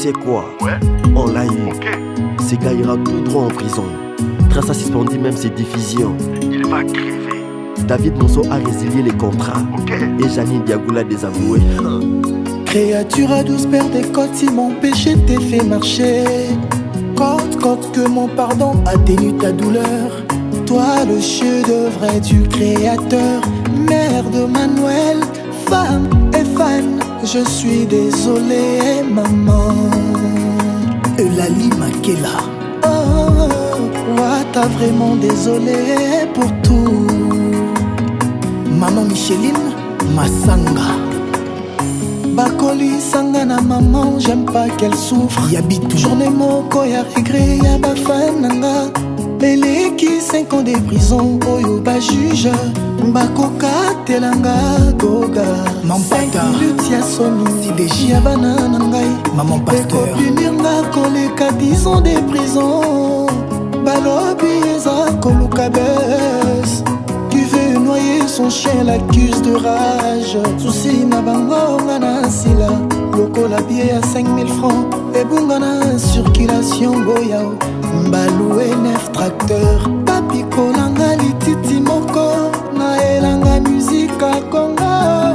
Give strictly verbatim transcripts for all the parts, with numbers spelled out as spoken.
sais quoi? Ouais. On l'a eu. Ok. Ce gars ira tout droit en prison. Trace a suspendu même ses diffusions. Il va crever. David Monceau a résilié les contrats. Ok. Et Janine Diagoula désavoué. Créature à douze paires de côtes, si mon péché t'est fait marcher. Côte, côte, que mon pardon atténue ta douleur. Toi le chef-d'œuvre du créateur. Mère de Manuel, femme et fan. Je suis désolé, maman. Eulalie Makela. Oh, oh, oh, t'as vraiment désolé pour tout. Maman Micheline Massanga. Bakoli Sangana maman, j'aime pas qu'elle souffre. Yabitou. Journée moko ya regret ya bafananga. Beleki cinq ans de prison, oyo ba juge. Bakoka telanga goga. Mampata. cinq minutes ya somi, si déji ya banana ngai. Maman pasteur. Punir nga koleka dix ans de prison. Balobi eza koluka bes. Tu veux noyer son chien, l'accuse de rage. Souci na bango ngana sila. Loko la billet à cinq mille francs. Et bungana circulation boyao. Mbaloué neuf tracteur. Papi kolanga lititi moko. Na elanga musique à Congo.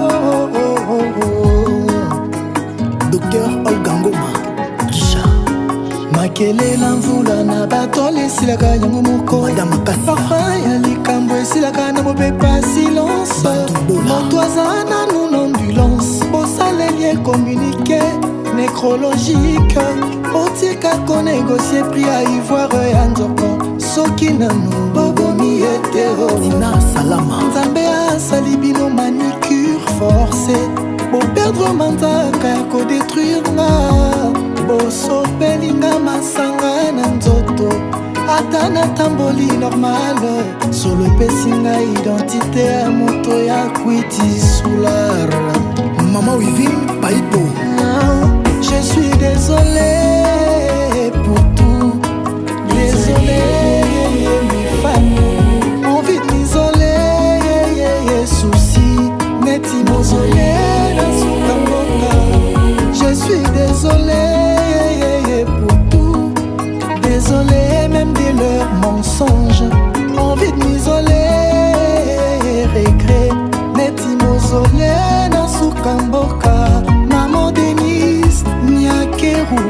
Docteur Olga Ngoma Gisha. Makele lamvula na batole silaka yango moko. Madame Kassi. Parfum ya likambo esilaka na mopepa silence. Motoazana nous l'ambulance. Bosalelier communiqué nécrologique. Otika ko négocier prix à ivoire ya nzoko. Soki nanu bobomi etero. Nina salama. Nzambe asali bino manicure forcée. Bo perdre mantaka ya ko détruire nga. Boso pelinga masanga na nzoto. Ata na tamboli normal. Solo pesinga identité ya moto ya kwiti soulard. Maman Wivine Paipo. Je suis désolé pour tout. Désolé mes fans. Envie de m'isoler. Souci neti mausolé dans son kamboka. Je suis désolé pour tout. Désolé même de leurs mensonges. Envie de m'isoler. Regret neti mausolé dans son kamboka. Maman Denise Niakeru.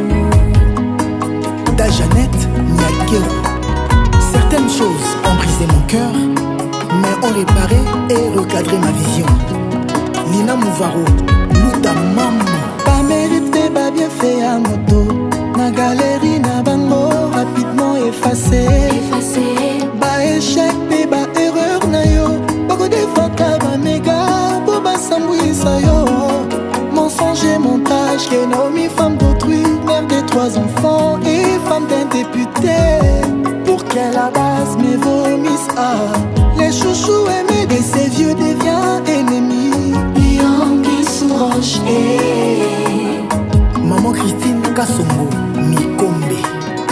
Da Jeannette Niakeru. Certaines choses ont brisé mon cœur, mais ont réparé et recadré ma vision. Lina Mouvaro, Luta Maman. Pas mérité, pas bien fait à moto. Na galerie, na bango, rapidement effacé. Effacé. Ba échec, ba erreur na yo. Bako défata, ba méga, bo ba sambouissa yo. Mensonge et montage, que Naomi, femme d'autrui, mère de trois enfants et femme d'un député. Pour qu'elle à base me vomisse, ah. Les chouchous aimés de ces vieux deviennent ennemis. Lion qui s'orange et Maman Christine Kassongo, Mikombe.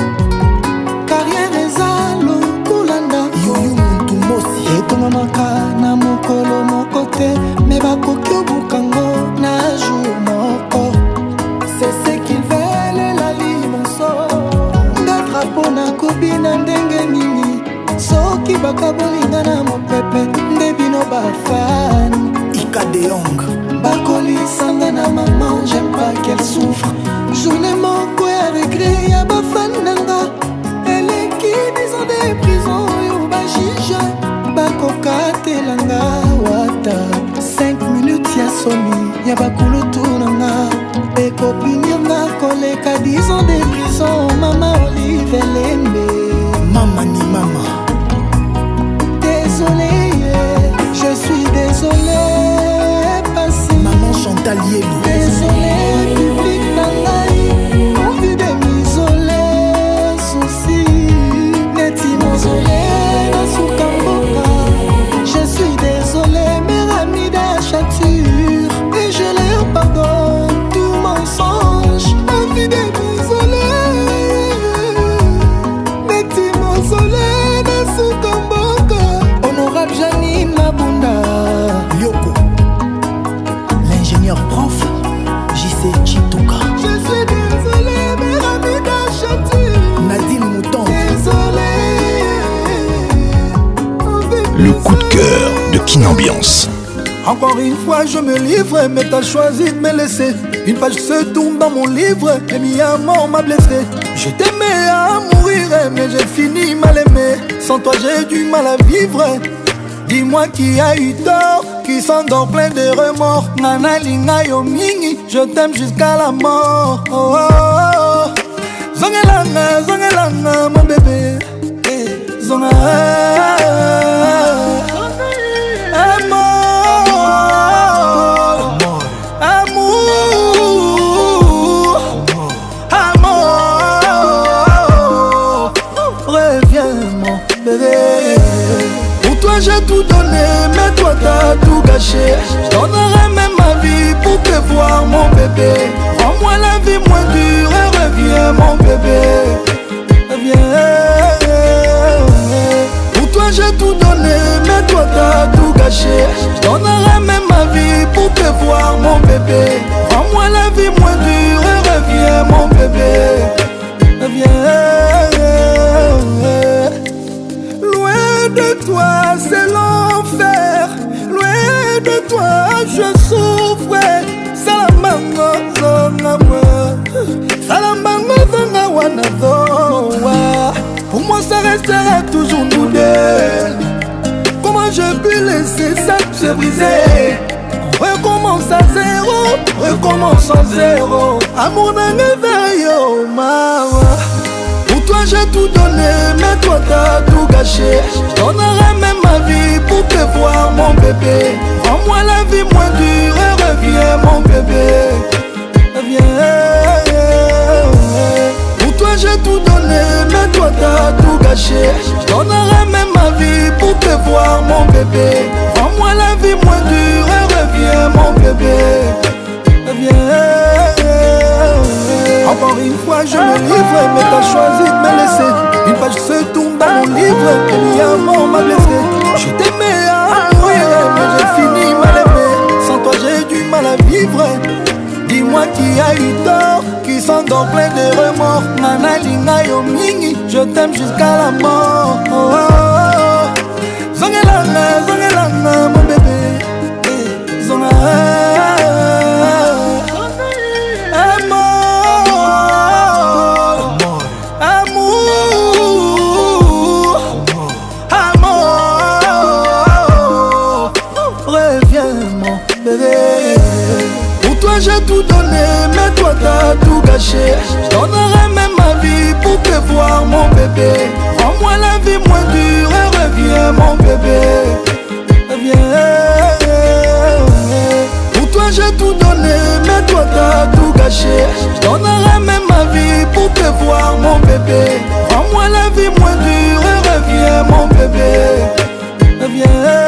Carrière ezalo kulanda. Yoyo muntu mosi. Etonga makana mokolo mokote. Me bakoki obukango na jour moko. C'est ce qu'ils veulent la limonso. Nga drapeau na kobi na ndenge nini. Soki bakabolinga na mopepe. Nde bino bafan. Ika de Yong. Bakoli sanga na maman, j'aime pas qu'elle souffre. Journée moko ya regret ya bafan nanga. Eleki dix ans de prison yo ba juge. Bakoka telanga wata. Cinq minutes ya somi ya bakulutu nanga. Eko punir nga koleka dix ans de prison. Mama Olive Lembe. Mama ni mama. Désolé, je suis désolé. Passé. Maman Chantal Yelou. Désolé, public nangai. Envie de m'isoler. Souci, neti mausolé dans son kamboka. Je suis désolé, mes amis d'achature. Et je leur Kin Ambiance. Encore une fois je me livre, mais t'as choisi de me laisser. Une page se tourne dans mon livre, et mi amour m'a blessé. Je t'aimais à mourir, mais j'ai fini mal aimé. Sans toi j'ai du mal à vivre. Dis-moi qui a eu tort, qui s'endort plein de remords. Nana linga yo mingi, je t'aime jusqu'à la mort. Oh, oh, oh. Zongelanga, zongelanga mon bébé. Zonga, j'ai tout donné, mais toi t'as tout gâché. Je donnerai même ma vie pour te voir mon bébé. Rends-moi la vie moins dure et reviens mon bébé. Reviens. Pour toi j'ai tout donné, mais toi t'as tout gâché. Je donnerai même ma vie pour te voir mon bébé. Rends-moi la vie moins dure et reviens mon bébé. Reviens. De toi c'est l'enfer, loin de toi je souffre. Salamanga zonga moi, salamanga zonga wana zoa. Pour moi ça restera toujours nous deux. Comment je peux laisser ça se briser? Recommence à zéro, recommence à zéro. Amour n'a yo mawa. Pour toi j'ai tout donné, mais toi t'as tout gâché. Je donnerai même ma vie pour te voir mon bébé. Rends-moi la vie moins dure et reviens mon bébé. Reviens. Pour toi j'ai tout donné, mais toi t'as tout gâché. Je donnerai même ma vie pour te voir mon bébé. Rends-moi la vie moins dure et reviens mon bébé. Reviens. Encore une fois je me livre, mais t'as choisi de me laisser. Une page se tourne dans mon livre, et mi amour m'a blessé. Je t'aimais à mourir, mais j'ai fini mal aimé. Sans toi j'ai du mal à vivre. Dis-moi qui a eu tort, qui s'endort plein de remords. Nana linga yo mingi, je t'aime jusqu'à la mort. Oh, oh, oh. Zongelanga, zongelanga mon bébé. Zonga. J'ai tout donné, mais toi t'as tout gâché. Je donnerai même ma vie pour te voir mon bébé. Rends-moi la vie moins dure et reviens mon bébé. Reviens. Pour toi j'ai tout donné, mais toi t'as tout gâché. Je donnerai même ma vie pour te voir mon bébé. Rends-moi la vie moins dure et reviens mon bébé. Reviens.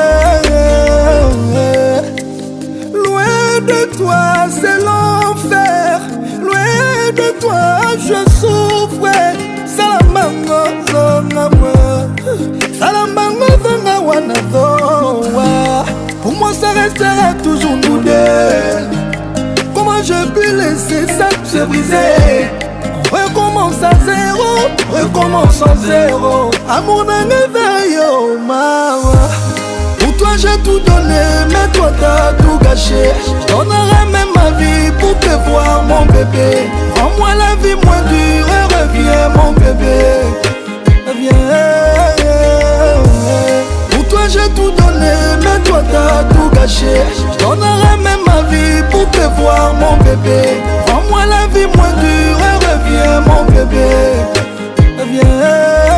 De toi c'est l'enfer, loin de toi je souffre. Salamanga zonga moi, salamanga zonga wana zoa. Pour moi ça restera toujours nous deux. Comment je peux laisser ça se briser? Recommence à zéro, recommence à zéro. Amour n'a yo mawa. Pour toi j'ai tout donné, mais toi t'as tout gâché. Je donnerai même ma vie pour te voir mon bébé. Rends-moi la vie moins dure et reviens mon bébé. Reviens. Pour toi j'ai tout donné, mais toi t'as tout gâché. Je donnerai même ma vie pour te voir mon bébé. Rends-moi la vie moins dure et reviens mon bébé. Reviens.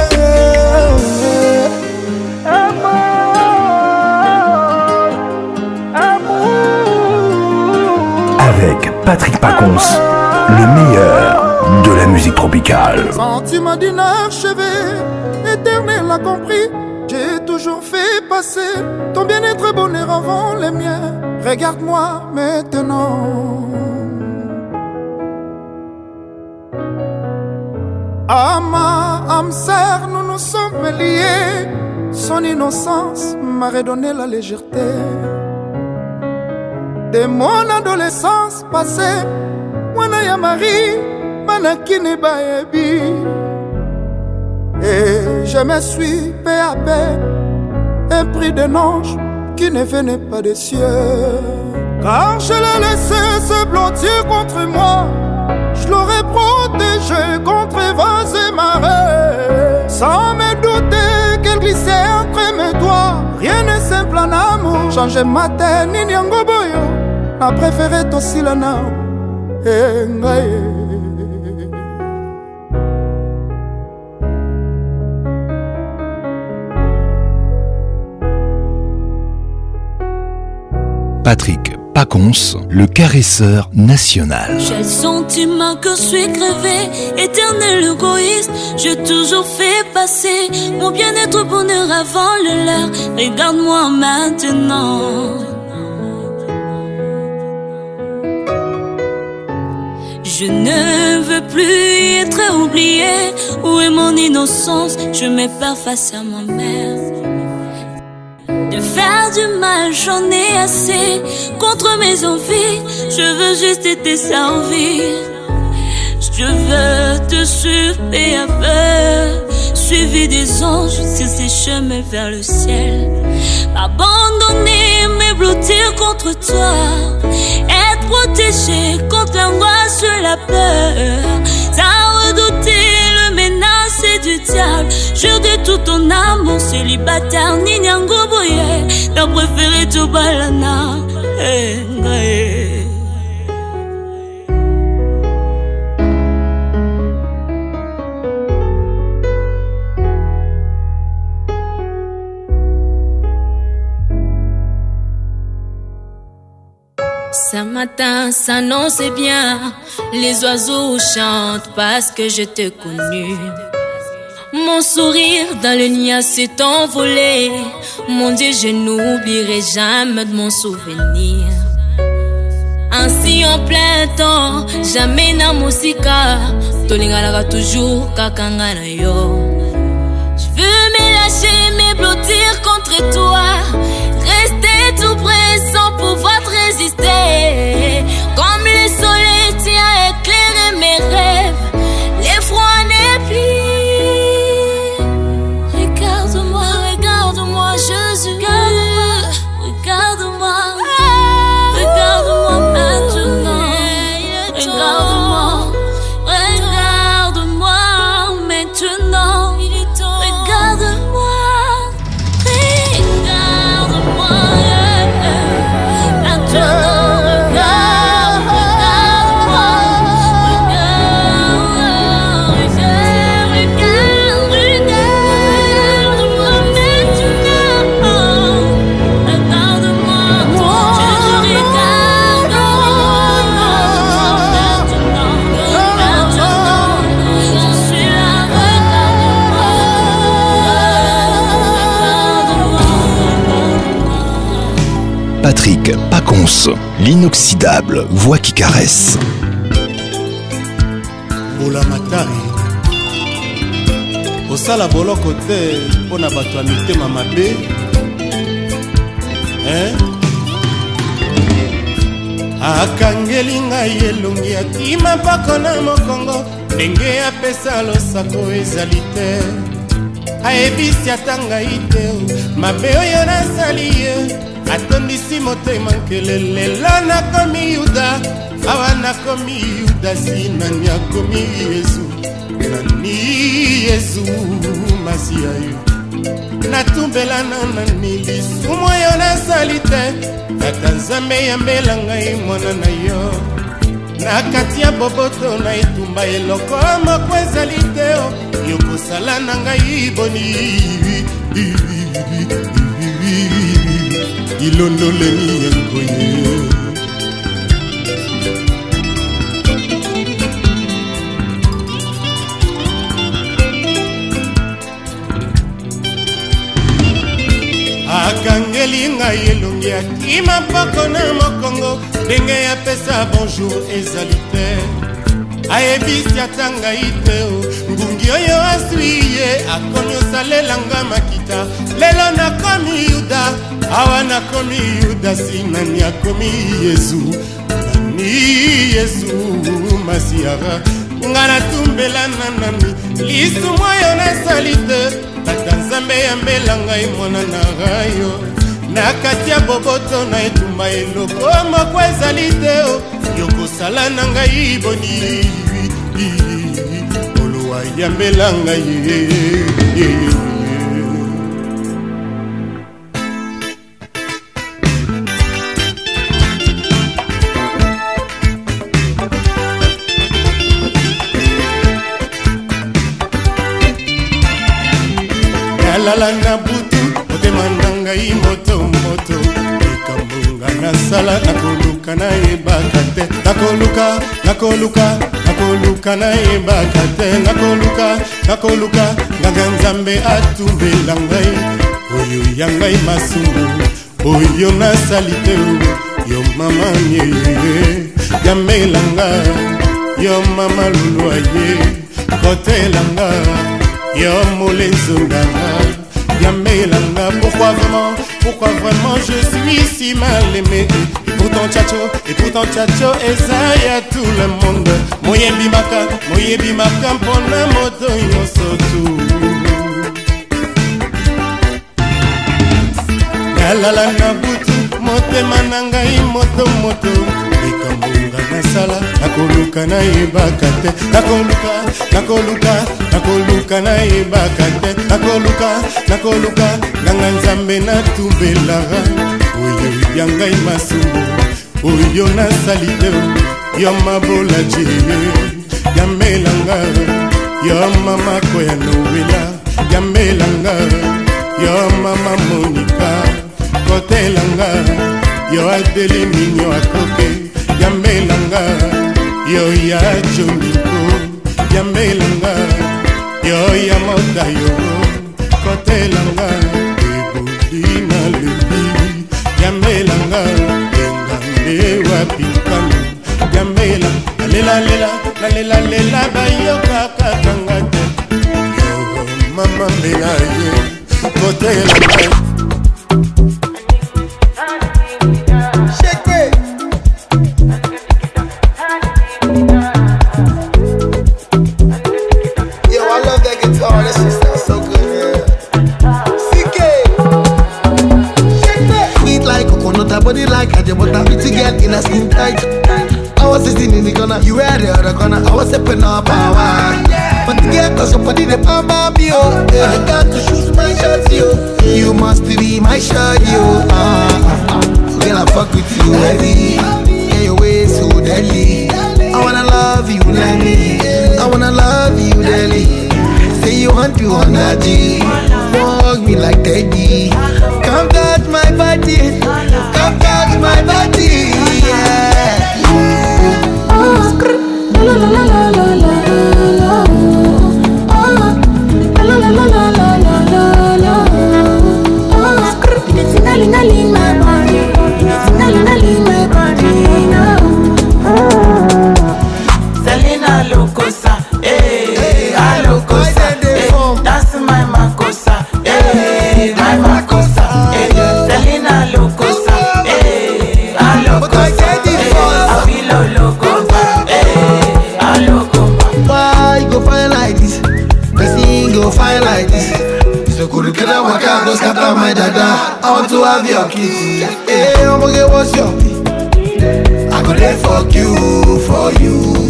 Avec Patrick Pacons, le meilleur de la musique tropicale. Sentiment d'inachevé, éternel a compris. J'ai toujours fait passer ton bien-être bonheur avant les miens. Regarde-moi maintenant. À ma âme sœur, nous nous sommes liés. Son innocence m'a redonné la légèreté. De mon adolescence passée, Wana ya Marie, Manakine Baebi. Et je me suis peu à peu épris de ange qui ne venait pas des cieux. Car je l'ai laissé se blottir contre moi, je l'aurais protégé contre vents et marées. Sans me douter qu'elle glissait entre mes doigts. Rien n'est simple en amour. Changer ma tête, ni nyango boyo. N'a préféré Tosilana. Eh, ngaye. Patrick Pacons, le caresseur national. J'ai le sentiment que je suis crevé, éternel égoïste. J'ai toujours fait passer mon bien-être bonheur avant le leur. Regarde-moi maintenant. Je ne veux plus être oublié. Où est mon innocence? Je me perds face à moi-même. De faire du mal, j'en ai assez. Contre mes envies, je veux juste te servir. Je veux te suivre peu à peu, suivi des anges sur ces chemins vers le ciel. Abandonner, me blottir contre toi, être protégé contre l'angoisse et la peur. Sans redouter le menace du diable. Jure de tout ton amour célibataire, ni nyango boye. T'as préféré tout balana. Hey, hey. Ce matin s'annonce bien, les oiseaux chantent parce que je t'ai connu. Mon sourire dans le niais s'est envolé. Mon Dieu, je n'oublierai jamais de mon souvenir. Ainsi en plein temps, jamais na musika. Tolingalaka toujours kakanga na yo. Je veux me lâcher, me blottir contre toi. Rester tout près sans pouvoir te résister. Comme le soleil tient à éclairer mes rêves. Les froids n'est plus. Regarde-moi, regarde-moi, Jésus. Regarde-moi, regarde-moi, regarde-moi maintenant. Regarde-moi, regarde-moi maintenant. Regarde-moi. Patrick Pacons, l'inoxydable voix qui caresse. Bola Matari osala boloko te mpona bato ya mitema mabe. Hein? Akangeli ngai elongi atima mpako na mokongo ndenge apesa losako ezali te. Ayebisi ata ngai te mabe oyo nasali ye. Atondisi motema nkele lelo nakomi Yuda. Awa nakomi Yuda si nani akomi Yesu. Nani Yesu Masiya yo. Natumbela na nani lisumu oyo nasali te. Tata Nzambe yambela ngai mwana na yo. Na kati ya boboto na etumba eloko moko ezali te. Yokosala na ngai boni. Ilondoleni yengoye. Akangeli ngai elongi akima mpako na mokongo ndenge apesa bonjour ezali te. Ayebisi ata ngai te ngungi oyo aswi ye akomi osalelanga makita. Lelo nakomi Yuda, awa nakomi Yuda si nani akomi Yesu. Nani Yesu Masiya nga natumbela na nani lisumu oyo nasali te. Tata Nzambe yambela ngai mwana na rayo. na kati ya boboto na etumba eloko moko ezali te yokosala na ngai boni olowa yambela ngai lala na butu motema na ngai moto moto ekambunga nasala nakoluka nayebaka te nakoluka nakoluka nakoluka nayebaka te nakoluka nakoluka nganga nzambe atumbela ngai oyo ya ngai masumu oyo nasali te yo mama nye yamelanga yo mama lulwa ye kotelanga yo molenzondanga yamelanga. Pourquoi vraiment, pourquoi vraiment je suis si mal aimé? Et pourtant tchacho, et pourtant tchacho ezaya tout le monde. Moyebi maka, moyebi maka mpona moto yosotu. Nalala na butu, motema na ngai moto moto. Ekambunga nasala, nakoluka nayebaka te. Nakoluka, nakoluka, nakoluka nayebaka te. Nakoluka, nakoluka, nganga nzambe natumbelaka. Oyo ya ngai masumu, oyo nasali te. Yo mabola jeye, yamelanga. Yo mama koya nowela, yamelanga. Yo mama Monica, kotelanga. Yo adeli minyo akoke, yamelanga. Yo ya Joniko, yamelanga. Yo ya moda yo, kotelanga. Ebudina lebi, yamelanga. Engambe wapikano, yamelanga. Lela lela, lela lela bayoka kakangate. Yo mama mela ye, kotelanga. Body like a jabota, pretty girl in a skin tight. I was sitting in the corner, you were the other corner. I was stepping up power. But the girl cause somebody the pamba bio. I got to shoot my shot, you. You must be my shot, you. Uh, girl, I fuck with you heavy. Yeah, your way so deadly. I wanna love you, Lenny. I wanna love you, Lenny. Say you want to on a G. Walk me like Teddy. Come touch my body. Come touch my body. Yeah. Oh, la la la la la la la. Oh, la la la la la la la. Oh, it's tingling in my body. It's tingling in my body now. Selena Locosa, eh, a Locosa. That's my Macosa, eh, my Macosa, eh, Selena Locosa, eh, a Locosa, eh, a Vilo Locosa, eh, a Locosa. Why go fire like this? Person go fire like this. So could you I walk out, don't scatter my dada. I want to have your kiss. Hey, I'm gonna get what's your pee. I go there fuck you, for you.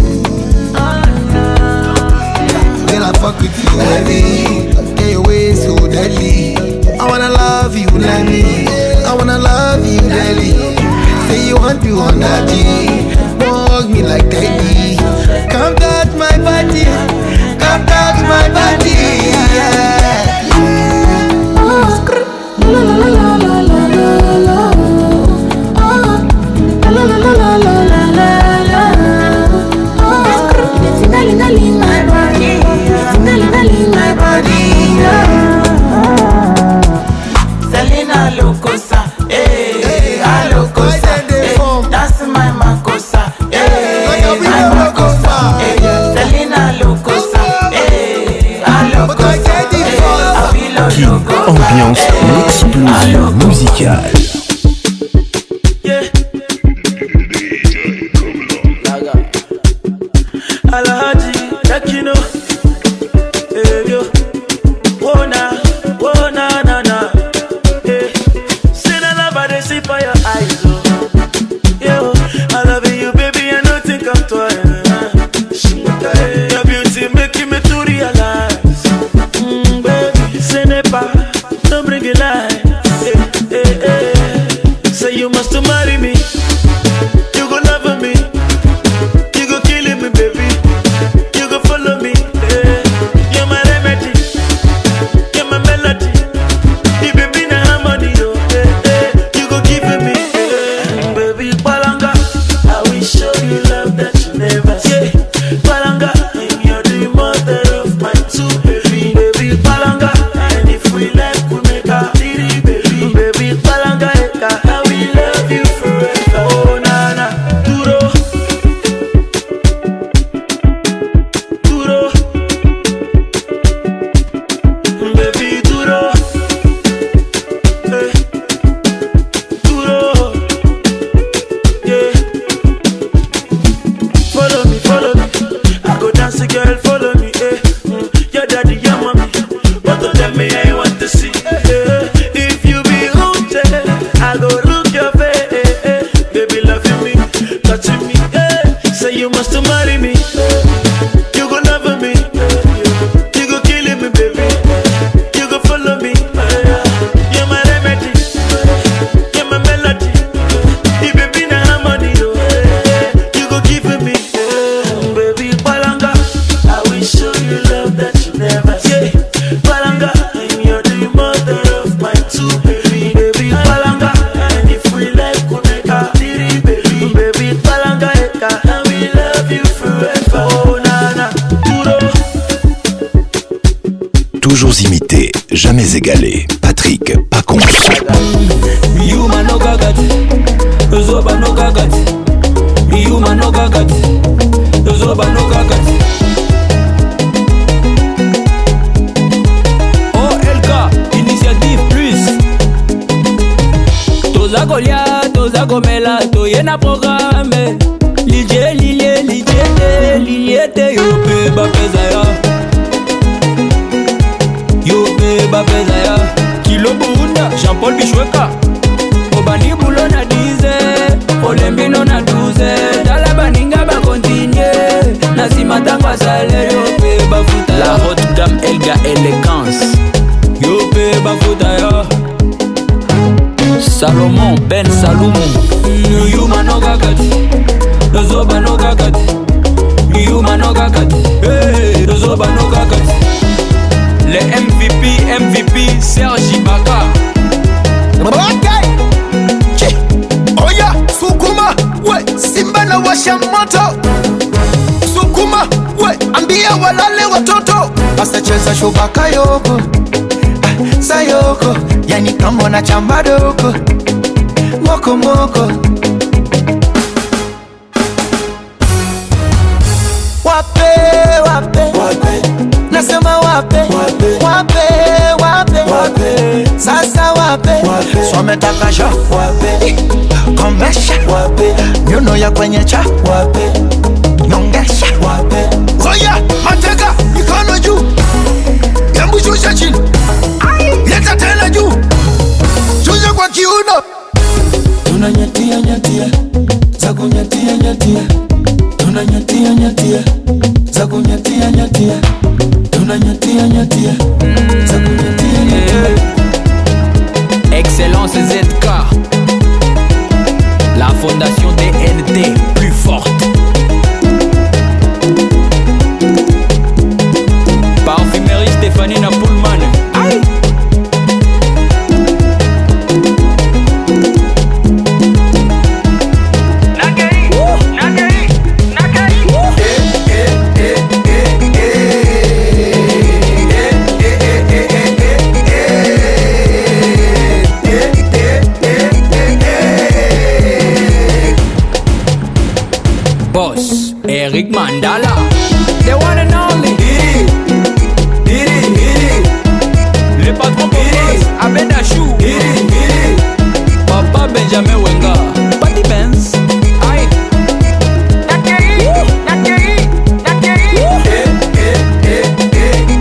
Then I fuck with you heavy. Get your way so deadly. I wanna love you, Lenny. I wanna love you, Lenny. Say you want to on that G. Walk me like Teddy. Come touch my body. Come touch my body. Yeah. Oh, la la la la la la la. Oh, la la la la la la la la. Oh, it's in my body. In my body, yeah. Selena Locosa, eh, a Locosa, eh, that's my Macosa, eh, my Macosa, eh, Selena Locosa, eh, a Locosa, eh, a Vilo Locosa. Ambiance, l'explosion musicale. Yeah. Alhaji Takino. Whoa na, whoa na na na, eh. Say na Toujours imité, jamais égalé. Patrick Pacons. Yuma no gagat, Zoba no gagat. Yuma no gagat, Zoba no gagat. O L K, Initiative Plus. Toza Golia, Toza Gomela, Toyena programme. Lilie, lilie, lilie, lilie, te yope bapezaya. Yope bapezaya. Kilo Burunda, Jean-Paul Bichweka. Obani Boulon na dize, Olembino na douze. Dala baninga ba continue, Nasima tangwa sale yope bafuta. La haute gamme Elga Elegance. Yope bafuta ya. Salomon Ben Salomon. Yuma no gagati, Zoba no gagati. Yuma no gagati, hey, Zoba no gagati. Les M V P, M V P, Sergi Baka. Okay. Chi. Oya, Sukuma, we, Simba na washa moto. Sukuma, we, ambia walale watoto. Basta cheza shubaka yoko, ah, sayoko, yani kama na chamba doko. Moko moko. Wape, wape, wape. Nasema wape, wape, wape, wape, wape. Sasa wape, wape. Swametaka sha, wape. Komesha, wape. Nyuno ya kwenye cha, wape. Nyongesha, wape. Oya, mateka, mikono juu. Yambu shusha chini. Leta tena juu. Shusha kwa kiuno. Tunanyatia, nyatia. Zaku nyatia, nyatia. Tunanyatia, nyatia. Zaku nyatia, nyatia. Tunanyatia, nyatia. Zaku nyatia, nyatia. Excellence Z K. La fondation D N T plus forte. Parfumerie Stéphanie Napoulman. Aïe. Boss, Eric Mandala, the one and only. Diri, Diri, Diri. Le patron Boss, Abedachou. Diri, Diri. Papa Benjamin Wenga, Patty Benz. Aïe. Nakeri, Nakeri, Nakeri. Eh, eh, eh, eh,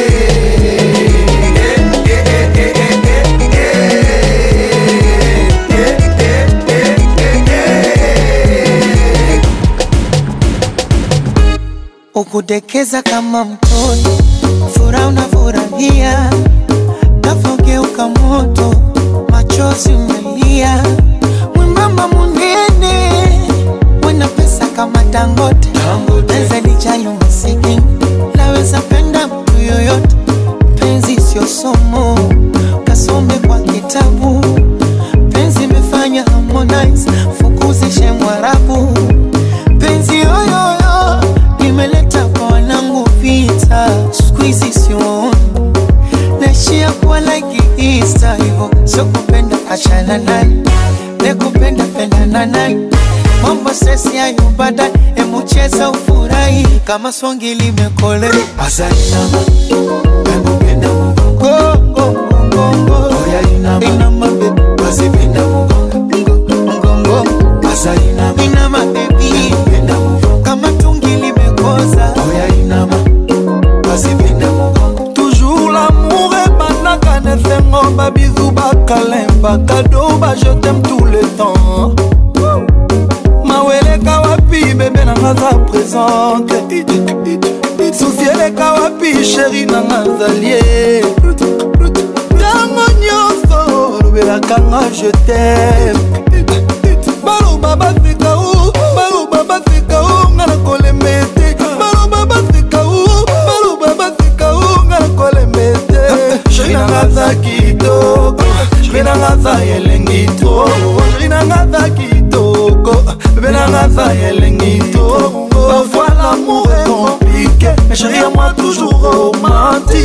ukudekeza kama mtoto, furaha unafurahia, nafogeuka moto, machozi umelia. Mwembamba munene, wana pesa kama Dangote, penzi lijalo masikini, naweza penda mtu yoyote. Penzi sio somo, kasome kwa kitabu. Penzi imefanya Harmonize, fukuzishe Mwarabu. Penzi yoyoyo, nimeleta kwa wanangu vita. Squeezy sioni, naishia kuwa like Easter. Hivo, sio kupenda achana naye, nekupenda pendana naye. Mambo sesi hayo baadaye, emu cheza ufurahi kama songi limekole. Asali nama, emu penda mgongo, mgongo, mgongo. Oya inama, inama baby, basi penda mgongo, mgongo. Asali nama, inama baby, emu penda mgongo. Kama tungi limekoza. Oya inama, basi penda mgongo. Toujours l'amour et banaka ne fengo ba bisou ba kalemba cadeau ba je t'aime tout le temps. Mawele kawapi bébé nanga za présente. Souciele kawapi chéri nanga zalie. Tango nyonso lobelaka nga je t'aime. Baloba bafika u, baloba bafika u nga na kolemete. Baloba bafika u, baloba bafika u nga na kolemete. Chéri nanga za kitoko, chéri nanga za elengi to. Chéri nanga za kitoko, bébé nanga za elengi to. Parfois l'amour est compliqué. mais chérie à moi toujours romantique.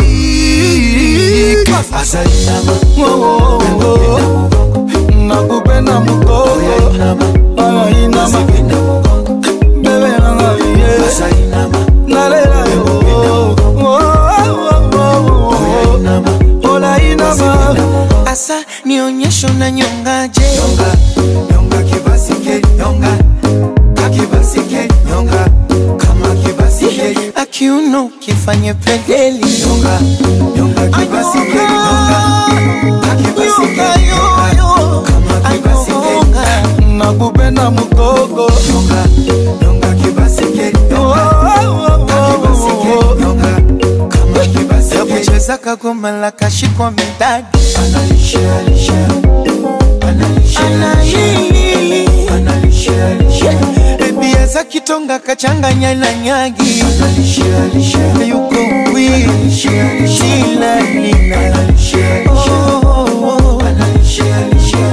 Asainama, oh oh oh, nakupenda mukoko. Asainama, bebe nanga ye. Asainama, nalela yo. Oh oh oh oh, ola inama. Asa nionyesho na nyongaje. Nyonga, nyonga kibasike, nyonga. Akibasike, nyonga. Kama kibasike, akiuno kifanye pedeli. Nyonga, nyonga kibasike, nyonga. Akibasike, nyonga. Kama kibasike, nakupenda mukoko. Nyonga, nyonga kibasike, nyonga. Akibasike, nyonga. Kama kibasike, ya kucheza kagoma la kashikwa midadi. Analisha, alisha. Analisha, analisha. Analisha, baby eza kitonga kachanganya na nyagi. Analisha, alisha. Yuko wii, shila nina. Analisha, alisha. Analisha, alisha.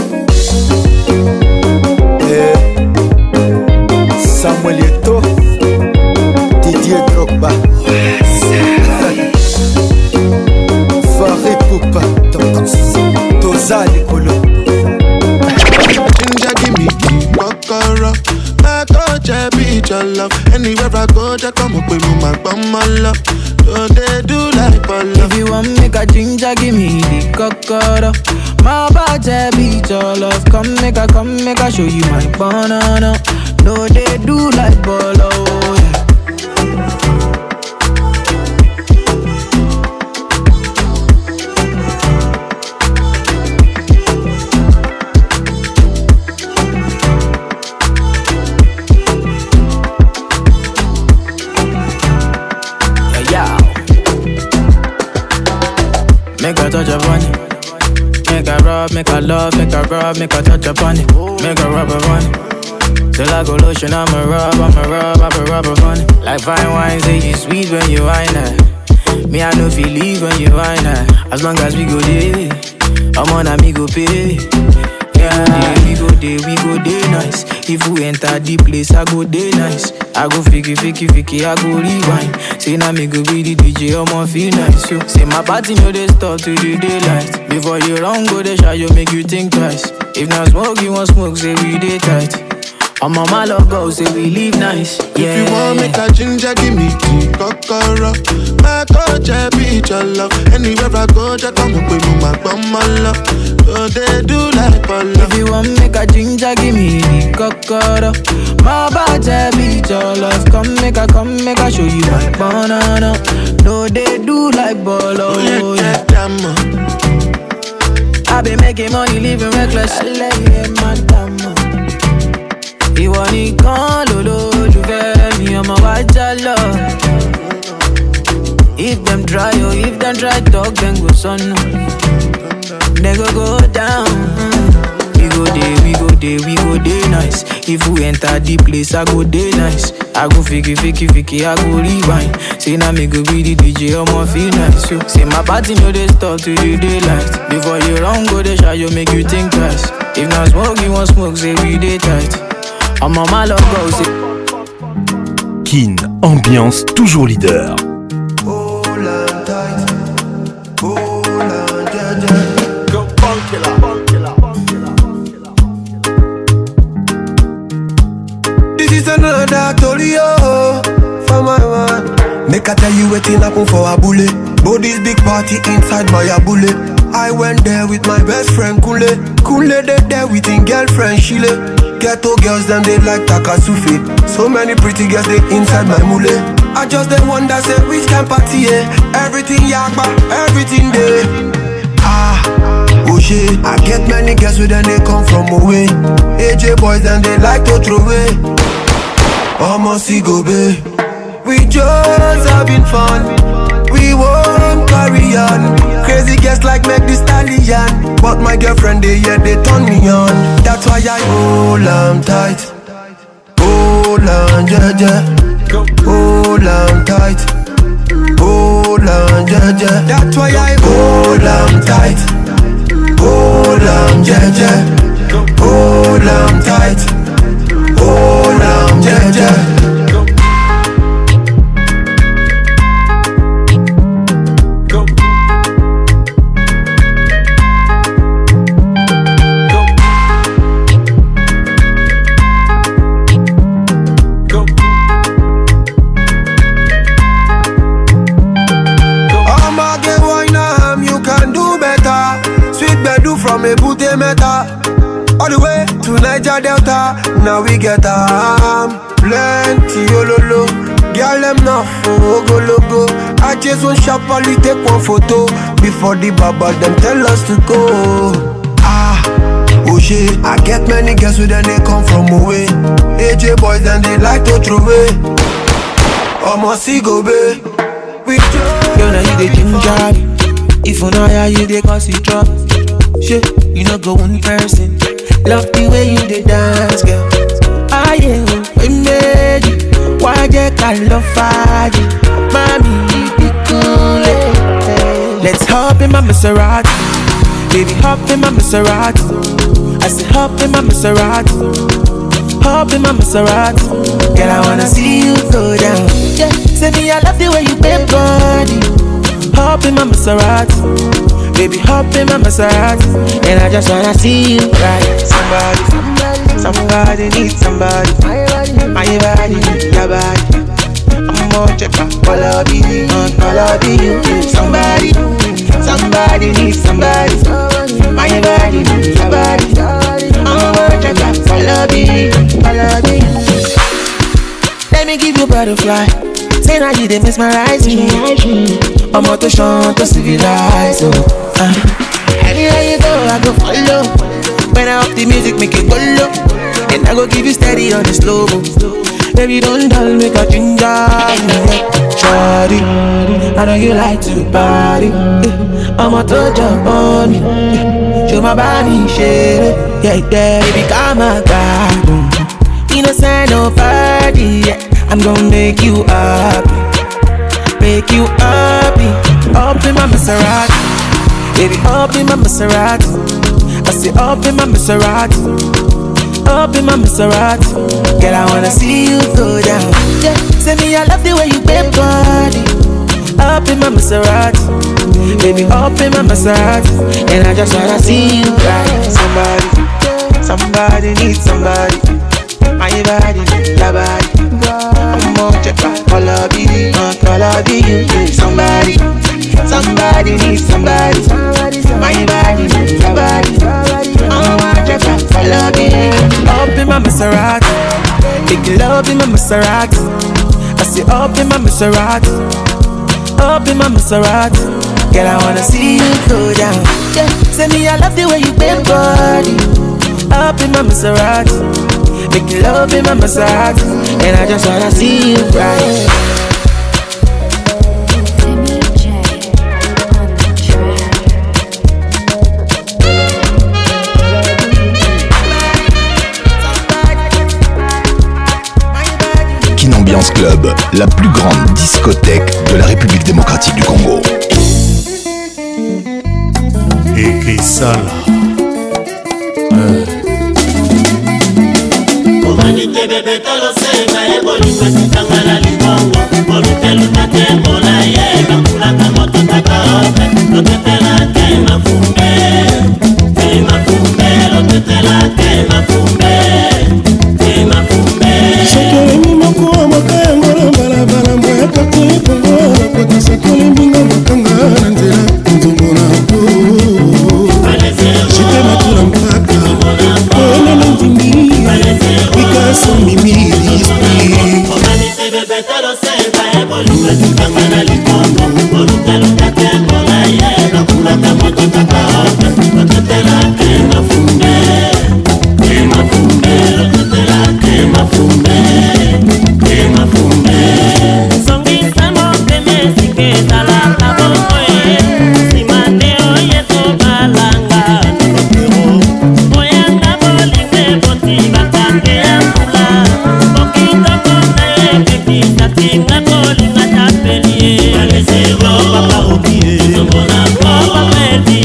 Samuel Eto'o, Didier Drogba, Faré Poupa, Toza Likolo. Ginger give me key, kokoro. My coach, I be your love. Anywhere I go, they come up with my bum, my love. Don't they do like Polo? If you want make a ginger, give me the kokoro. My body beat your love. Come make a, come make a show you my banana. No, they do like Polo. Make a touch upon it. Make a rub, make a love, make a rub, make a touch upon it. Make a rub upon it. Till I go lotion, I'ma rub, I'ma rub, I'ma rub upon it. Like fine wine, say you sweet when you wine it. Me, I know feel leave when you wine it. As long as we go there, I'm on a me go pay. Yeah, we go there, we go there nice. If we enter the place, I go there nice. I go fiki, fiki, fiki, I go rewind. Say now me go be the D J, I'ma feel nice. Yo. Say my party know they start to the daylight. Before you run, go they shy, you make you think twice. If not smoke, you want smoke, say we day tight. I'm on my love go, say we live nice. Yeah. If you want make a ginger, give me tea, kokoro. My coach, I be your love. Anywhere I go, they come up with my bum, my love. Don't they do like Polo? If you want make a ginger, give me the kokoro. My body beat your love. Come make a, come make a show you my banana. No, they do like Polo. Oh, yeah, yeah. I been making money, living reckless. I like it, madam. Ìwọ nìkan lolólùfẹ́ mi, ọmọ wa jálọ. If them try, oh, if them try talk, then go sọnù. They go go down. We go there, we go there, we go there nice. If we enter the place, I go there nice. I go fiki, fiki, fiki, I go rewind. Say now me go be the D J, I'ma feel nice. Yo. Say my party know they start to the daylight. Before you run, go they shy, you make you think twice. If not smoke, you want smoke, say we day tight. I'm on my love go, say. Kin, ambiance toujours leader. This is another Tolio for my man. Make I tell you waiting happen for a bullet. Body's big party inside my abule. I went there with my best friend Kule. Kule they there with his girlfriend Shile. Ghetto girls them they like Takasufi. So many pretty girls they inside my mule. I just they wonder say which can party eh? Everything yakba, everything there. Ah, oh shit. I get many girls with them they come from away. A J boys and they like to throw away. Almost go be. We just having fun. We won't carry on. Crazy girls like make the stallion. But my girlfriend they yeah they turn me on. That's why I hold on tight. Hold on yeah yeah. Hold on tight. Hold on yeah yeah. That's why I hold on tight. Hold on yeah yeah. Hold on tight. Hold on yeah yeah. Meta, all the way to Niger Delta. Now we get um, plenty ololo. Girl them now for go logo. I just want sharply take one photo before the baba them tell us to go. Ah, oh shit, I get many girls with them they come from away. A J boys and they like to throw away. Almost see go be. We girl now you the ginger. If you know how you dey cause you drop. Shit, you know go one person. Love the way you dey dance, girl. Ah yeah, we made you. Why they call love fire? Mommy, be cool. Let's hop in my Maserati. Baby, hop in my Maserati. I said hop in my Maserati. Hop in my Maserati. Girl, I wanna see you go down. Yeah, say me I love the way you bend body. Hop in my Maserati. Baby, hop in my Maserati. And I just wanna see you right. Somebody, somebody needs somebody. My body, your body. I'm more check out all of you, all of you. Somebody, somebody needs somebody. My body, your body. I'm more check out all of you, all of you. Let me give you butterfly. Say now you dey mesmerize me. I'm out to shine to civilize. Oh, uh. Anywhere you go, I go follow. When I up the music, make it go low. And I go give you steady on the slow. Baby, don't dull, make a ginger. Shawty, I know you like to party. I'm out to jump on me. Show my body, shit. Yeah, yeah, baby, come on, God. You know, say no party. Yeah. I'm gonna make you happy, make you happy. Up in my Maserati, baby, up in my Maserati. I say up in my Maserati, up in my Maserati. Girl, I wanna see you go down. Yeah, say me I love the way you bend body. Up in my Maserati, baby, up in my Maserati. And I just wanna see you right. Somebody, somebody needs somebody. My body, your body. I'm more check out all of you, all of you. Somebody, somebody needs somebody. My body, your body. I'm more check out all of you. Up in my Maserati, big love in my Maserati. I say up in my Maserati, up in my Maserati. Girl, I wanna see you go down. Yeah, say me I love the way you bend body. Up in my Maserati. Make you love in my Maserati. And I just wanna see you right. Kin Ambiance Club, la plus grande discothèque de la République démocratique du Congo. Et qui ça là? Humanité bébé tolo senga eboli kwesitanga la libongo Olutelu tate mola ye Kakula kamoto takaope Lotetela te mafumbe Te mafumbe Lotetela te mafumbe Te mafumbe Shakeli moko amaka yangola balabala Mboya kati kongo Kota sakoli mbinga makanga Nanzela nzomona po Shite matula mpaka Kone nandimi Because of me, me, this thing. Humanité bébé tolo senga eboli kwesitanga la libongo Olutelu tate mola ye Kakula kamoto takaope Lotetela te mafumbe Te mafumbe Lotetela te mafumbe Te mafumbe Songisa mokeme sike tala kabokoye Simane oye to balanga Nokero Oyanga bolinge boti bakande ambula Okito kone pepi satinga kolinga tapelie Palesero papa obie Zombona papa elvi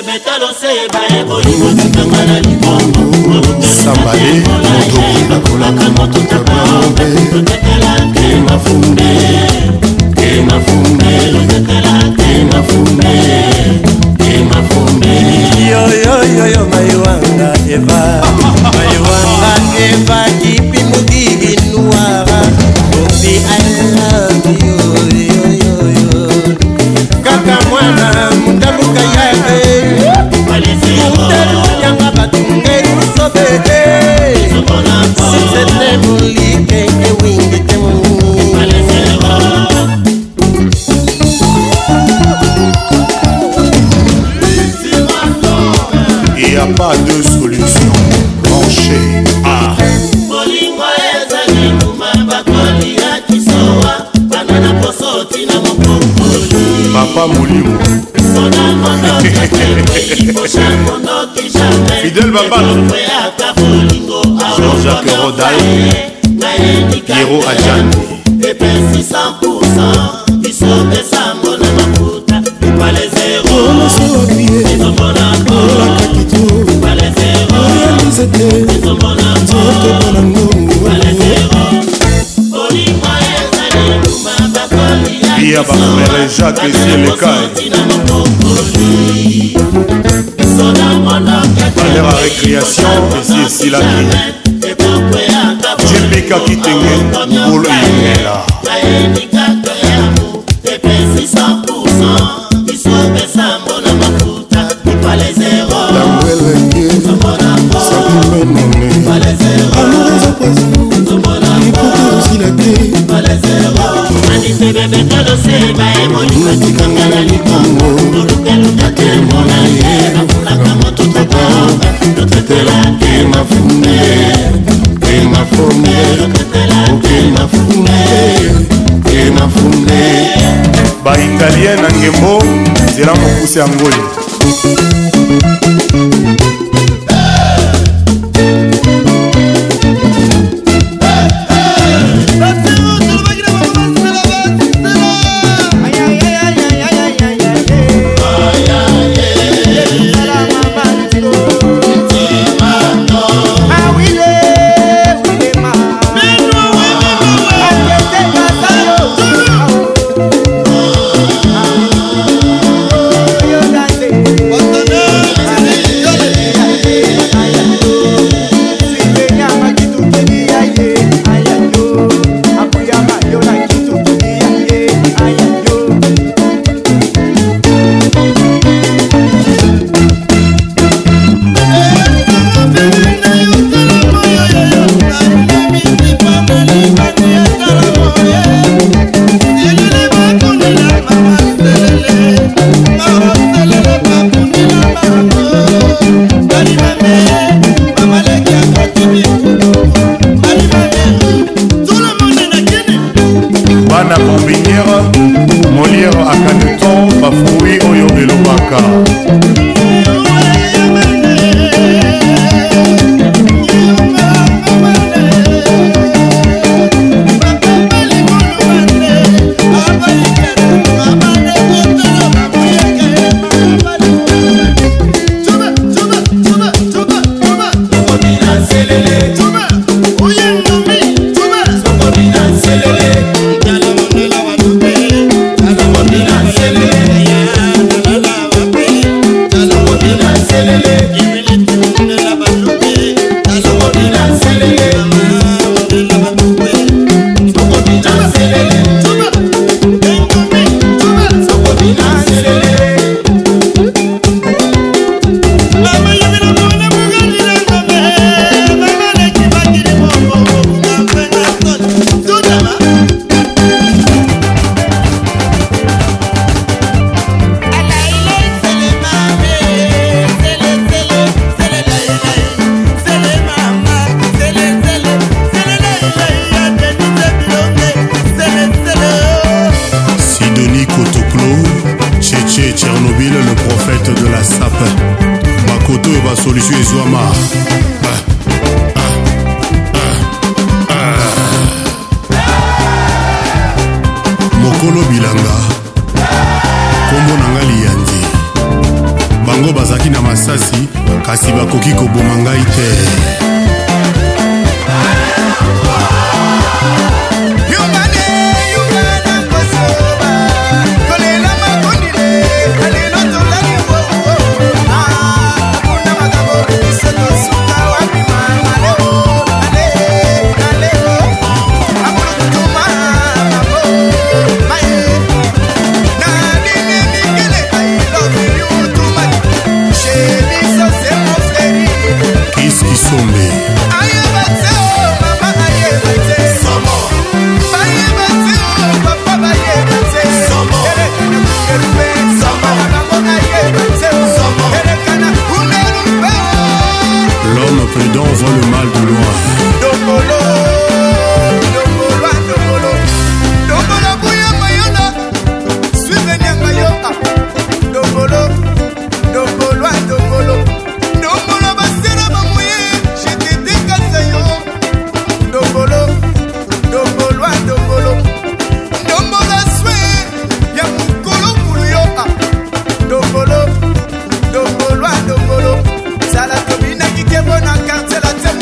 bebetalo seba ebolingo tikanga na libongo Sambale moto bakolaka moto tabaobe lotekela ke mafumbe ke mafumbe lotekela ke mafumbe ke mafumbe yo yo yo yo maiwanga eva maiwanga eva kipi mudigi noira obi I love you yo yo yo kaka mwana mundaluka yae mundalu yanga batungeri sobede si c'était mon lit que wingi il n'y a pas de solution branchée. Ah. Papa Moulimo Fidèle Baba Jean-Jacques Rodal Piero Adjani Epesi cent pour cent Isobe sambo na mafuta Wale zero Izomona Wale zero Izomona Wale zero Olima ezali Lumaba koli Bia Bakamere Jacques et Cielekai Valère à récréation Ici et Silaki Jepika Kitenge Mbolo Yungela Epesi cent pour cent Isobe sambo na mafuta Wale zero Izomona Wale zero Wale zero Anise bebe tolo seba Emonika tikanga na likongo Olukeluka ke mona ye Akulaka moto tabaoba Lotretela ke mafumbe Ke mafumbe Lotretela ke mafumbe Ke mafumbe Baingalien na ngembo Zela mokuse angoli Bana bombinière Molière à Caneton Bafoui Oyo Elobaka solution ezwama mokolo bilanga kombo nanga liyanzi bango bazalaki na masasi kasi bakoki koboma ngai te. L'homme prudent voit le mal de loin. Dombolo, dombolo, dombolo, dombolo, bouya mayona, suivez Nyangayo, dombolo, dombolo, dombolo, dombolo, basera bamouye, j'étais décassé yo, dombolo, dombolo, dombolo, dombolo, soué, y'a mon colo pour yo, dombolo, dombolo, dombolo, ça la domine qui est bonne en quartier.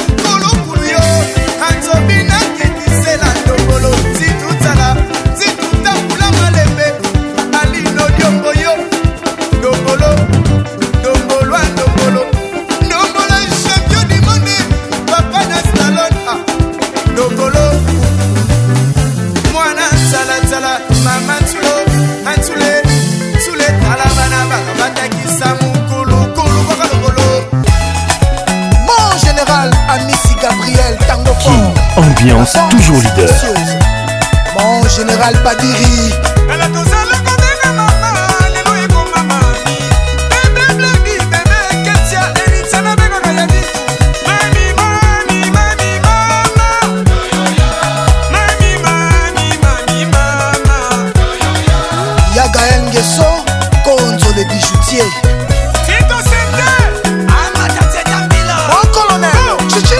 Ambiance toujours leader. Mon général Padiri. Yaga Ngeso, Konzo le bijoutier. Mon colonel, Chichi.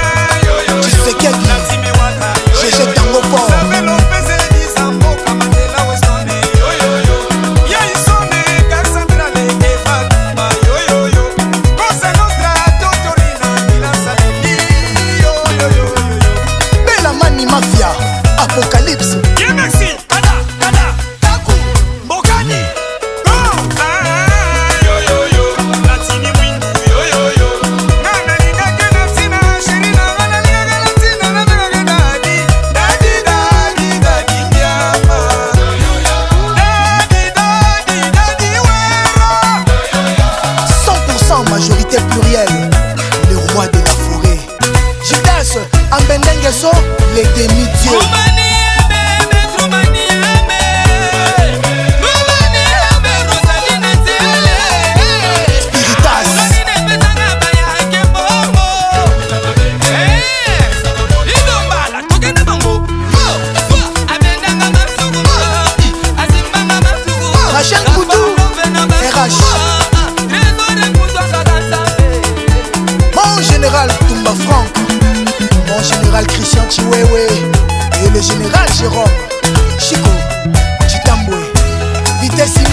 Apocalypse. Yeah, merci. Ada, ada, Taku, Bokani. Go. Yo yo yo, Latini Windu. Yo yo yo. Na na ni na kena tina, shiri na na ni na kena tina na na na daddy, daddy daddy daddy nyama. Yo yo yo. Daddy daddy daddy wera. cent pour cent majorité plurielle. Les rois de la forêt. Judas, Ambendengeso, les demi-dieux. Mon général Toumba Franck, mon général Christian Chiwewe et le général Jérôme Chico Chitambwe Vitessimo.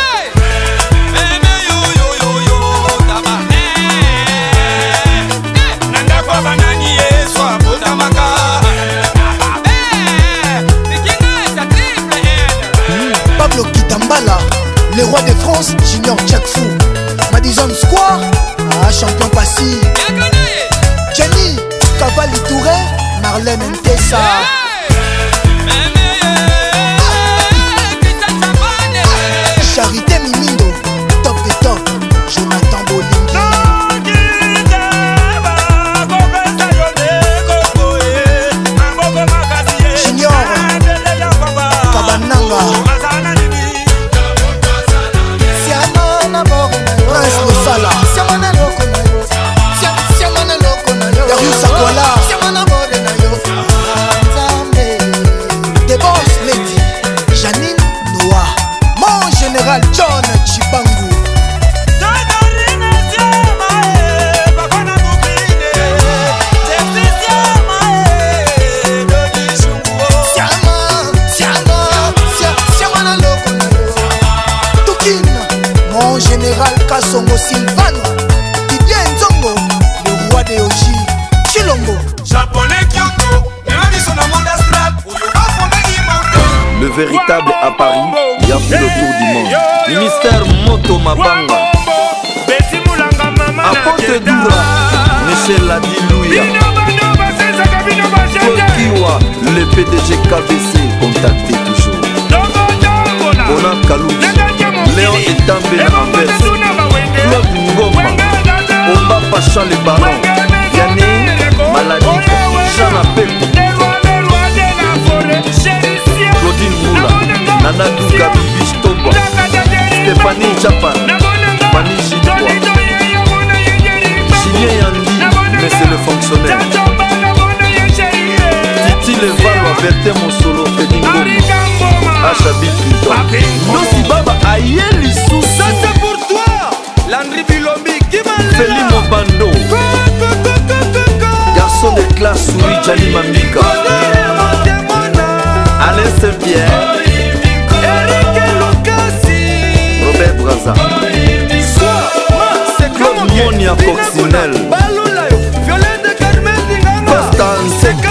Pablo Kitambala, le roi de France, Junior Jack Fou, Madison Square, ah, champion passif. Jenny, Cavalli Touré, Marlène Ntessa. Charité Mimindo, top de top, Jonathan Bolingi. Junior, Kabananga. Prince Losala. Darius Akwala. Songo Sylvano, Didier Nzongo, le roi de Oji, Chilongo. Japonais Kyoto, le véritable à Paris, il y a fait le tour du monde. Ministère Moto Mabanga, Apote Doura, Michel Ladilouia, Kokiwa, le P D G K B C, contacté toujours. Bona Kalouch, Léon Etambé Anvers, Claude Ngoma, Omba Pacha le Baron, Yanné, Maladie, Jean Appel, Claudine Moula, Nana Douka, Bibiche Toba, Stéphanie Japan, Fanny Gitois, Julien Yandi, mais c'est le fonctionnaire. Titi Levalo, Berthe Monsolo, Fedi Ngoma, Achabit Pluton. Nossi Baba, Ayeli Sou, ça c'est pour toi. Landry Bilombi, qui m'a l'air. Feli Mobando, garçon de classe, Souris Jali Mamika, Alain Saint-Pierre, Robert Braza, Claude Monia Coccinelle, Costa Nseki,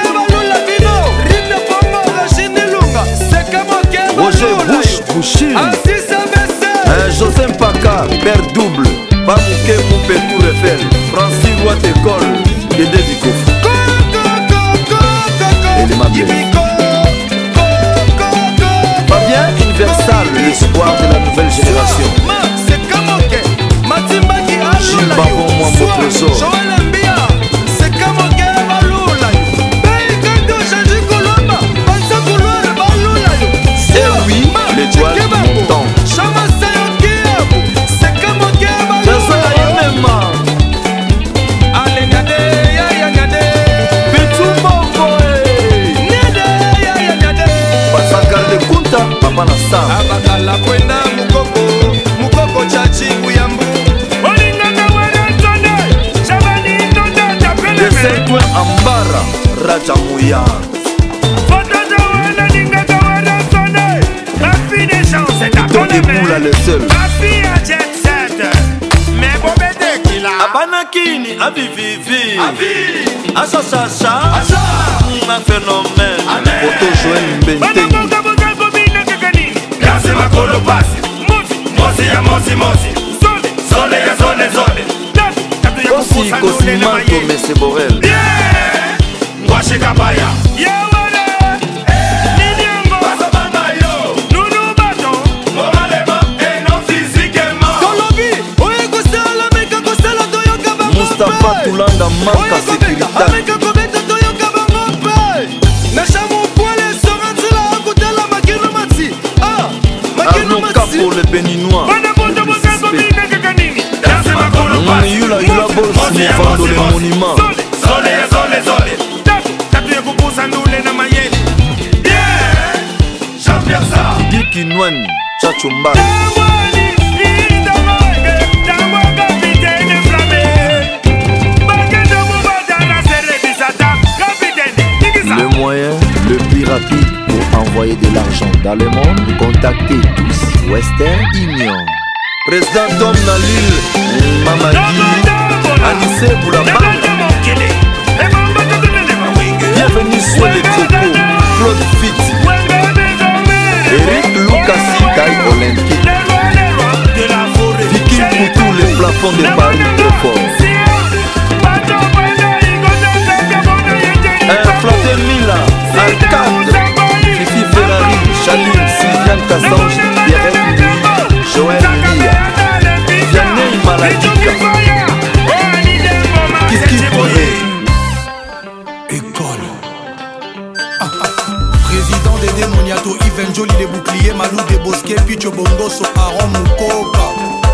Roger Bush Bouchil, José Mpaka, Père Double, Pamouké Moupé Tour Eiffel, Francis Roy École, Dédé Dikof, et les Mabien. Fabien Universal, l'espoir de la nouvelle génération. Gilles Babon, moi mon trésor. Et oui, l'étoile montant. Papa na Sam Abakala kwenda mukoko Mukoko chachi kuyambu Olinganga wera tonde Shabani tonde tapele De Saint-Ouen Ambara Raja Mouya Foto de wena linganga wera tonde Ma fille des chances c'est ta Tony Moula le seul Ma fille a jet set Mais bobede kila Abanakini Avivivi Avi Achachacha Acha Ma phénomène Photo Joël Mbenteng Makolo pasi, mosi ya mosi mosi, zone ya zone zone. Kosi Kosimanto Mese Borel. Ngwashi kabaya. Yawale, Niniango, Basabanga yo, Nunu Bato, moralema et non physiquement. Kolobi, oye kosala meka kosala toyo kaba mope. Mustafa Toulanda manka sécurité. Ameka kobeta toyo kaba mope. Nashamu poile sorantila akutela makino matsi. Ah. Arnaud Capo le béninois. Yula Yula Boss Mouvando le monument. Zole ya zole zole. Tatu ya kupusa ndule na mayeli. Yeah, champion sa. Didi Kinwani, Chacho Mbali. Le moyen le plus rapide pour envoyer de l'argent dans le monde, contactez tous Western Union. Président Tom Nalil, Mamadi, Anissé Boulamba. Bienvenue sur les Coco, Claude Fitz, Eric Lucasi, Taille Olympique, Vicky Poutou, les plafonds de Paris trop fort. Un Flatter Mila, Arcade, Fifi Ferrari, Chaline, Sylviane Cassange, Pierrette Louis, Joël Lia, Vianney Maladika, Kiki Boye. École. Ah, ah. Président des démoniato, Yves Njoli des boucliers, Malou des Bosquets, Picho Bongoso, Aaron Moukoka.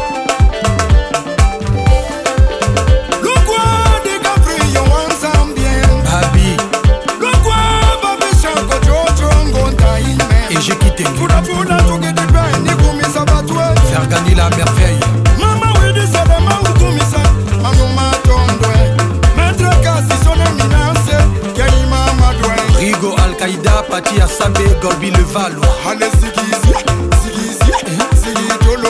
J'ai quitté faire gagner la merveille. Rigo Al-Qaïda, Pati Assabe, Gorbi le Valois.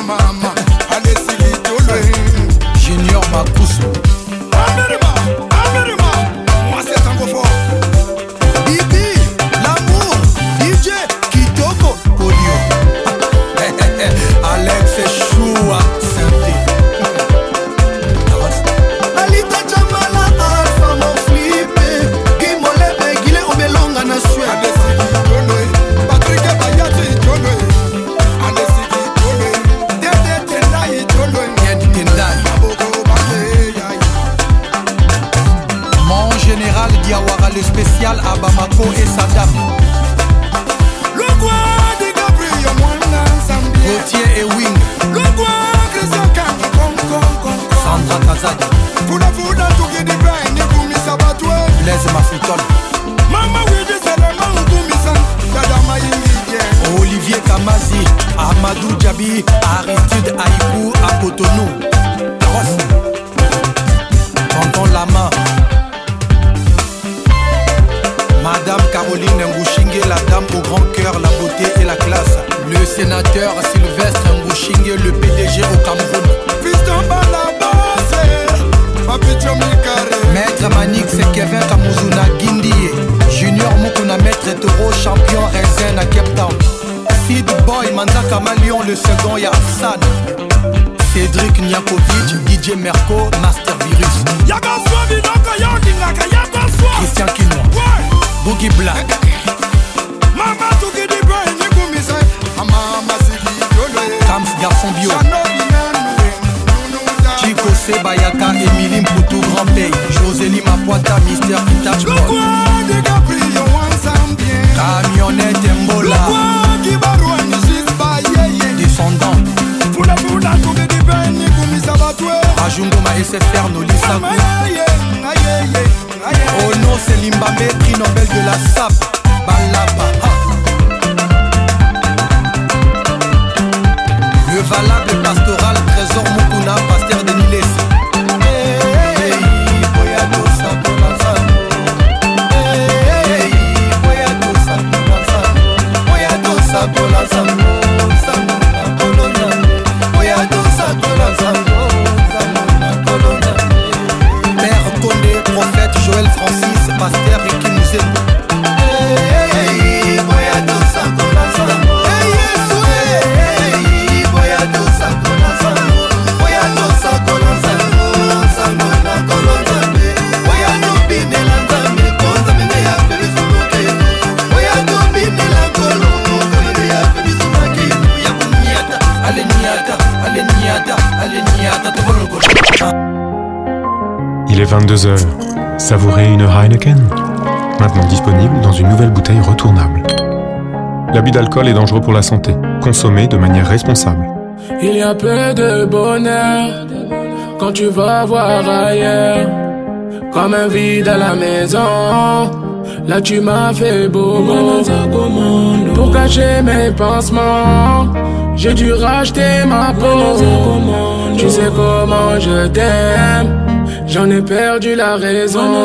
le spécial à Bamako et Saddam. Le roi de Gabriel Mwana Zambie. Gauthier et Wing. Le roi Christian Kanga Kong Kong Kong. Sandra Kazadi. Funa funa tuki di bain ni kumi sabatwe. Blaise Mafutol. Mama widi selema ukumi san. Dada mayingi jen. Olivier Kamazi. Amadou Djabi. Aristide Aïkou à Cotonou. Ross. Tonton Lama. Madame Caroline Ngouchingue, la dame au grand cœur, la beauté et la classe. Le sénateur Sylvestre Ngouchingue, le P D G au Cameroun. Piston Balabase, Papicho Mikare. Maître Manix et Kevin Kamuzuna Guindie. Junior Mukuna, Maître Toro, champion Raisin à Cape Town. Sid Boy, Manzaka Malion, le second Yafsan. Cédric Niakovic, D J Merco, Master Virus. Christian Kinois. Boogie Black. Mama tuki di bain ni kumi san. Mama sigi yolo. Camps Garçon Bio. Chico Sebayaka, Émilie Mpoutou, Grand Pays. Josélie Mapoita, Mister Kitach Boy. Le roi de Gabriel Wansambien. Camionnette Mbola. Le roi qui barou en justice baye. Descendant. Funa funa tuki di bain ni kumi sabatwe. Rajungoma S F R Nolisakou. Oh non, c'est Limbambe, prix Nobel de la S A P. Balaba. Ha. Le valable pastoral, trésor Mukuna, pasteur de Niles. Hey, boyado sakola sango. Hey, boyado sakola sango. Boyado sakola sango. Sango na kolonya. Boyado sakola sango. Sango na kolonya. Père Condé, prophète Joël Francis, pasteur Ricky Mouzé. Hey, boyado sakola sango. Hey, boyado sakola sango. Boyado sakola sango. Sango na kolonya. Boyado binela nzambe, konza mene ya pebisu mokene. Boyado binela kolongo, kolongo ya pebisu makene. Ya kunyata, ale nyata, ale nyata, ale nyata, tobologo. Il est vingt-deux heures. Savourez une Heineken. Maintenant disponible dans une nouvelle bouteille retournable. L'abus d'alcool est dangereux pour la santé. Consommez de manière responsable. Il y a peu de bonheur quand tu vas voir ailleurs. Comme un vide à la maison. Là tu m'as fait bobo. Pour cacher mes pansements, j'ai dû racheter ma peau. Tu sais comment je t'aime. J'en ai perdu la raison.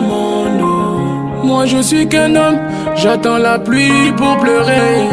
Moi je suis qu'un homme, j'attends la pluie pour pleurer.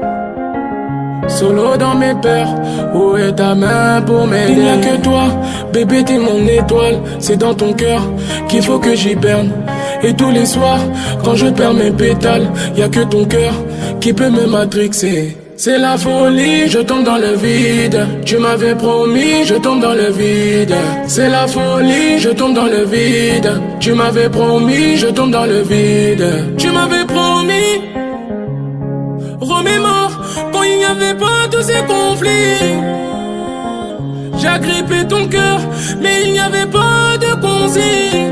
Solo dans mes peurs, où est ta main pour m'aider? Il n'y a que toi, bébé t'es mon étoile. C'est dans ton cœur qu'il faut que j'y berne. Et tous les soirs, quand je perds mes pétales, y a que ton cœur qui peut me matrixer. C'est la folie, je tombe dans le vide. Tu m'avais promis, je tombe dans le vide. C'est la folie, je tombe dans le vide. Tu m'avais promis, je tombe dans le vide. Tu m'avais promis. Remémore quand il n'y avait pas tous ces conflits. J'ai agrippé ton cœur, mais il n'y avait pas de consigne.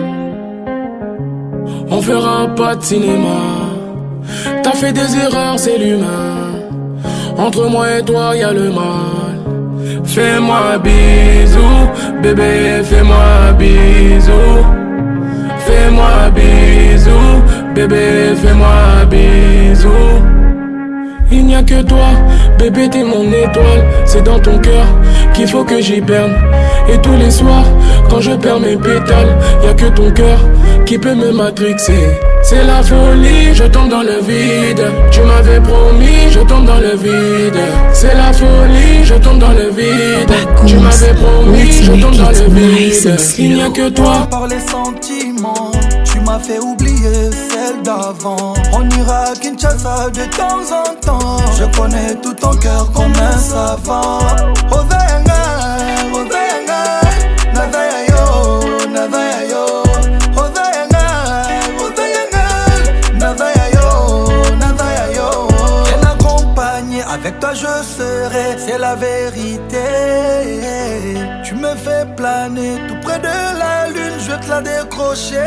On fera pas de cinéma. T'as fait des erreurs, c'est l'humain. Entre moi et toi y'a le mal. Fais-moi bisou, bébé, fais-moi bisou. Fais-moi bisou, bébé, fais-moi bisou. Il n'y a que toi, bébé, t'es mon étoile. C'est dans ton cœur qu'il faut que j'y berne. Et tous les soirs, quand je perds mes pétales, y a que ton cœur qui peut me matrixer. C'est la folie, je tombe dans le vide. Tu m'avais promis, je tombe dans le vide. C'est la folie, je tombe dans le vide. Tu m'avais promis, je tombe dans le vide. Il n'y a que toi. Par les sentiments, tu m'as fait oublier celle d'avant. On ira à Kinshasa de temps en temps. Je connais tout ton cœur comme un savant. Ovenga, Ovenga, Navaya yo, Navaya yo. Ovenga, Ovenga, Navaya yo, Navaya yo. Bien accompagné, avec toi je serai, c'est la vérité. Tu me fais plaisir. planer tout près de la lune, je vais te la décrocher.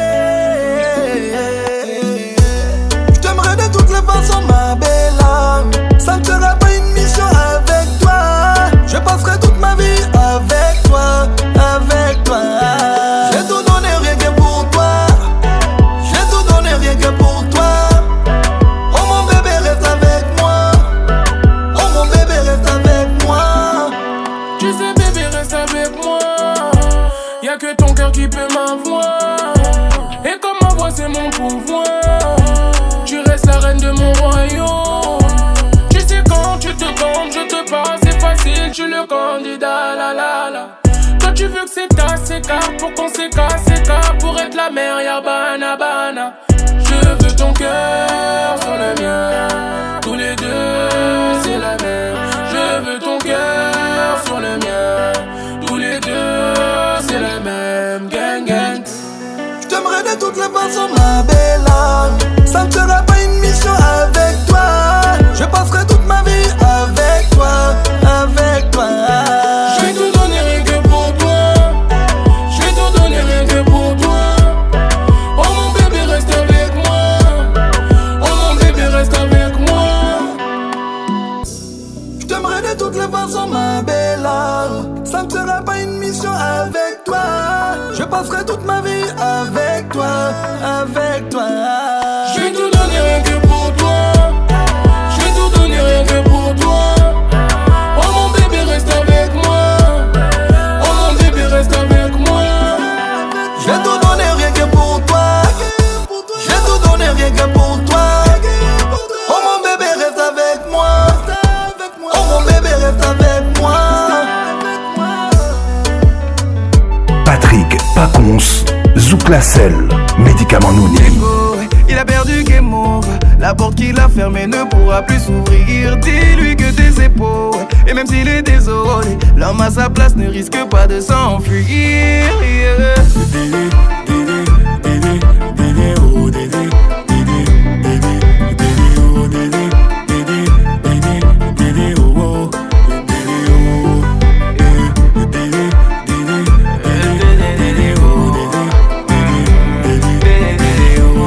Je t'aimerais de toutes les façons, ma belle âme. Ça ne sera pas une mission avec toi. Je passerai toute ma vie avec toi, avec toi. J'ai tout donné rien que pour toi. J'ai tout donné rien que pour toi. Oh mon bébé reste avec moi. Oh mon bébé reste avec moi. Tu sais bébé reste avec moi. Y'a que ton cœur qui peut m'avoir. Et comme ma voix c'est mon pouvoir. Tu restes la reine de mon royaume. Tu sais quand tu te comptes, je te parle, c'est facile, tu le candidat, la la la. Toi tu veux que c'est ta sécart pour qu'on s'écarte, s'écarte pour être la mère, y'a bana bana. Je veux ton cœur sur le mien, tous les deux c'est la même. Je veux ton cœur sur le mien, tous les deux c'est la même. Gang gang. Je t'aimerais de toutes les façons, ma belle âme. Ça ne sera pas une mission avec toi. Je passerai toute ma vie avec toi, avec toi. Je vais tout donner rien que pour toi. Je vais tout donner rien que pour toi. Oh mon bébé reste avec moi. Oh mon bébé reste avec moi. Je t'aimerais de toutes les façons, ma belle âme. Ça ne sera pas une mission avec toi. Je passerai toute ma vie avec toi, avec toi. Je vais tout donner rien que pour toi. Je vais tout donner rien que pour toi. Oh mon bébé reste avec moi. Oh mon bébé reste avec moi. Je vais tout donner rien que pour toi. Je vais tout donner rien que pour toi. Oh mon bébé reste avec moi. Oh mon bébé reste avec moi. Patrick Pacons, Zouk la selle, médicament Nounim. Il a perdu game over. La porte qu'il a fermée ne pourra plus s'ouvrir. Dis-lui que tes épaules, et même s'il est désolé, l'homme à sa place ne risque pas de s'enfuir. Yeah. Dédé, dédé, dédé, dédé, oh dédé, dédé, dédé, dédé, oh dédé, dédé, dédé, dédé, oh oh, dédé, oh, eh, dédé, dédé, dédé, dédé, oh dédé, dédé, dédé, oh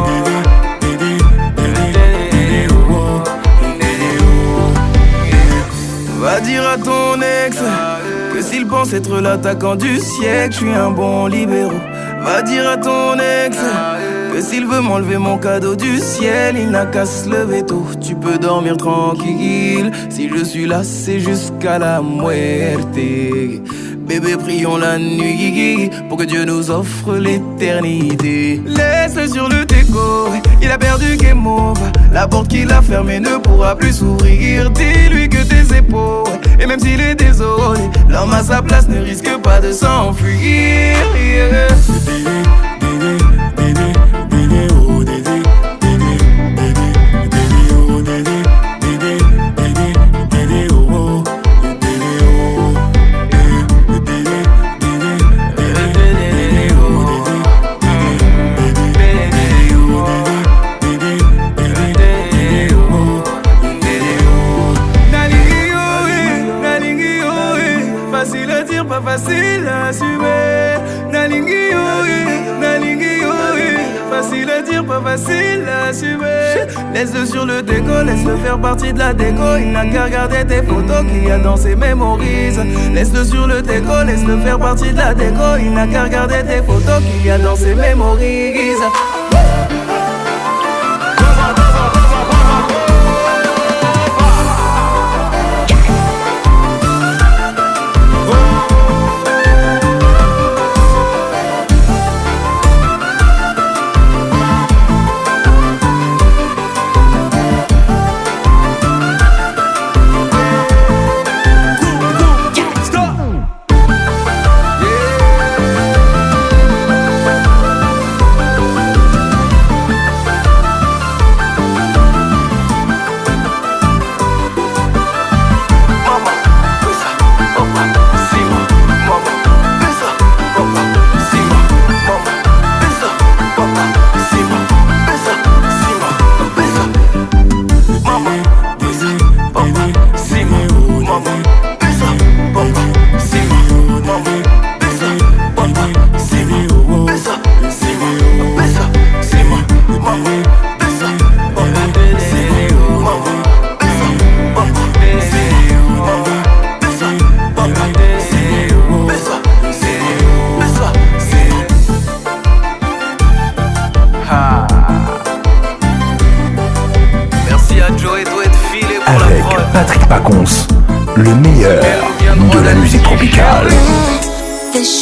dédé. Va dire à ton ex que s'il pense être l'attaquant du siècle, je suis un bon libéraux. Va dire à ton ex que s'il veut m'enlever mon cadeau du ciel, il n'a qu'à se lever tôt. Tu peux dormir tranquille, si je suis là c'est jusqu'à la muerte. Bébé prions la nuit pour que Dieu nous offre l'éternité. Laisse-le sur le déco, il a perdu game over. La porte qu'il a fermée ne pourra plus s'ouvrir. Dis-lui que tes épaules, et même s'il est désolé, l'homme à sa place ne risque pas de s'enfuir. Yeah. Dédé, dédé, dédé, dédé, oh dédé, dédé, dédé, dédé, oh dédé, dédé, dédé, dédé, oh oh, dédé, oh, eh, dédé, dédé, dédé, dédé, oh dédé, dédé, dédé, oh dédé, dédé, dédé, oh, dédé, oh. Nalingi oh, eh, nalingi oh, eh, facile à dire, pas facile à assumer. Nalingi oh, eh, nalingi oh, eh, facile à dire, pas facile à assumer. Laisse-le sur le déco, laisse-le faire partie de la déco. Il n'a qu'à regarder tes photos qu'il y a dans ses mémorises. Laisse-le sur le déco, laisse-le faire partie de la déco. Il n'a qu'à regarder tes photos qu'il y a dans ses mémorises.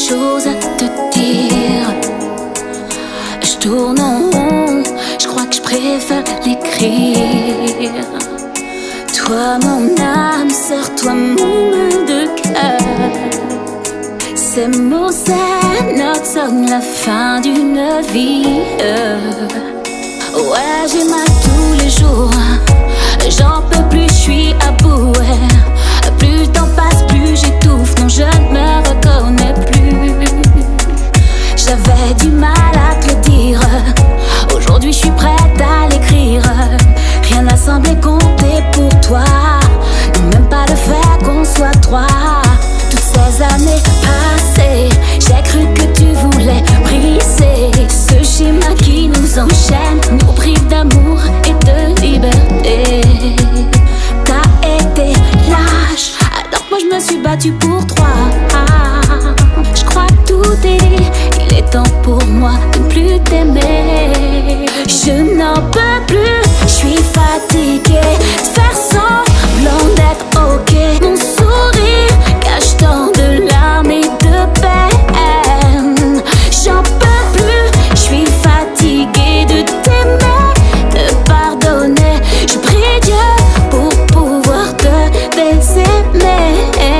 choses à te dire. Je tourne en rond, je crois que je préfère l'écrire. Toi mon âme sœur, toi mon mal de cœur. Ces mots, ces notes sonnent la fin d'une vie. Ouais, j'ai mal tous les jours, j'en peux plus, je suis à bout. Ouais. Plus le temps passe, plus j'étouffe, non je ne me reconnais plus. J'avais du mal à te le dire, aujourd'hui je suis prête à l'écrire. Rien n'a semblé compter pour toi, même pas le fait qu'on soit trois. Toutes ces années passées, j'ai cru que tu voulais briser ce schéma qui nous enchaîne, nous prive d'amour et de liberté. T'as été lâche, alors que moi je me suis battue pour toi. Je crois que tout est dit, il est temps pour moi de ne plus t'aimer. Je n'en peux plus, je suis fatiguée de faire semblant d'être ok. Mon sourire cache tant de larmes et de peine. J'en peux plus, je suis fatiguée de t'aimer, de pardonner. Je prie Dieu pour pouvoir te désaimer.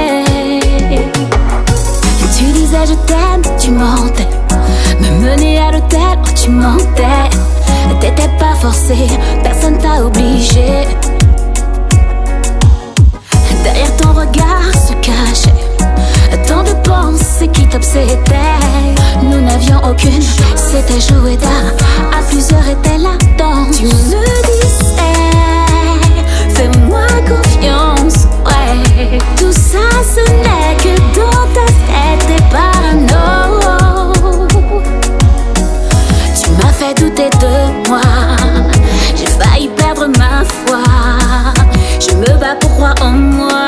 Tu disais je t'aime, tu mentais. Me mener à l'hôtel, oh, tu mentais. T'étais pas forcé, personne t'a obligé. Derrière ton regard se cachait tant de pensées qui t'obsédaient. Nous n'avions aucune, c'était joué d'art. À plusieurs était la danse. Tu me disais, fais-moi confiance. Ouais, tout ça ce n'est que dans ta tête, t'es parano. Tu m'as fait douter de moi, j'ai failli perdre ma foi. Je me bats pour croire en moi.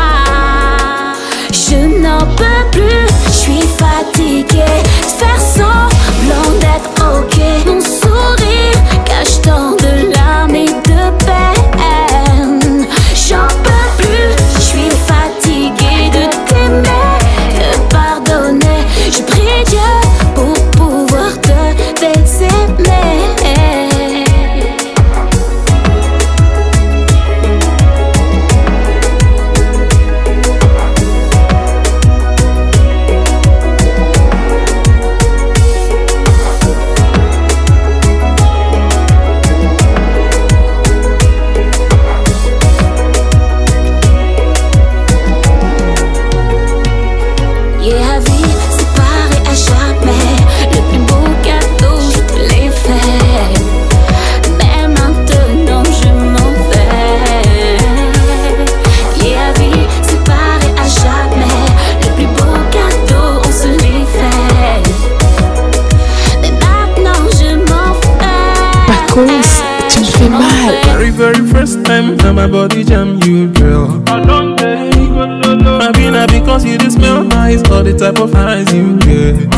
Je n'en peux plus, je suis fatiguée de faire semblant d'être ok. Mon sourire cache tant de larmes et de peine. J'en peux plus, je suis fatiguée de t'aimer, de pardonner. Je prie Dieu pour pouvoir te désaimer. Tu me fais mal. Very, very first time now my body jam you, girl. I've been a because you just smell nice, all the type of eyes you get.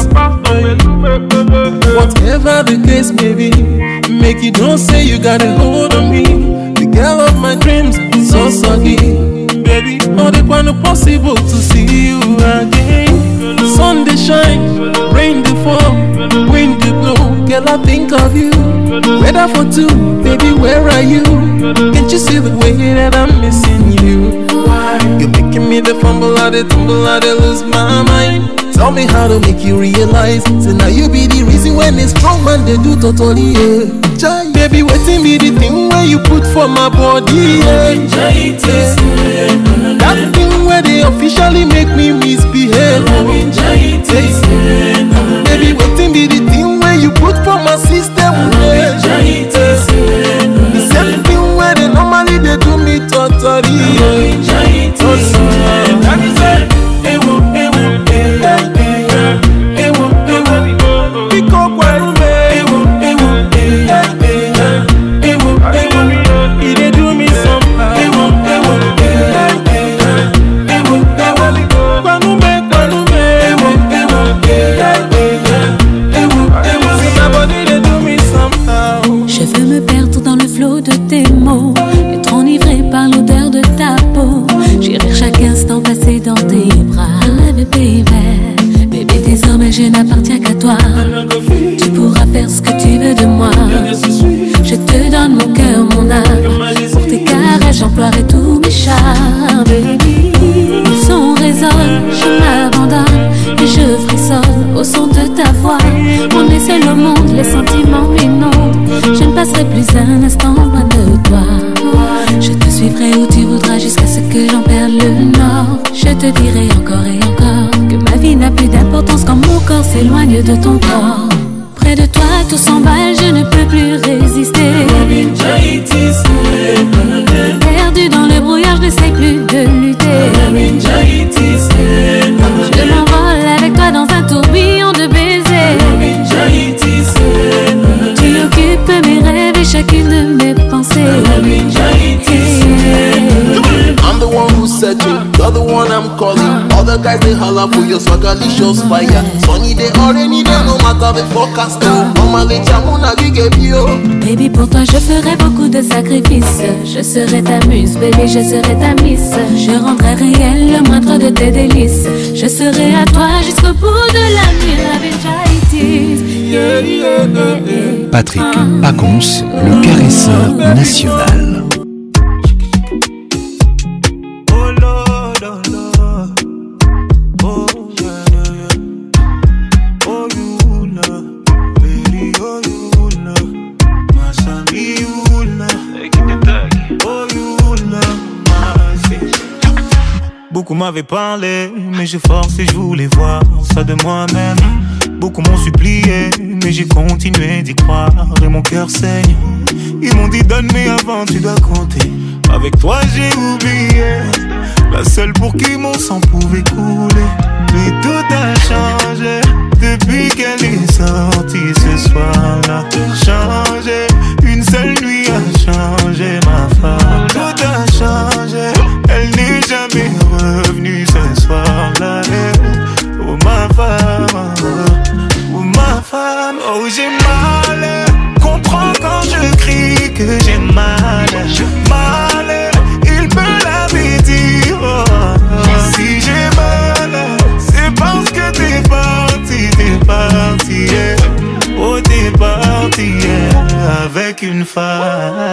Whatever the case may be, make you don't say you got a hold on me. The girl of my dreams, so soggy. Baby, all the point possible to see you again. Sun they shine, rain they fall, wind they blow. Girl, I think of you. Weather for two, baby, where are you? Can't you see the way that I'm missing you? Why? You're making me the fumble, I the tumble, I the lose my mind. Tell me how to make you realize. Say now you be the reason when a strong man they do totally, yeah. Baby, waiting be the thing where you put for my body, yeah. That thing where they officially make me misbehave. Baby, waiting be the thing where you put for my system, yeah. The same thing where they normally they do me totally, yeah. That is it. je n'appartiens qu'à toi. Tu pourras faire ce que tu veux de moi. Je te donne mon cœur, mon âme. Pour tes caresses, j'emploierai tous mes charmes. Le son résonne, je m'abandonne et je frissonne au son de ta voix. On est seul au monde, les sentiments m'inondent. Je ne passerai plus un instant loin de toi. Je te suivrai où tu voudras jusqu'à ce que j'en perde le nord. Je te dirai encore et encore que ma vie n'a plus d'importance quand mon corps s'éloigne de ton corps. Près de toi tout s'emballe, je ne peux plus résister. Perdu dans le brouillard, je ne sais plus de lutter. Je m'envole avec toi dans un tourbillon de baisers. Tu occupes mes rêves et chacune de mes pensées. I'm the one who's searching, you're the one I'm calling. All the guys they holler for your swagalicious fire. Sunny day or rainy day, no matter the forecast. Mama les chamona bio. Baby, pour toi je ferai beaucoup de sacrifices. Je serai ta muse, baby, je serai ta miss. Je rendrai réel le moindre de tes délices. Je serai à toi jusqu'au bout de la nuit. Yeah, yeah, yeah. Patrick Pacons, le caresseur national. Beaucoup m'avaient parlé, mais j'ai forcé, je voulais voir ça de moi-même. Beaucoup m'ont supplié, mais j'ai continué d'y croire et mon cœur saigne. Ils m'ont dit donne mais avant tu dois compter. Avec toi j'ai oublié, la seule pour qui mon sang pouvait couler. Mais tout a changé depuis qu'elle est sortie ce soir-là. Changé, une seule nuit a changé ma femme. Tout a changé, elle n'est jamais revenue ce soir-là. Oh ma femme, oh ma femme, oh j'ai mal. Comprends quand je crie que j'ai mal. Mal, il me l'avait dit. Oh, si j'ai mal, c'est parce que t'es parti, t'es parti. Yeah. Oh t'es parti yeah. Avec une femme.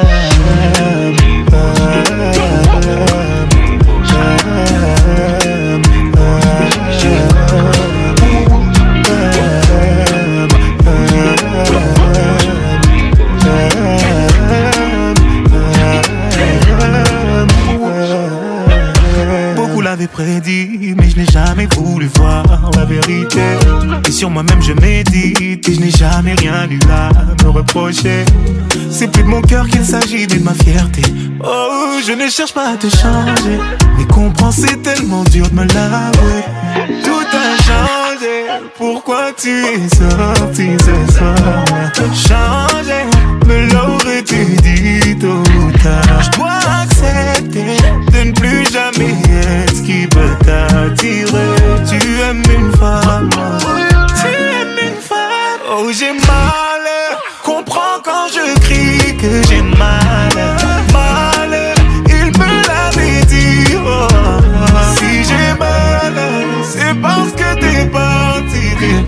Beaucoup l'avaient prédit, mais je n'ai jamais voulu voir la vérité. Et sur moi-même je médite et je n'ai jamais rien eu à me reprocher. C'est plus de mon cœur qu'il s'agit, mais de ma fierté. Oh, je ne cherche pas à te changer, mais comprends, c'est tellement dur de me l'avouer. Tout a changé, pourquoi tu es sorti ce soir? Changé, me l'aurais-tu dit tôt ou tard? Je dois accepter de ne plus jamais être ce qui peut t'attirer. Tu aimes une femme, tu aimes une femme. Oh j'ai mal, comprends quand je crie que j'ai mal. Mal, il me l'avait dit. Oh, si j'ai mal, c'est parce que t'es parti, t'es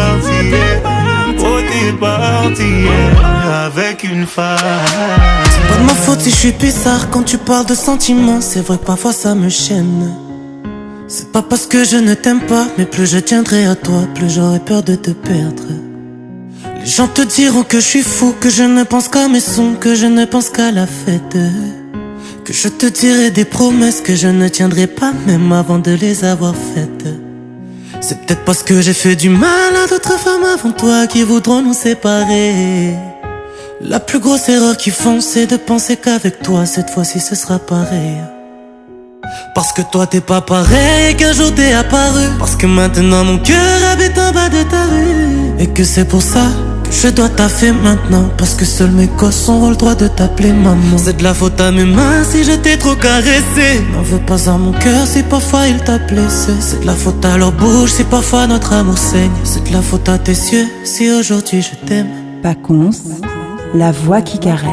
parti. Oh t'es parti yeah, avec une femme. C'est pas de ma faute si je suis bizarre quand tu parles de sentiments. C'est vrai que parfois ça me chaîne. C'est pas parce que je ne t'aime pas, mais plus je tiendrai à toi, plus j'aurai peur de te perdre. Les gens te diront que je suis fou, que je ne pense qu'à mes sons, que je ne pense qu'à la fête. Que je te dirai des promesses que je ne tiendrai pas même avant de les avoir faites. C'est peut-être parce que j'ai fait du mal à d'autres femmes avant toi qui voudront nous séparer. La plus grosse erreur qu'ils font, c'est de penser qu'avec toi cette fois-ci ce sera pareil. Parce que toi t'es pas pareil et qu'un jour t'es apparu. Parce que maintenant mon cœur habite en bas de ta rue. Et que c'est pour ça que je dois taffer maintenant. Parce que seuls mes gosses auront le droit de t'appeler maman. C'est de la faute à mes mains si je t'ai trop caressé. N'en veux pas à mon cœur si parfois il t'a blessé. C'est de la faute à leur bouche si parfois notre amour saigne. C'est de la faute à tes yeux si aujourd'hui je t'aime. Pacons, la voix qui caresse.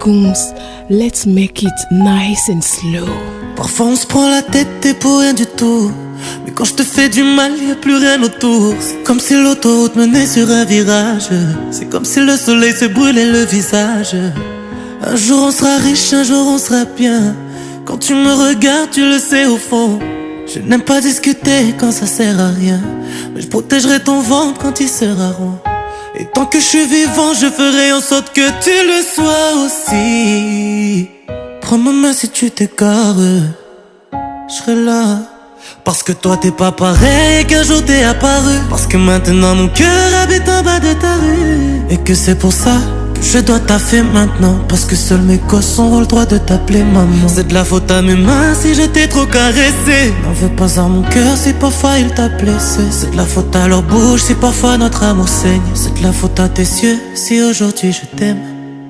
Kungs, let's make it nice and slow. Parfois on se prend la tête et pour rien du tout. Mais quand je te fais du mal, y a plus rien autour. C'est comme si l'autoroute menait sur un virage. C'est comme si le soleil se brûlait le visage. Un jour on sera riche, un jour on sera bien. Quand tu me regardes, tu le sais au fond. Je n'aime pas discuter quand ça sert à rien. Mais je protégerai ton ventre quand il sera rond. Et tant que je suis vivant, je ferai en sorte que tu le sois aussi. Prends ma main si tu t'égares, je serai là. Parce que toi t'es pas pareil qu'un jour t'es apparu. Parce que maintenant mon cœur habite en bas de ta rue. Et que c'est pour ça que je dois taffer maintenant. Parce que seuls mes gosses ont le droit de t'appeler maman. C'est de la faute à mes mains si je t'ai trop caressé. N'en veux pas à mon cœur si parfois il t'a blessé. C'est de la faute à leur bouche si parfois notre amour saigne. C'est de la faute à tes yeux si aujourd'hui je t'aime.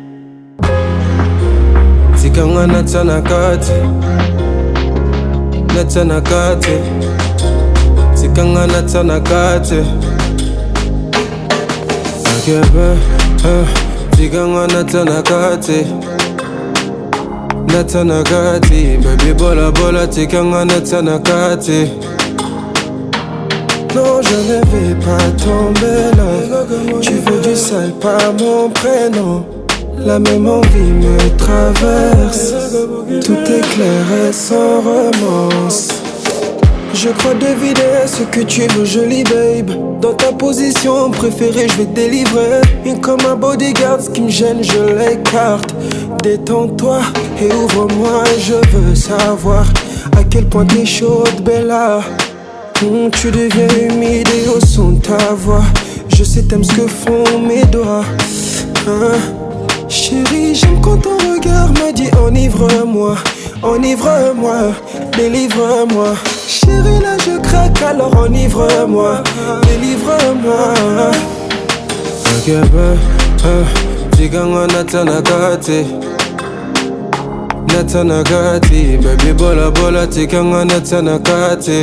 Tikanga natsanakati Natsanakati Tikanga natsanakati Akebe Tikanga natsanakati Natsanakati Baby bola bola tikanga natsanakati. Non je ne vais pas tomber là. Tu veux du sale pas mon prénom. La même envie me traverse. Tout est clair et sans romance. Je crois deviner ce que tu veux, jolie babe. Dans ta position préférée, je vais te délivrer. Et comme un bodyguard, ce qui me gêne, je l'écarte. Détends-toi et ouvre-moi, je veux savoir à quel point t'es chaude, Bella. Mmh, tu deviens humide et au son de ta voix. Je sais t'aimes ce que font mes doigts. Hein? Chérie, j'aime quand ton regard me dit enivre-moi, enivre-moi, délivre-moi. Chérie, là je craque, alors enivre-moi, délivre-moi. Akebe, tikanga natsanakati Natsanakati, baby bola bola tikanga natsanakati.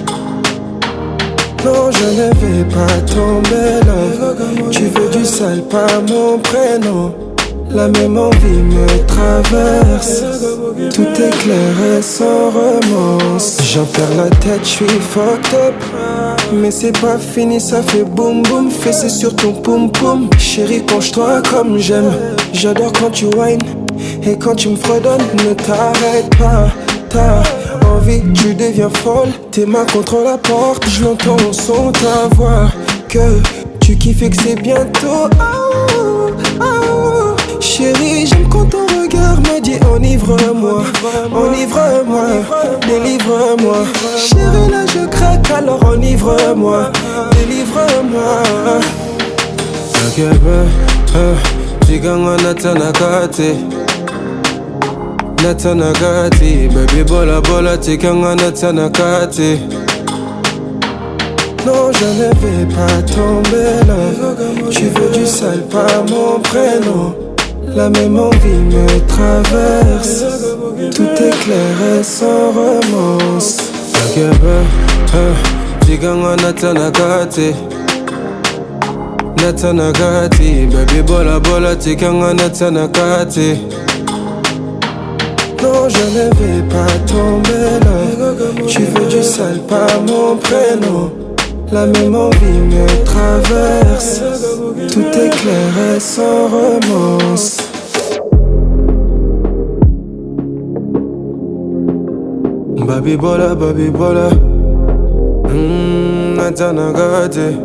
Non, je ne vais pas tomber là. Tu veux du sale, pas mon prénom. La même envie me traverse. Tout est clair et sans romance. J'en perds la tête, je suis fucked up. Mais c'est pas fini, ça fait boum boum. Fessé sur ton poum poum. Chérie, penche-toi comme j'aime. J'adore quand tu whines et quand tu me fredonnes. Ne t'arrête pas, t'as envie, tu deviens folle. Tes mains contre la porte, je l'entends au son de ta voix. Que tu kiffes et que c'est bientôt. Oh, oh. Chérie, j'aime quand ton regard me dit enivre-moi, enivre-moi, délivre-moi. Chérie, là je craque, alors enivre-moi, délivre-moi. Akebe, tikanga natsanakati Natsanakati, baby bola bola tikanga natsanakati. Non, je ne vais pas tomber là. Tu veux du sale, pas mon prénom. La même envie me traverse. Tout est clair et sans romance. Akebe, tikanga natsanakati Natsanakati, baby bola bola tikanga natsanakati. Non, je ne vais pas tomber là. Tu veux du sale, pas mon prénom. La même envie me traverse. Tout est clair et sans romance. Baby bola, baby bola. Mmm, Natsanakati.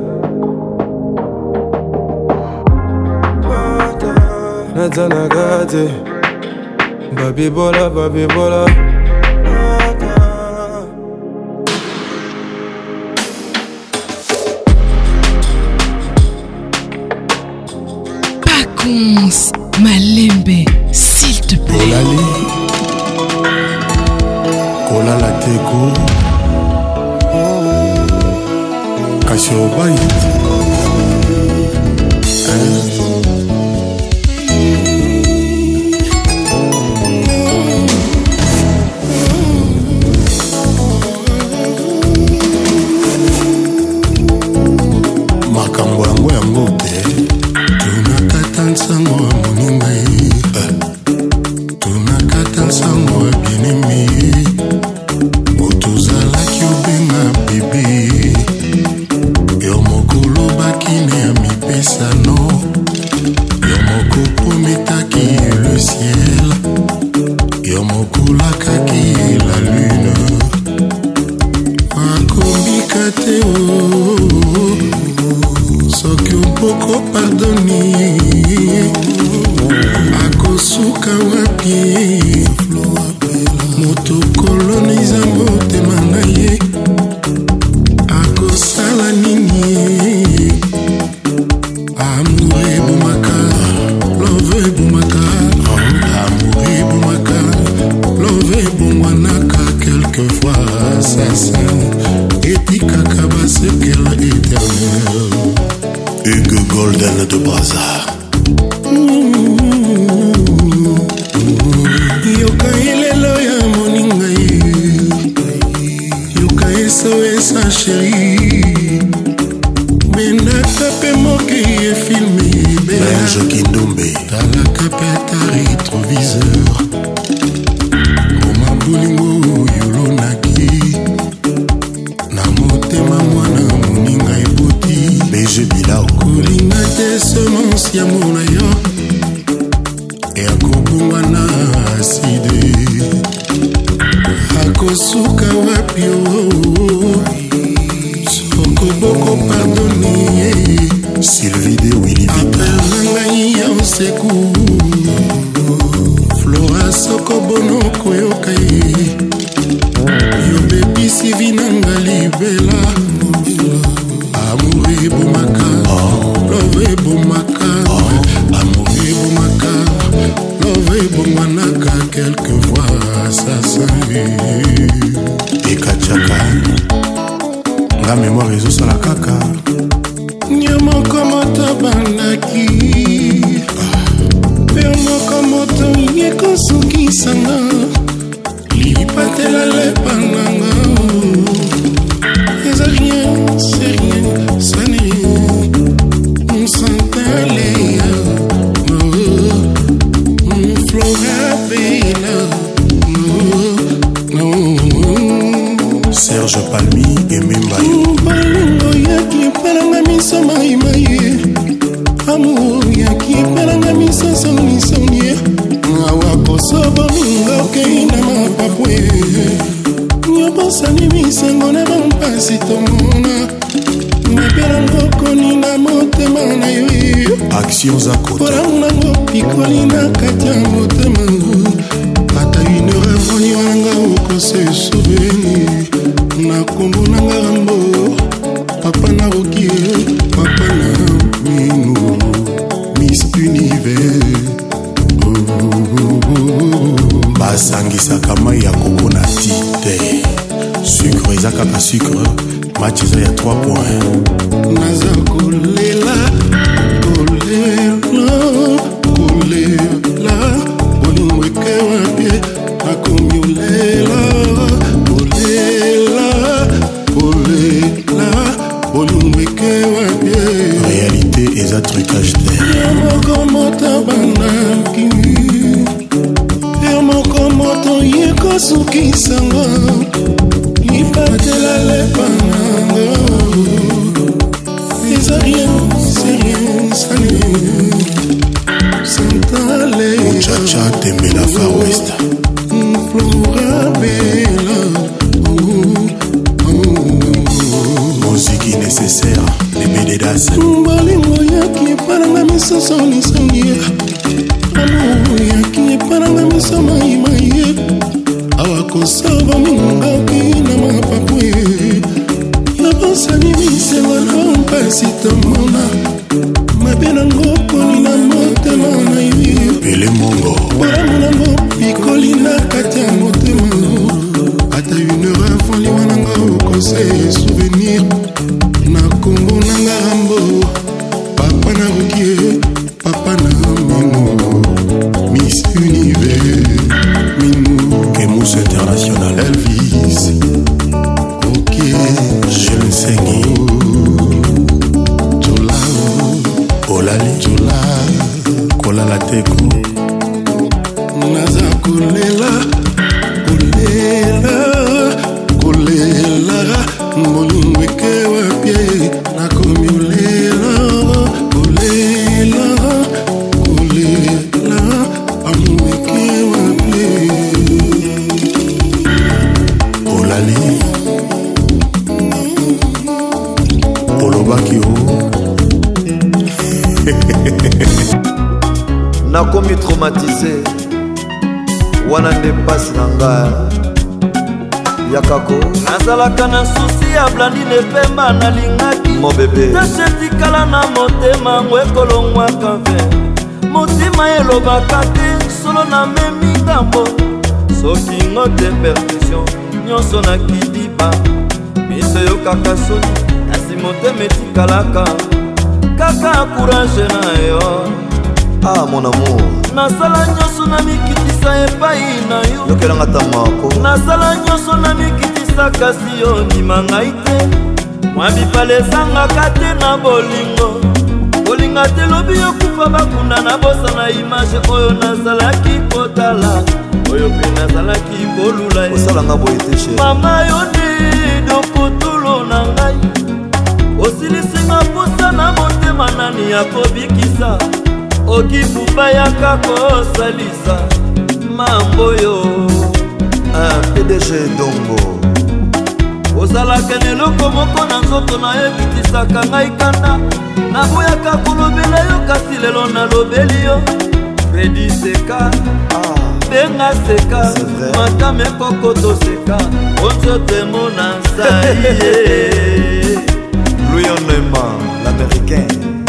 Natsanakati. Baby bola, baby bola. Pacons, Malembe, s'il te plaît. Kolali, Kolala Teko, Kashobai. makambo yango yango te tunakata nsango ya moninga ye otozalaki obenga bebe yo moko olobaki ne ya mipesano yo moko prometaki le ciel yo moko olakaki la lune akombika te o soki opoko pardoni akosuka wapi moto koloniza motema na ye akosala nini amour ebomaka love ebomaka amour ebomaka love ebongwanaka quelquefois assassin etikaka basekela éternel Hugo Golden de Brazza yoka ilelo ya moninga ye yoka esoesa sheri bendaka pe moke ye filme benjo kindombe talaka pe ata rétroviseur moma bolingo yolonaki na motema mwana moninga eboti beje bilao kolinga te semence ya mona yo ekobongwana aside akosuka wapi o sokoboko pardoni Sylvie de Willy apelangai ya oseku Flora sokobono koyoka ye yo bebisi vinanga libela amour ebomaka love ebomaka amour ebomaka love ebongwanaka quelquefois assassin ekachaka nga mémoire ezosala kaka nyamoko moto bandaki pe moko moto yekosukisanga lipatela lepananga eza rien c'est rien ça n'est on s'entale Flora Bella Serge Palmi et Mimbayo Balingo yaki pelanga miso mai mai Amour yaki pelanga miso soni soni Awa kosobo minga okei na mapapwe Nyobosani misengo na bampasi tomona Mapelanga koni na motema na yo Actions à côté Porango pikoli na katia motema Ata une heure voni wanga oko se souvenir na kombo na ngambo papa na roki papa na minu Miss Univers oh, oh, oh, oh. Basangisaka mai ya koko na ti te sucre eza kaka sucre match eza ya trois points naza kolela kolela kolela bolingo ekewa pie nakomi olela réalité et un trucage d'air sukisanga lipatela lepananga eza rien c'est rien sale santale muchacha tembela far west Flora Bella musique nécessaire les bédédas balingo yaki paranga misoso nisongi amour yaki paranga miso mai mai awakosaba mingoki na mapapwe yabosani misengo na mpasi tomona mabe nango poni na motema na yo pele mongo boramu nango pikoli na kati ya motema ata une heure avant liwa nanga okose souvenir na kombo nanga rambo papa na rokie papa na mino Miss Univers Minou Kemus International Elvis ok je le sais Tola Olali Tola Kola la teko Naza kolela kolela olobaki o nakomi traumatisé wana nde mpasi na ngai yakako nazalaka na susi ya blandine pemba nalingaki mobebe tashetikala na motema ngo ekolongwaka ve motima elobaka te solo na memi ngambo soki ngo te percussion nyonso na kidiba miso yokaka soni kasi motema etikalaka kaka courage na yo. Ah mon amour, nasala nyonso na mikitisa epai na yo yokelanga tamako nasala nyonso na mikitisa kasi yo ndima ngai te mwa bipale ezangaka te na bolingo kolinga te lobi yokufa bakunda na bosa na image oyo nazalaki kotala oyo mpe nazalaki kolula osalanga boye te chéri mama yo nde dokotolo na ngai osilisinga posa na motema nani ya kobikisa okibuba yaka kosalisa mambo yo P D G Dongo ozalaka na eloko moko na nzoto na yo ekitisaka ngai kanda naboyaka kolobela yo kasi lelo nalobeli yo Fredi seka benga seka matame kokoto seka onzotemona nzai Louis Neumann l'américain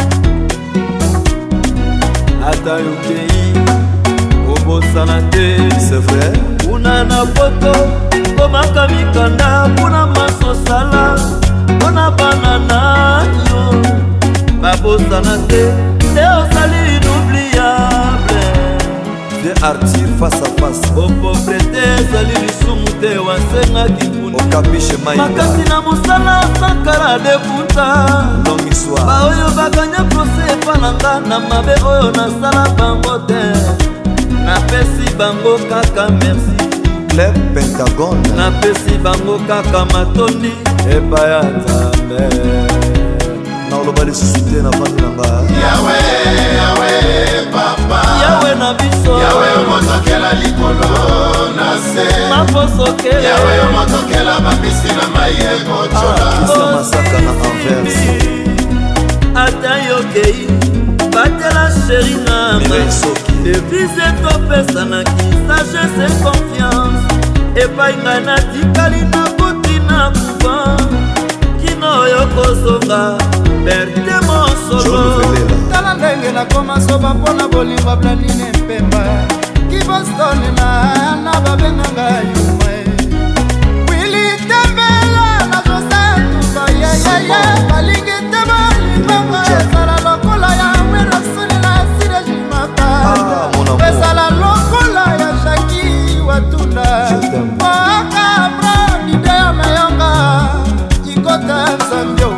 ata yokei obosana te c'est vrai kuna na poto komaka mikanda kuna masosala mpona bana na yo babosana te te osali inoubliable de artir face à face bopobrete ezali lisumu te wasengaki okapishe maina makasi na mosala sankara deputa longue histoire baoyo baganya prose epa na nga na mabe oyo nasala bango te napesi bango kaka merci club pentagone napesi bango kaka matondi epai ya nzambe naoloba lisusu te na vandi na nga yawe yawe papa yawe na biso yawe omotokela likolo na se mafosokela yawe omotokela bambisi na mai ekocola kisa masaka na anvers ata yokei batela sheri nanga devise topesanaki sagesse confiance epai ngai natikali nakoti na kuva kino oyo kozonga berte mosolo tala ndenge nakoma soba mpona bolingo blandine mpemba kibostone na na babenganga yuma wili tembela na josetuba yeyeye balingi te bolingongo ezala lokola ya werasoni na sirejimaka ezala lokola ya shaki watunda wakabra nide ya mayonga ikota nzambio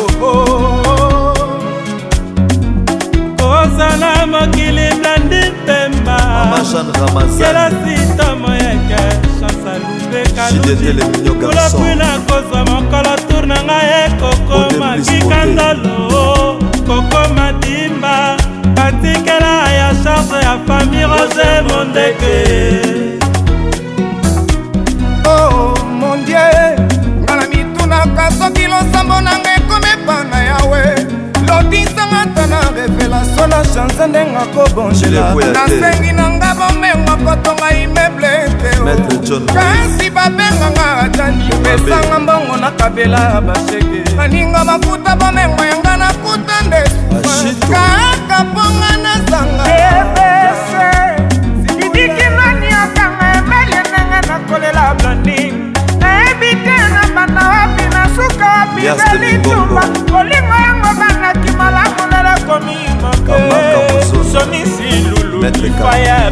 kozala mokili blandi mpemba kela sita moyeke chansa lubekalukulapwina kozwa mokolo tour na ngai ekokoma kikandalo kokoma dimba batikela ya charge ya famille rose mondeke oh mon dieu ngala mitunaka soki losambo nanga ekomepana yawe lotisanga tana revelation na chanse ndenga kobonjela nasengi nanga bomengo kotonga imeble teo kasi babenganga atani pesanga mbongo nakabela basheke baninga mafuta bomengo yanga nakuta nde kaka ponga nazanga ebese sididiki nani akanga emele ndenge nakolela blonding nayebi te na banda wapi na suka wapi zelitumba kolingo yango bangaki malamu nela komi moke sonisi lulu lifaya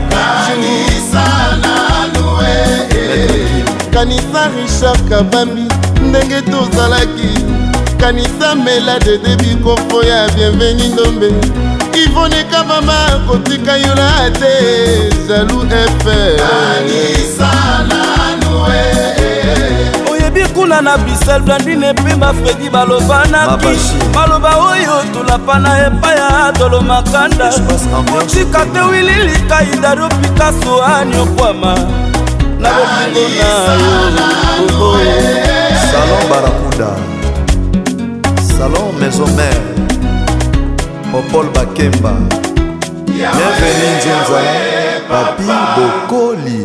kanisa Richard Kabambi ndenge tozalaki kanisa mela de debi kofo ya bienveni ndombe Ivone Kabama kotika yola te jaloux efe kanisa nanue oyebi kuna na Bruxelles blandine pemba Fredi balobanaki baloba oyo tolapana epai ya dolo makanda otika te wililika idaro Picasso aniokwama na bolingo na yo salon barakuda Salon Maison Mère Paul Bakemba. Bienvenue Nzinza Papi Bokoli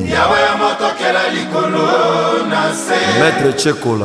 Maître Tchekola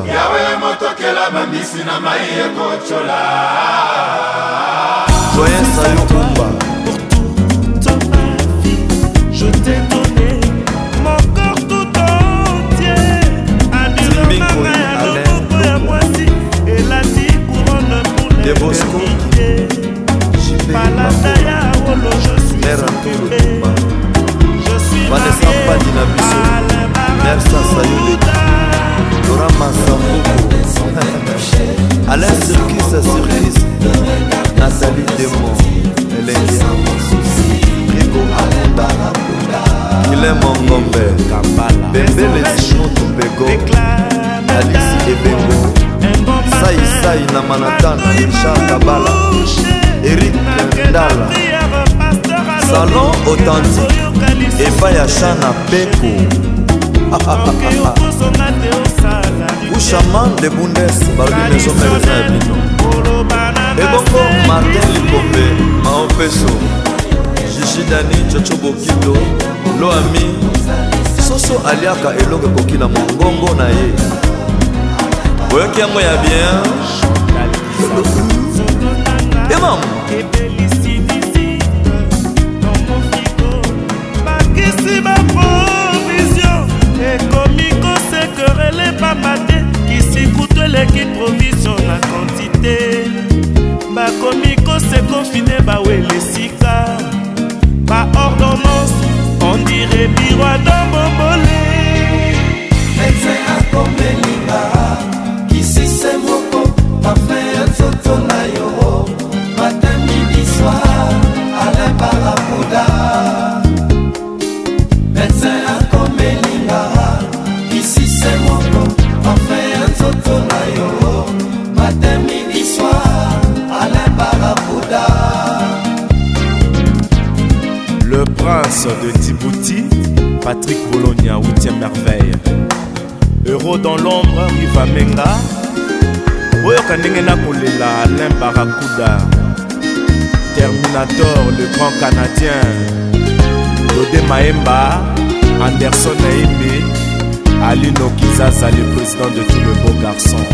Joyeux Sayo Kumba. Pour toute ma vie, je t'ai donné mon corps tout entier. Adulé ma main à l'eau à moitié. Et la dix couronne pour l'éternité. Palataya Olo, je suis occupé. Je suis Vanessa Padina Bisso. Merci Sayou Laura Massamboko. Alain Circus Circus. Nathalie Demon. Elendia Rigo Amanda. Guilhem Mongombe. Bembele Simon Toubego. Alice Ebengo. Sai Sai Namanatana. Richard Kabala. Eric Ndala. Salon authentique Efaya Chana Beko. Ushaman de Bundes Barbi Maison Mère Bino. Ebongo Martin Likombe Mao Peso Gigi Dani Chocho Bokido Loami Soso Aliaka Eloge Kokila Mongongo na ye. Oyoki yango ya bien. Emam Bakisi ma provision. Et comico c'est que relais pas maté. Qui s'écoute l'équipe provision la quantité. Ba comico c'est confiné ba ouais les sika. Ba ordonnance on dirait biroir dans mon bolé. Médecin a comme Linga. Qui si c'est moko. Ma fait un soto na yo. Matin midi soir. Alain Barapouda. Médecin a comme Linga. Qui si c'est moko. Ma fait un soto na yo. Matin midi soir. Alain Barapouda. Le prince de Djibouti, Patrick Bologna, huitième merveille. Euro dans l'ombre, Riva Menga. Oyoka ndenge na kolela Alain Barracuda. Terminator, le grand canadien. Dodé Maemba, Anderson Naimbe, Alino Kizaza, le président de tous les beaux garçons.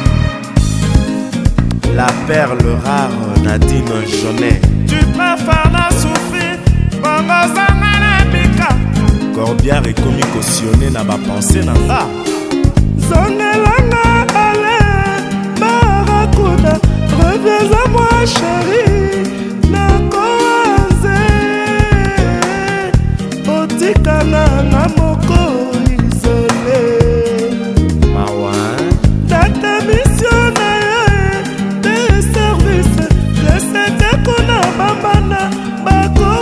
La perle rare, Nadine Jaunet. Tu préfères la souffrir, Bangozanga na Bika. Corbière et Komi cautionné na ba pensée na nga. Zongelanga Alain Barracuda, reviens à moi chérie. Na koaze, otikana na moko isolé. Mawa Data mission na yo des services. Je sais que kuna bambana bako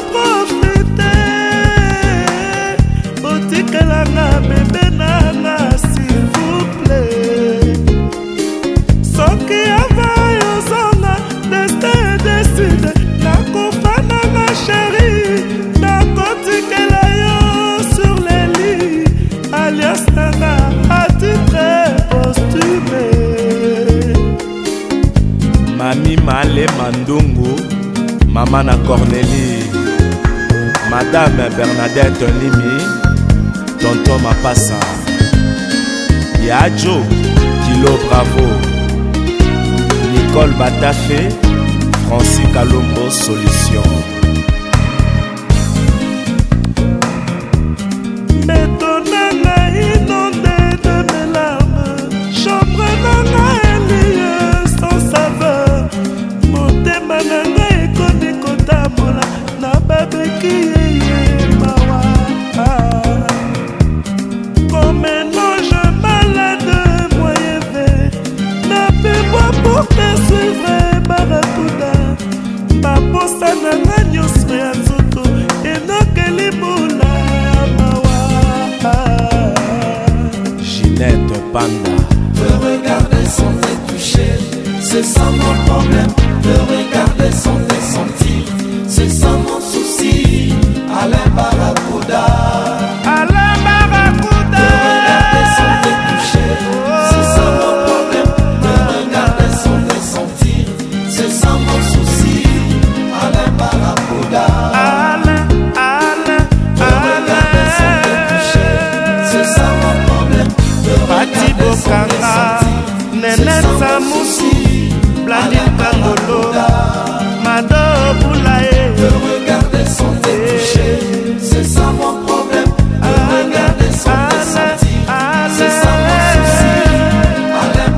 profiter. Otikana na bébé nana s'il vous plaît. Soki ava yo zona destin décide. Nakofana ma chérie. Nakotikela yo sur les lits. Alias Nana à titre posthume. Mami Male Mandungu, Maman na Cornélie, Madame Bernadette Nimi, Tonton Mapassa, Yadjo, Kilo Bravo, Nicole Batafé, Francis Kalombo Solution. Bétonnana inondé de mes larmes, chambre nana éliée sans saveur. Motema nanga ekoni kotambola na babeki yeye mawa. Comme un ange malade moyen vert, n'appelle-moi pour te suivre Barracuda. Baposa nanga nyonso ya nzoto enokeli bula mawa. Ginette Panda. Te regarder sans te toucher, c'est ça mon problème. Te regarder sans te sentir, c'est ça mon souci. Alain Barracuda. Alain Barracuda. Te regarder sans te toucher, c'est ça mon problème. Te regarder sans te sentir. Blandine Kangolo, Mado Boulaye. Te regarder sans te toucher, c'est ça mon problème. Te regarder sans te sentir, c'est ça mon souci. Alain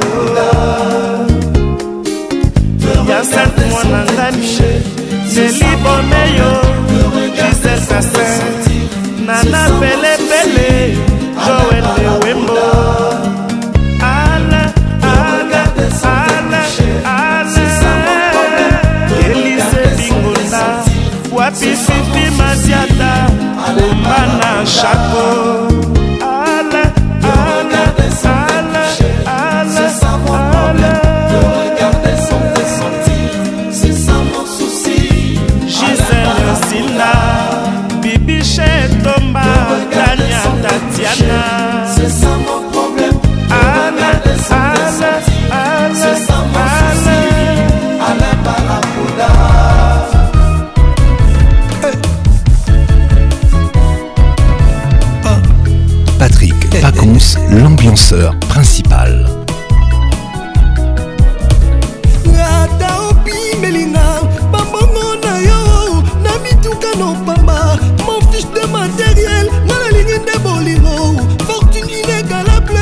Barracuda. Yasset Mwanangani, Nelly Bomeyo, Gisèle Kassin, Nana Pele Pele, Joël Lewembo. Alain, Alain, Alain, Alain, Élysée Bingola, Wapi Fifi Masiata, Oumana Chaco. Alain, Alain, Alain, Alain, c'est ça mon problème. Te regarder sans te sentir, c'est ça mon souci. Gisèle Sina, Bibi Chetomba, Tania Tatiana. C'est ça mon problème. Alain, Alain, Alain, c'est ça mon souci. Alain Barracuda. Patrick Pacons, l'ambianceur principal. Ata opi melinga, bambongo na yo, na mituka no pamba, mon fiche de matériel, na la ligne de bolingo, fortune inégalable.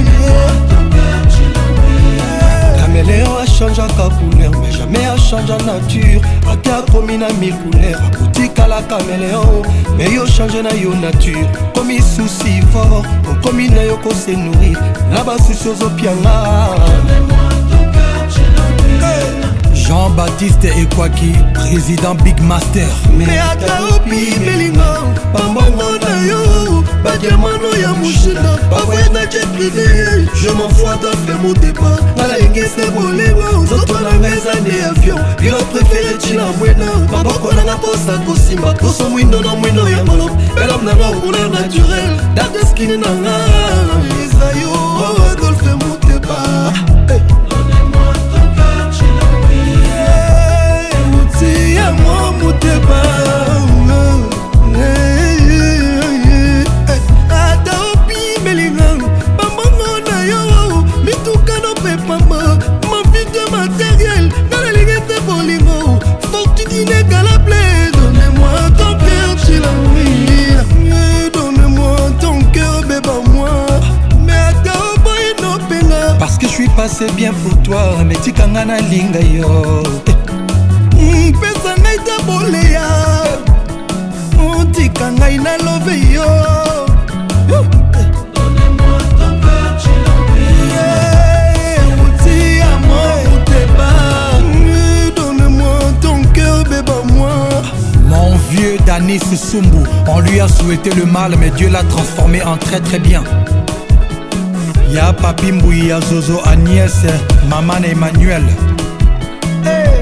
Caméléon a changé à couleur, mais jamais a changé à nature. Ate a commis na mille couleurs, a boutique à la caméléon, mais yo changé na yo nature. Commis souci fort, on commis na yo ko se nourrir, na ba souci aux opianga. Jean-Baptiste Ekwaki, président Big Master. Mais ata opi melinga, bambongo na yo, badiamano ya mushina, bavoye na jet privé. Je m'en fous à faire mon débat, na la ingese bolengo, zoto na ngeza ne avion, pilote préféré chila mwena, maboko na nga posa kosimba, toso mwindo na mwindo ya molop, belam na nga couleur naturel, date skin na nga, Isayo, Adolphe Mouteba. Moi Mouteba, ata opi melinga, bambongo na yo, mituka no pepamba, ma vie de matériel, na la ligne de bolingo, fortune inégalable. Donnez-moi ton cœur, Chilamouille, donnez-moi ton cœur, béba-moi. Mais ata oboy no penga, parce que je suis passé bien pour toi, mais tikanga na linga yo. Pesa ngai ta boleya, otika ngai na love yo. Donnez-moi ton cœur, Chilamouille. Outi à moi, Mouteba. Donne-moi ton cœur, béba-moi. Mon vieux Danis Sumbu, on lui a souhaité le mal, mais Dieu l'a transformé en très très bien. Y'a Papi Mbouy, y'a Zozo, Agnès, Maman Emmanuel. Hey.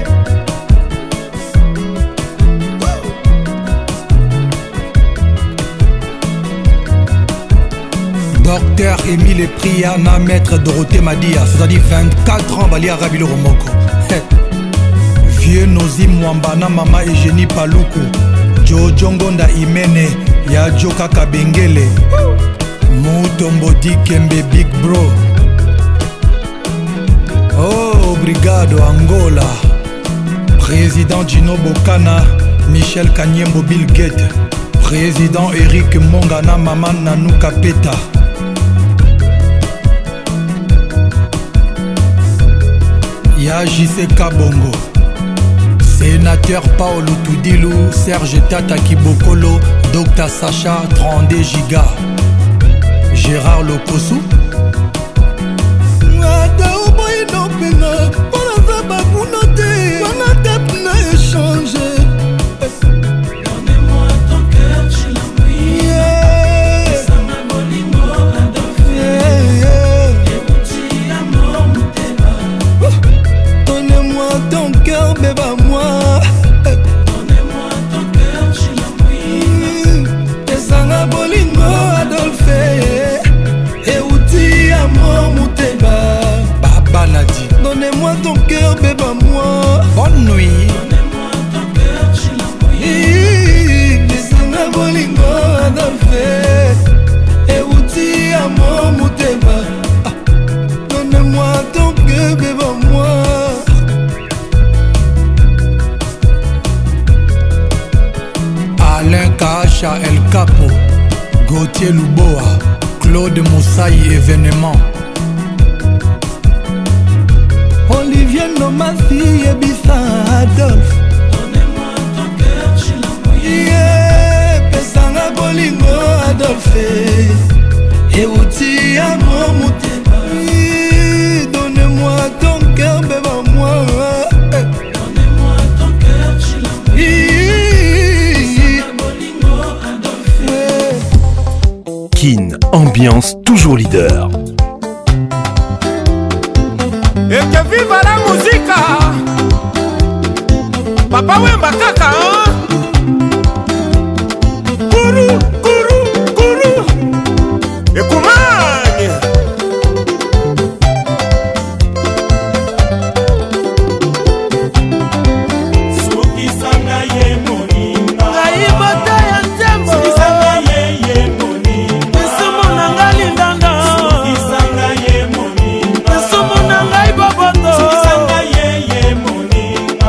Docteur Émile Priana, maître Dorothée Madia, c'est-à-dire vingt-quatre ans, Bali Arabi le Romoko. Vieux Nozi Mwambana, Mama Eugénie Paluku, Jojongonda Imene, Ya Joka Kabengele, Mutombo Dikembe Big Bro. Oh, Brigado Angola, Président Gino Bokana, Michel Kanyembo Bill Gates, Président Eric Mongana, Maman Nanou Kapeta. Ya J C Kabongo, Sénateur Paolo Toudilou, Serge Tata Kibokolo, Docteur Sacha, trente-deux gigas, Gérard Lokosu. Donnez-moi ton cœur, Chilamouille. Ça m'a volé mon Donnez-moi ton cœur, béba moi. Donnez-moi ton cœur, Chilamouille. Esanga bolingo Adolphe, et outi amour Mouteba. Baba Nadi. Donnez-moi ton cœur, béba moi. Bonne nuit. Donnez-moi ton cœur, Chilamouille. Esanga bolingo Adolphe, et outi amour Mouteba. Donnez-moi ton cœur, béba moi. Gauthier Luboa, Claude Moussaï événement. Olivier Nomasi Ebissa Adolphe. Donnez-moi ton cœur, je l'envoie. Yeah, pesanga bolingo Adolphe. Euti amour mutema. Donnez-moi ton cœur, bébé moi. Donnez-moi ton cœur, je l'envoie. Pesanga bolingo Adolphe. Kin, ambiance toujours leader. Et que viva la musique. Papa Wemba kaka hein? Kuru, kuru, kuru. Et Koumagne. Soki sanga ye moninga. Aibata ya tembo. Soki sanga ye ye moninga. Nsumu nanga lindanda. Soki sanga ye moninga. Nsumu nanga iboboto. Soki sanga ye ye moninga.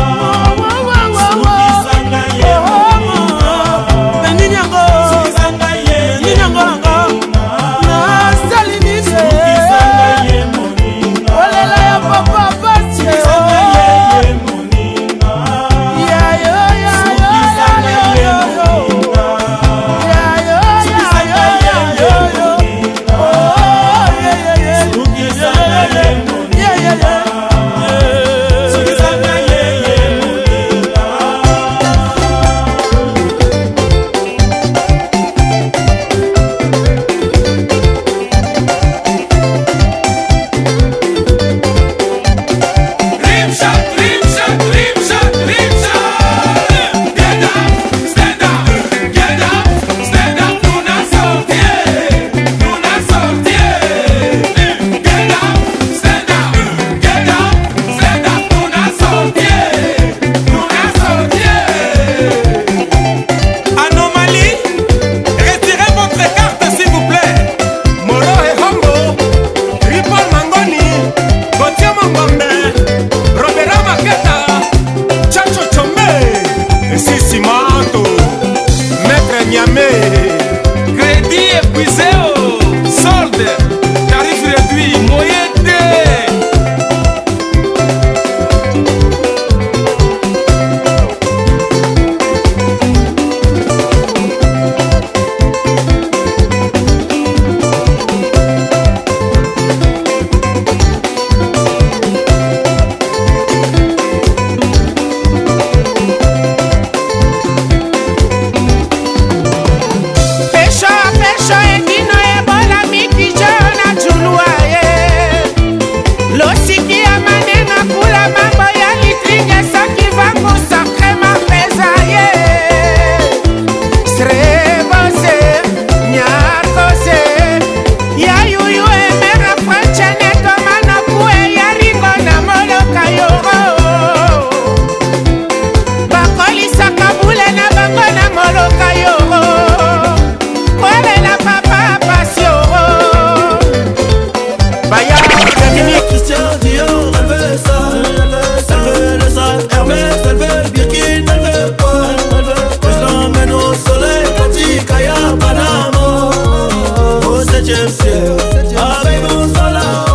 Soki sanga ye moninga. Benini yango. Soki sanga ye Benini yango yango. Na sali nise. Soki sanga ye moninga. Olela ya papa basi. Soki sanga ye ye moninga. Ya yo ya yo ya yo yo yo. Ya yo ya yo ya yo yo. Oh yeah yeah yeah. Soki sanga ye moninga. Yeah yeah yeah. Soki sanga ye ye moninga. Rimshot, rimshot, rimshot, rimshot. Get up, stand up, get up, stand up. Nous n'a sorti, nous n'a sorti. Get up, stand up, get up, stand up. Nous n'a sorti, nous n'a sorti. Anomalie, retirez votre carte s'il vous plaît. Moro et Hombo, Ripon Mangoni, Gauthier Mangombe, Robera Maketa, Chacho Chombe, Sissi Manto, Maître Niamé. Crédit épuisé, oh. Solde, tarif réduit, moyen de. Pesho pesho edino ebola mikijo na julua ye. Losiki ya manenga kula mambo ya litringe soki vangu sakre mapeza ye. Srebose nyakose ya yuyu emera franchene tomana kue ya ringo na moloka yoro. Bakolisaka bule na bango na moloka yoro. Kolela papa pasioro. Baya, Dominique, Christian Dior, elle veut ça. Elle veut le sac Hermès, elle veut le Birkin, elle veut quoi? Que je l'emmène au soleil, Katikaya, Panama. Au septième ciel, avec mon salao.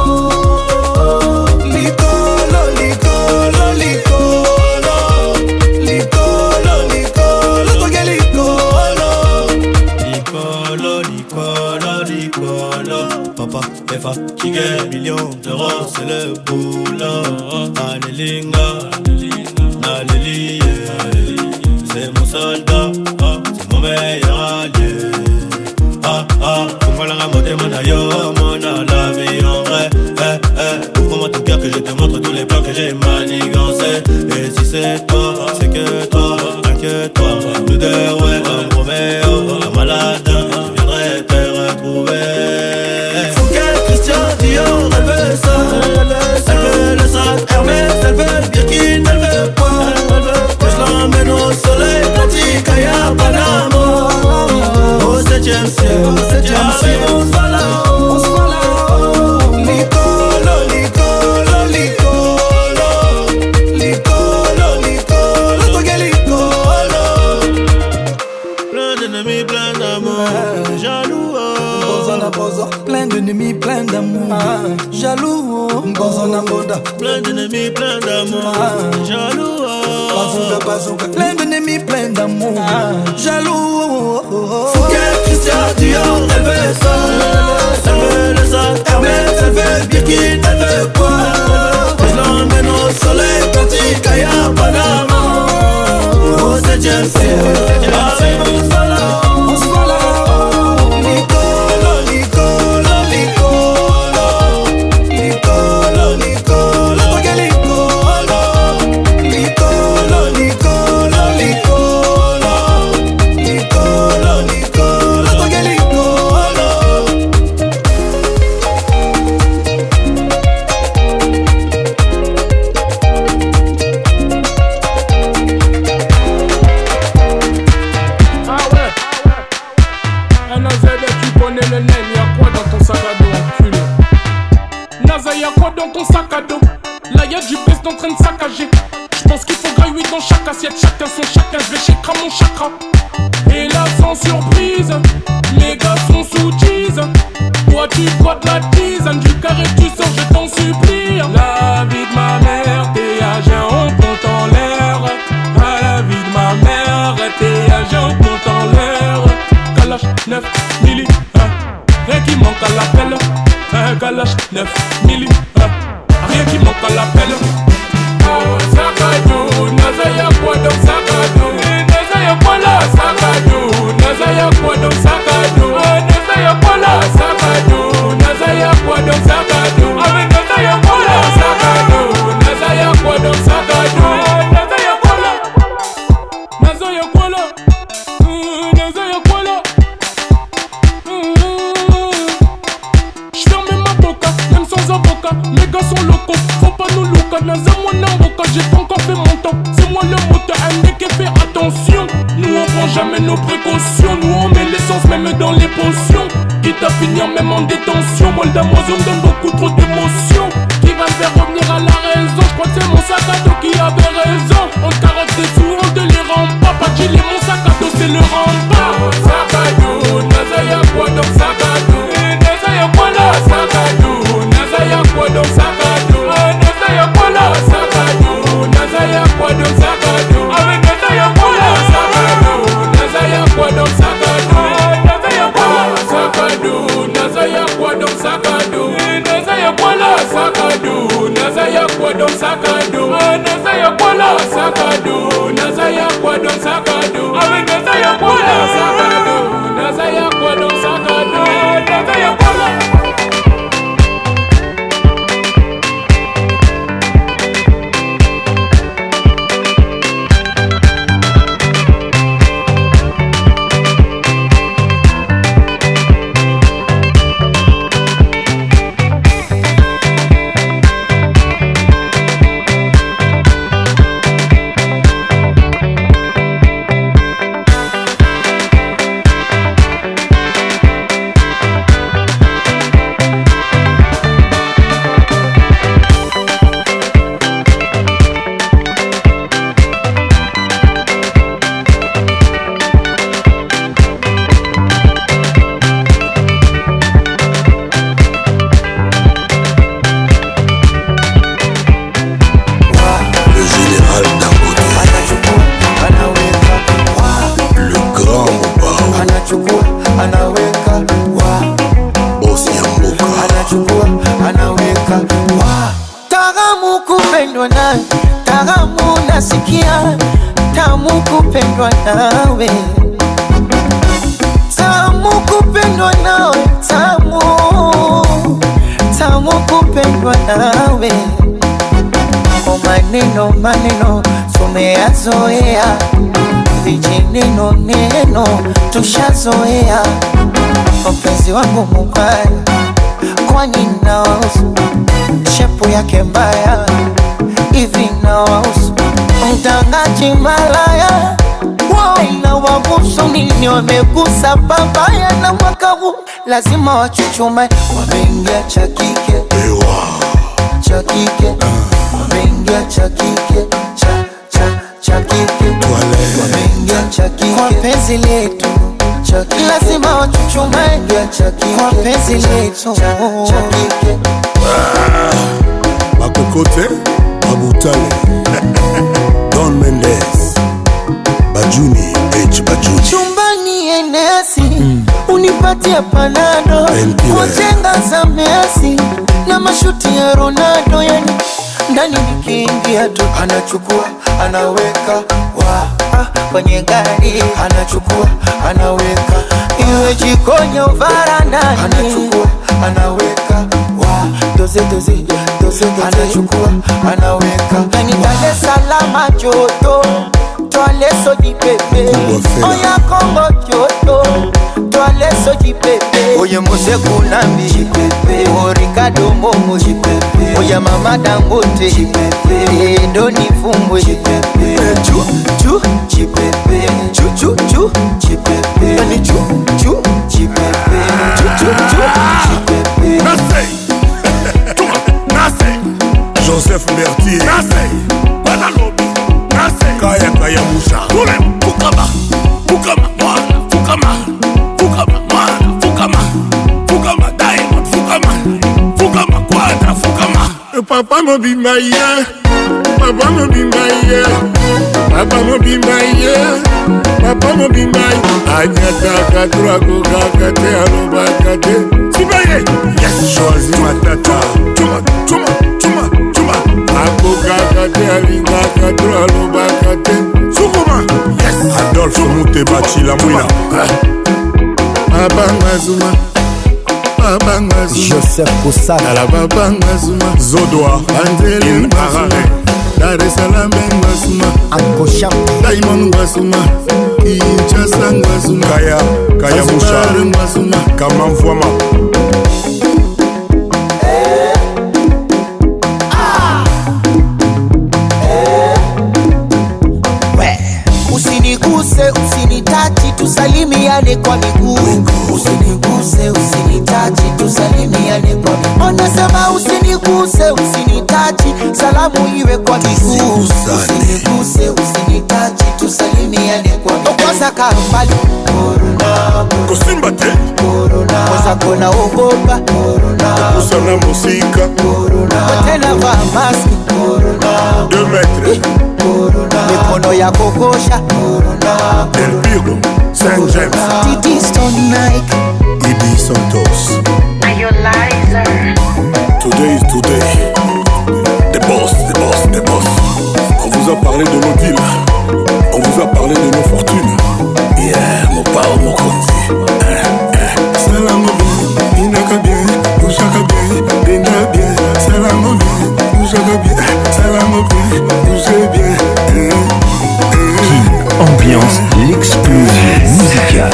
Licolo, licolo, licolo. Licolo, licolo, toque licolo. Licolo, licolo, licolo. Papa, est fatigué, millions d'euros, c'est le boulot. Allélinga, alléluia, c'est mon soldat, ah, c'est mon meilleur allié. Ah ah, ouvre la mode mon aïe, mon la vie en vrai. Eh eh, ouvre-moi ton cœur que je te montre tous les plans que j'ai manigancés. Et si c'est toi, c'est que toi, inquiète-toi. Nous deux, ouais, un Roméo, un malade, je viendrai te retrouver. Fouquet, Christian Dior, elle veut ça. Elle veut le sac Hermès, elle veut le Birkin, elle veut quoi? Que je l'emmène au soleil, Katikaya, Panama. Au septième ciel, au septième ciel, on se va là-haut, on se va là-haut. Licolo, licolo, licolo. Licolo, licolo, toque licolo. Plein d'ennemis, plein d'amour. plein d'ennemis, plein d'amour. Ah. Jaloux, Mbonzona Boda. Plein d'ennemis, plein d'amour. Ah. Jaloux, bazooka, bazooka. Plein d'ennemis, plein d'amour. Ah. Jaloux, Fouquet, Christian Dior, elle veut ça. Elle veut le sac Hermès, elle veut Birkin, elle veut quoi? Je l'emmène au soleil quand il caille à Panama. Au septième ciel, avec mon soleil. Chacun son chacun, je vais chez mon chakra. Et là sans surprise, mes gars sont sous tease. Toi tu bois de la tisane, du carré tu sors, je t'en supplie. La vie de ma mère, t'es âgé, on compte en l'air. À la vie de ma mère, t'es âgé, on compte en l'air. Kalash neuf milli, hein. Rien qui manque à l'appel. Un Kalash neuf milli, hein. Rien qui manque à l'appel. Oh, Sakadou, Nazaya Kwadon Sakadou, Nazaya Kwala Sakadou, Nazaya Kwadon Sakadou, Nazaya Kwala Sakadou, Nazaya Kwadon Sakadou, Avec Nazaya Kwala Sakadou, Nazaya Kwadon Sakadou, Nazaya Kwala, Nazaya Kwala, Nazaya Kwala. J'ferme ma boca, même sans avocat, mes gars sont locaux, faut pas nous louca, Nazaya j'ai pas encore fait mon temps, c'est moi le moteur, un mec qui fait attention. Nous on prend jamais nos précautions, nous on met l'essence même dans les potions. Quitte à finir même en détention, moi le Damazon donne beaucoup trop d'émotions. Qui va me faire revenir à la raison, je crois que c'est mon sac à dos qui avait raison. On te carotte des sous, on te les rend pas, pas qu'il est mon sac à dos, c'est le rempart. Sac à dos, Nazaya quoi donc sac à dos, Nazaya quoi là, sac à dos, Nazaya quoi donc sac à dos, Nazaya quoi là, sac à dos. Nazaya quoi donc Sakado, avec Nazaya quoi Sakado, Nazaya quoi donc Sakado, Nazaya quoi Sakado, Nazaya quoi donc Sakado, Nazaya quoi Sakado, Nazaya quoi donc Sakado, Nazaya quoi Sakado, Nazaya quoi donc Sakado, avec Nazaya quoi Sakado, Nazaya quoi donc Sakado, Nazaya quoi. kupendwa nawe, tamu kupendwa nawe, tamu tamu kupendwa nawe. O maneno maneno tumeyazoea, vijineno neno tushazoea. Mpenzi wangu mubaya, kwani nawahusu? Shepu yake mbaya, hivi nawahusu? Mtangaji malaya, wao inawahusu nini? Wamegusa babaya na mwaka huu lazima wachuchume. Wameingia cha kike, cha kike, wameingia cha kike, cha cha cha kike, wameingia cha kike. Kwa penzi letu lazima wachuchume. mshumaa kwa penzi letu Makokote Babutale Don Mendes Bajuni H Bajuni chumbani enesi mm. Unipatia panado Kujenga za Messi na mashuti ya Ronaldo, yani ndani nikiingia tu anachukua anaweka wa ah, kwenye gari anachukua anaweka iwe jikoni au varandani anachukua anaweka wa doze doze doze anachukua anaweka ndani Dar es Salaam joto toale soji pepe oya Kongo joto toale soji pepe oye Mose Kunambi pepe o Ricardo Momo pepe oya Mama Dangote pepe ndo nifumbwe pepe chu chu pepe chu chu chu pepe ni chu chu pepe chu chu chu pepe Nasei Nasei Joseph Berthier Nasei Badalobi Nasei Kaya Kaya Musha Kule Fukama Fukama Mwana Fukama Fukama Mwana Fukama Fukama Diamond Fukama Fukama Quadra Fukama Papa mo bimba ye Papa mo bimba ye Papa mo bimba ye Papa mo bimba ye Anyata katura kukakate alubakate Sibaye Yes Choisi matata Chuma Chuma Chuma Chuma Akukakate alinga katura alubakate Sukuma Yes Adolphe Mutebachi la mouina Abanga Zuma Abanga Zuma Joseph Koussana la Babanga Zuma Zodoa Angeli Harare Dar es Salaam Ngazuma Ankosham Diamond Ngazuma Kinshasa Ngazuma Kaya Kaya Musha Ngazuma Kamamvwama Usiniguse, usinitachi, tusalimiane kwa miguu. Usiniguse, usinitachi, tusalimiane kwa miguu. Onasema usiniguse, usinitachi, salamu iwe kwa miguu. Usiniguse, usinitachi, tusalimiane kwa miguu. Okosa kambali Corona Kosimba te Corona Kosa kona ogopa Corona Kusana musika Corona Tena va maski Corona Deux metres Corona Mikono ya kokosha Corona Del Pirlo Saint James Titi Stone Nike Ibi Santos Iolizer Today is today The boss, the boss, the boss. On vous a parlé de nos deals. On vous a parlé de nos fortunes. Yeah, mon pao, mon konzi. Salam bien, inaka bien, ushaka bien, dena bien. Salam bien, ushaka bien, salam bien, ushe bien. Ambiance, l'explosion musicale.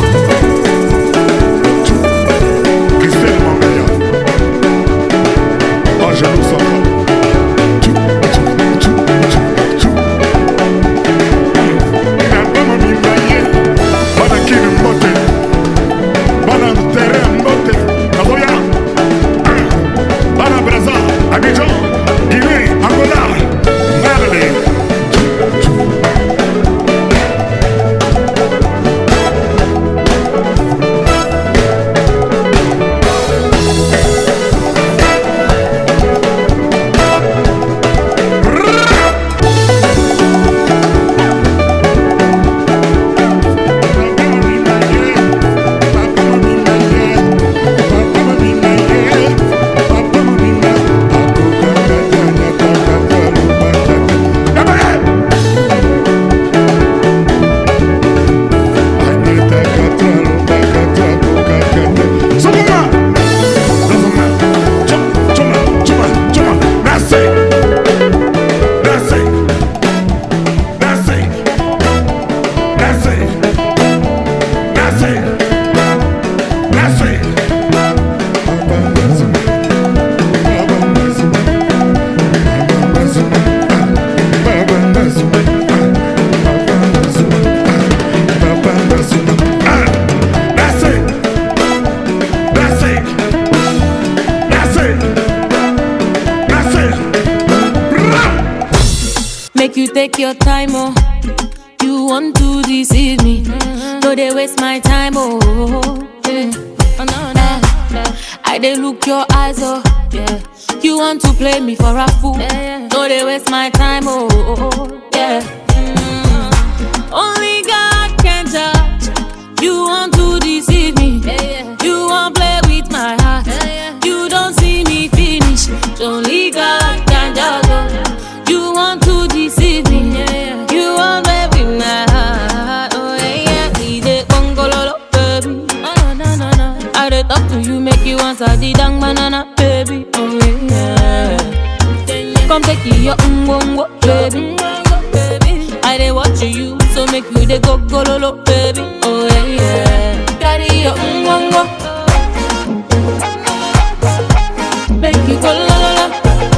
Make you take your time, oh. You want to deceive me. Mm-hmm. No, they waste my time, oh. Yeah. I dey look your eyes, oh, yeah. You want to play me for a fool? Yeah. No, they waste my time, oh, oh, oh yeah. Mm. Only God can judge. You want to deceive me? Yeah. You want play with my heart? Yeah. You don't see me finish. Only God can judge. Oh. You want to deceive me? Yeah. You want play with my heart? Oh yeah, we dey gongololo, baby. Oh no no no. I dey talk to you, make you answer the dang banana, baby. Oh yeah. Come take your ungongo, baby. I dey watch you, so make you dey go go lo lo, baby. Oh yeah, yeah. Carry your ungongo, make you go lo lo lo.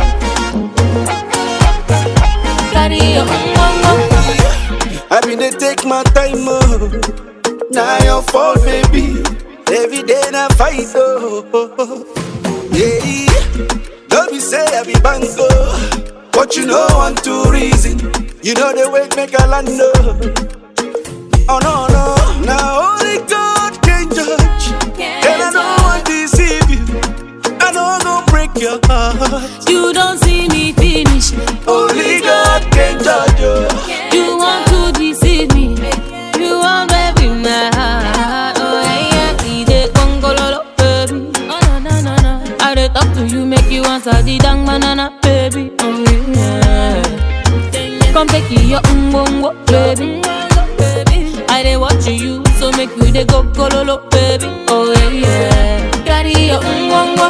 Carry your ungongo. I been dey take my time, oh. Now your fault, baby. Every day na fight, oh. Yeah. Don't be say I be bango, but you know one two reason. You know the way make a land. Oh no no, now only God can judge. And I don't want to deceive you. I know I'm gonna break your heart. You don't see me finish. Only God can judge you. You want to deceive me. You want baby my heart. Oh yeah, we dey gongololo, baby. Oh no no no. I dey talk to you, make you answer the dang banana, baby. Oh yeah. Come take your umbongo, baby. I dey watch you, so make you dey go go lo lo, baby. Oh yeah, yeah. Carry your umbongo,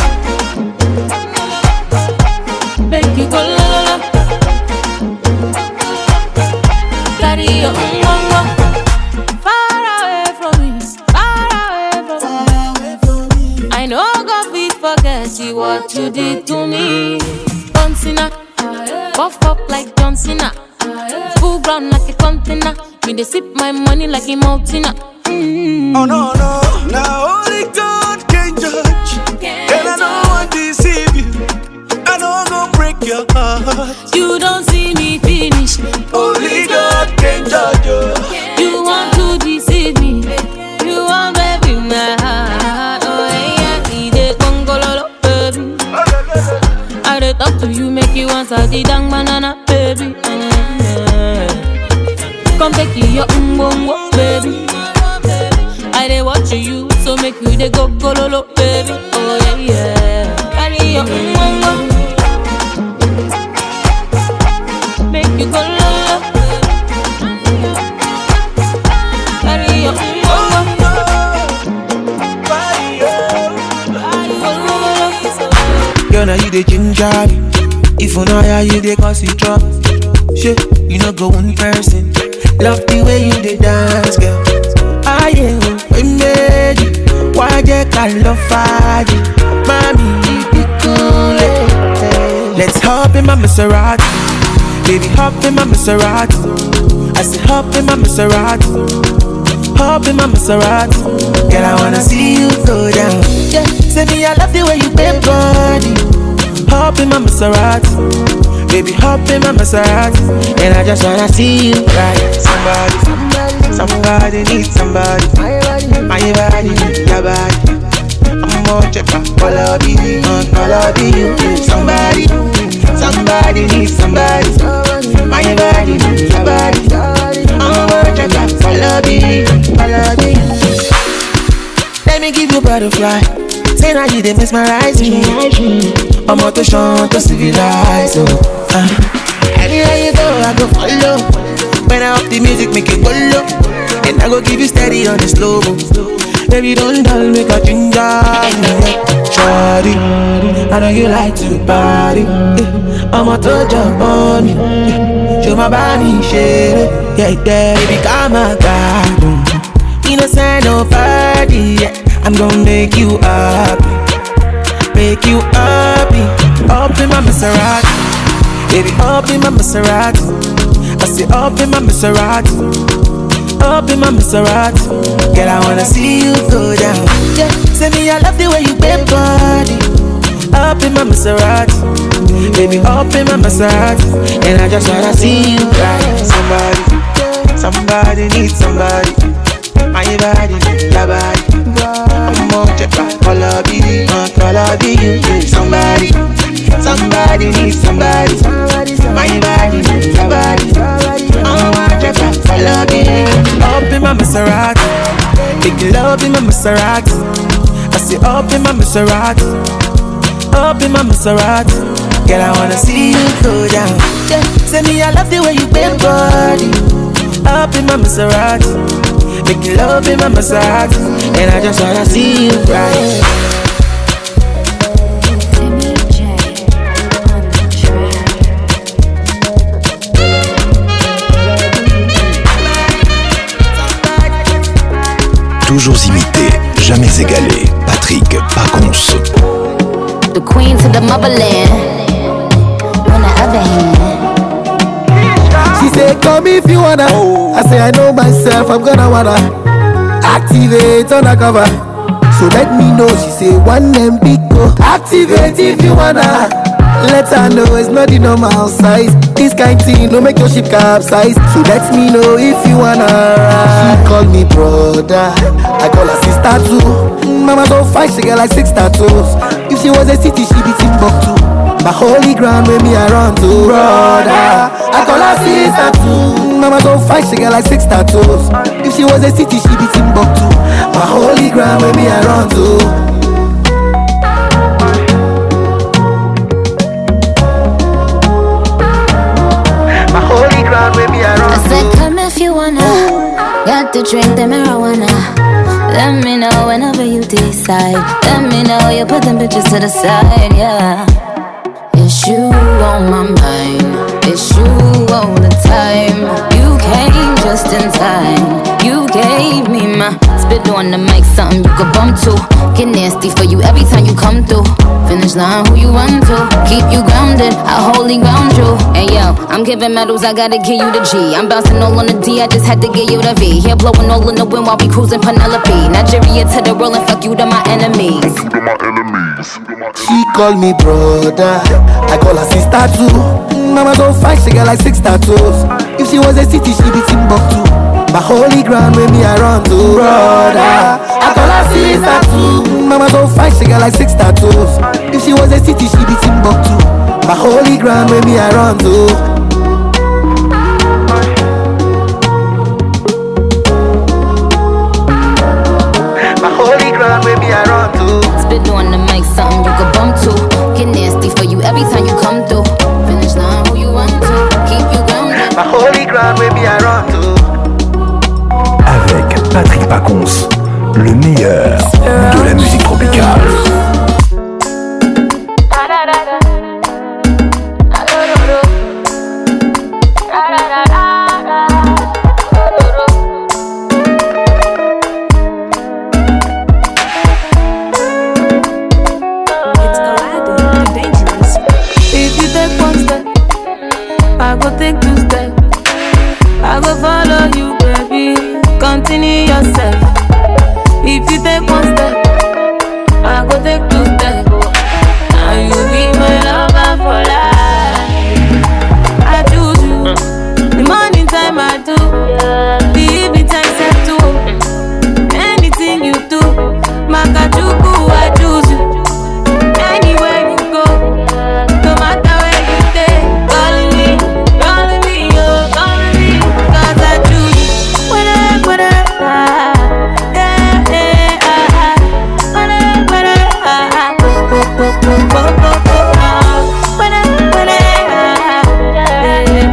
make you go lo lo lo. Carry your umbongo. Far away from me, far away from me. I know God fit forget you what you did to me. John Cena, buff up like John Cena. Full ground like a container. Me they sip my money like a mountainer. Mm. Oh no no, now only God can judge. Can't and I don't want to deceive you. I know I'm gonna break your heart. You don't see me finish. Only God can judge you. You want to deceive me. You want baby my heart. Oh yeah, we dey gongololo, baby. I dey talk to you, make you answer the dang banana, baby. Mm-hmm. Come take your umbongo, baby. I dey watch you, so make you dey go go lo lo, baby. Oh yeah, yeah. Carry your umbongo, make you go lo lo. Carry your umbongo, girl, now you the ginger me. If you know how you dey cause it drop. Shit, you know go one person. Love the way you dey dance, girl. I am we made you. Why they call love fire? Mommy, you be cool. eh. Let's hop in my Maserati. Baby, hop in my Maserati. I say hop in my Maserati. Hop in my Maserati. Girl, I wanna see you go down. Yeah, say me I love the way you bend body. Hop in my Maserati. Baby, hop in my Maserati. And I just wanna see you ride. Somebody, somebody, somebody needs somebody. My body, your body. I'm gonna check out all of you, all of you. Somebody, somebody needs somebody. My body, your body. I'm gonna check out all of you, all of you. Let me give you butterfly. Say now you dey mesmerize me. I'm out to shine to civilize. Oh. Uh. Anywhere you go, I go follow. When I up the music, make it go low. And I go give you steady on the slow. Baby, don't dull, make a ginger. Shawty, I know you like to party. I'm out to jump on me. Show my body, shit. Yeah, yeah, baby, come on, God. Innocent, nobody. Yeah. I'm gonna make you happy. Make you happy. Up in my Maserati. Baby, up in my Maserati. I say up in my Maserati. Up in my Maserati. Girl, I wanna see you go down. Yeah, say me I love the way you bend body. Up in my Maserati. Baby, up in my Maserati. And I just wanna see you ride. Somebody, somebody needs somebody. My body, your body. I'm gonna check out all love you, my love you. Somebody, somebody needs somebody. My body needs somebody. Oh my God, I love you. Up in my Maserati, big love in my Maserati. I say up in my Maserati, up in my Maserati. Girl, I wanna see you go down. Yeah. Say me, I love the way you bend body. Up in my Maserati, make love in my Maserati, and I just wanna see you right. Toujours imité, jamais égalé. Patrick Pacons. The queen to the motherland. On the other hand. She said, come if you wanna. Oh. I say, I know myself, I'm gonna wanna activate undercover. So let me know. She say, one M big go. Activate if you wanna. Let her know it's not the normal size. This kind thing don't make your ship capsize. So let me know if you wanna ride. She call me brother, I call her sister too. Mama so fine, she get like six tattoos. If she was a city, she be Timbuktu. My holy ground where me I run to. Brother, I call her sister too. Mama so fine, she get like six tattoos. If she was a city, she be Timbuktu. My holy ground where me I run to. I said come if you wanna. Got to drink the marijuana. Let me know whenever you decide. Let me know you put them bitches to the side, yeah. It's you on my mind. It's you all the time. You came just in time. You gave me my spit on the mic, something you could bump to. Get nasty for you every time you come through. Finish line, who you run to? Keep you grounded, I wholly ground you. Hey yo, I'm giving medals, I gotta give you the G. I'm bouncing all on the D, I just had to give you the V. Here blowing all in the wind while we cruising Penelope. Nigeria to the world and fuck you to my enemies. She call me brother, I call her sister too. Mama so fine, she got like six tattoos. If she was a city, she be Timbuktu. My holy ground where me I run to. Brother, I call her sister too. Mama so fine, she got like six tattoos. If she was a city, she be Timbuktu. My holy ground where me I run to. My holy ground where me I run to. Spit on the mic, something you could bump to. Get nasty for you every time you come through. Finish line, who you run to? Keep you grounded. My holy ground where me I run to. Avec Patrick Pacons, le meilleur de la musique tropicale. If you take one step, I go take two steps. I go follow you, baby. Continue yourself. If you take one step, I go take two steps. And you be my lover for life. I choose you. The morning time I do, the evening time set too. Anything you do, Makachuku, I choose you. Anywhere you go, no matter where you stay, calling me, calling me, oh, calling me, 'cause I choose you. Whatever, whatever, yeah, yeah, ah, whatever, whatever, ah, go, go, go, go, go, go, go, ah, whatever, whatever, yeah, yeah,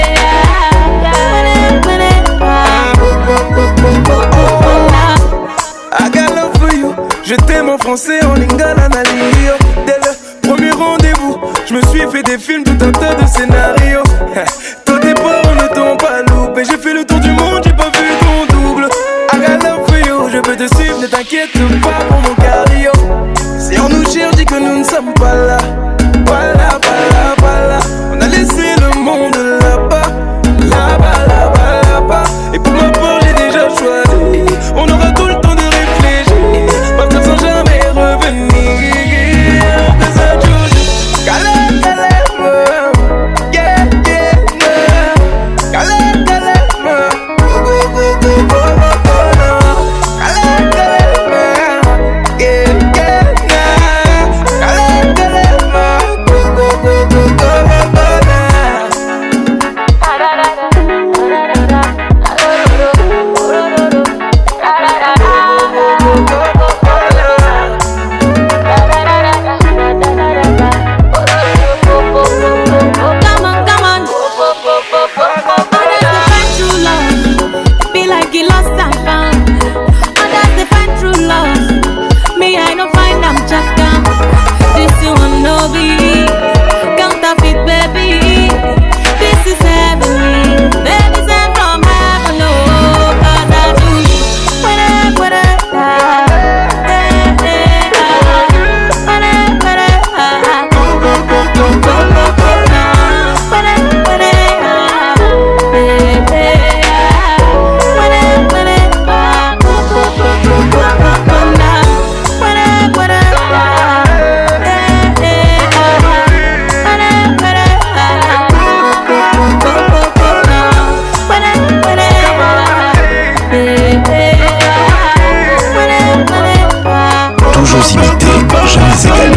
whatever, whatever, ah, go, go, go, go, go, go, ah. I got love for you. Je t'aime en français, en lingala, na lingio. Dès le premier rendez-vous, je me suis fait des films, tout un tas de scénarios. Toi tes parents ne t'ont pas loupé. J'ai fait le tour du monde, j'ai pas vu ton double. I got love for you, je peux te suivre, ne t'inquiète pas pour mon cardio. Si on nous cherche, dis que nous ne sommes pas là. Pas là, pas là, pas là. On a laissé le monde là-bas. Là-bas, là-bas, là-bas. Et pour ma part, j'ai déjà choisi. On aura tout le temps de réfléchir. Partir sans jamais revenir. Cause I choose you. Calais, calais, yeah, yeah, yeah. Calais, calais, go, go, go, go, go, go, go, no. Calais, calais, yeah, yeah, be. Counterfeit, baby. This is heavenly. Baby, sent from heaven, no. Cause I do. Whatever, whatever. Toujours imité, jamais égalé.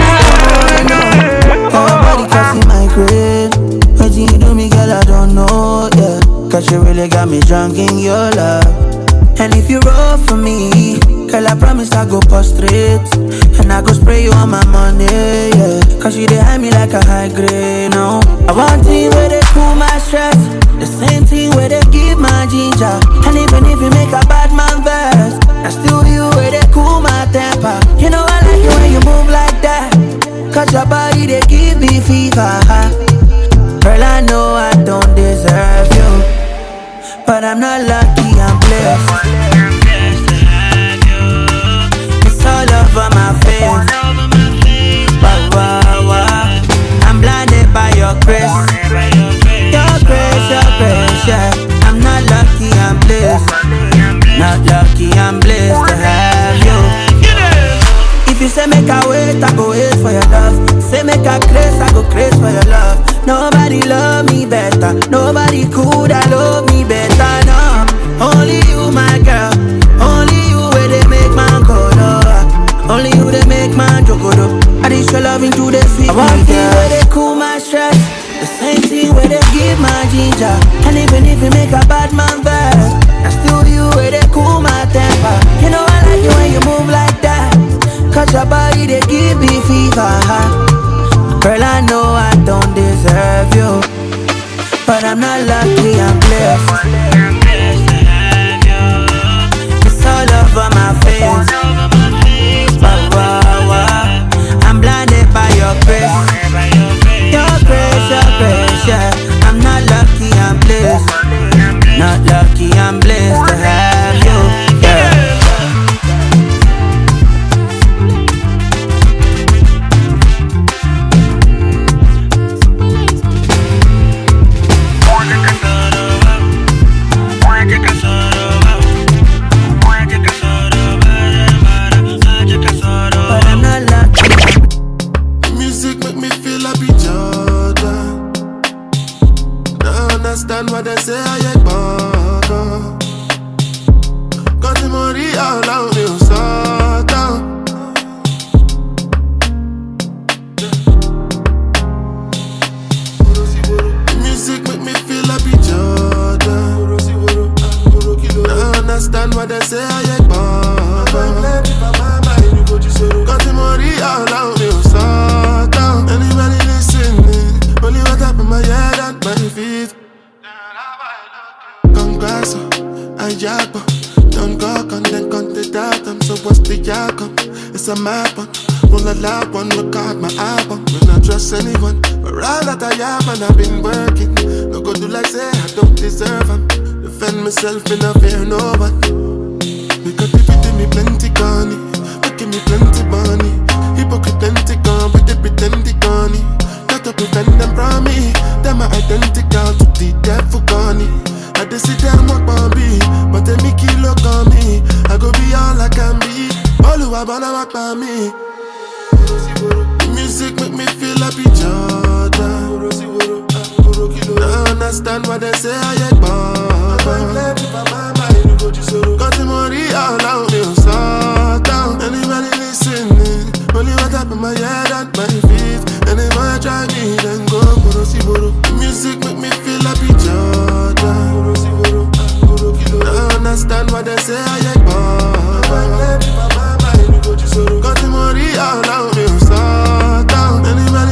Nobody can see my grave. What you do me, girl, I don't know, yeah. Cause you really got me drunk in your love. And if you roll for me, girl, I promise I go prostrate. And I go spray you on my money, yeah. Cause you dey hide me like a high grade, no. I want things where they cool my stress. The same thing where they give my ginger. And even if you make a bad man verse, I still you where they cool my temper. You know I like it when you move like that. Cause your body they give me fever. Girl, I know I don't deserve you, but I'm not lucky, I'm blessed. It's all over my face. Wow, wow, wow. I'm blinded by your grace. Your grace, your grace, yeah. I'm not lucky, I'm blessed. Not lucky, I'm blessed to have you. If you say make a wait, I go wait for your love. Say make a craze, I go craze for your love. Nobody love me better. Nobody could have love me better, no. Only you, my girl. Only you where they make man go low. Only you they make man joke up. I just show love into the sweet. I want things where they cool my stress. The same thing where they give my ginger. And even if you make a bad man verse, I still you where they cool my temper. You know I like it when you move like that. Cause your body they give me fever. Girl, I know I don't deserve you, but I'm not lucky, I'm blessed. It's all over my face. Wow, wow, wow. I'm blinded by your grace. Your grace, your grace, yeah. I'm not lucky, I'm blessed. Not lucky, I'm blessed to have you, yeah. What they say I ain't born. Quand tu m'aurais là on est au sortant. Music make me feel happy Jordan. I understand what they say I ain't born. Quand tu m'aurais là on est au sortant. Anybody listening? Only what up in my head and my feet. Congresso, I jackpot. Don't go on, then count it out. I'm so what's the outcome? It's a mad one. Roll a loud one, record my album. Will not trust anyone. But all that I have and I've been working. No go do like say I don't deserve them. Defend myself, me not fear no one. Because if you do me plenty gunny, making me plenty money. Hypocrite plenty gone, but they pretend they gunny. Got to prevent them from me. Them are identical to the devil gunny. I just sit down walk on me, but they make you look on me. I go be all I can be. All who I wanna walk by me. Music make me feel happy Jordan. I understand what they say I ain't born. Quand tu m'aurais là on est au sortant. Anybody listening? Only what up in my head and my feet. And if I try me then go Borosi Boro. Music make me feel happy Jordan. I understand what they say I ain't born. Quand tu m'aurais là on est au sortant. Anybody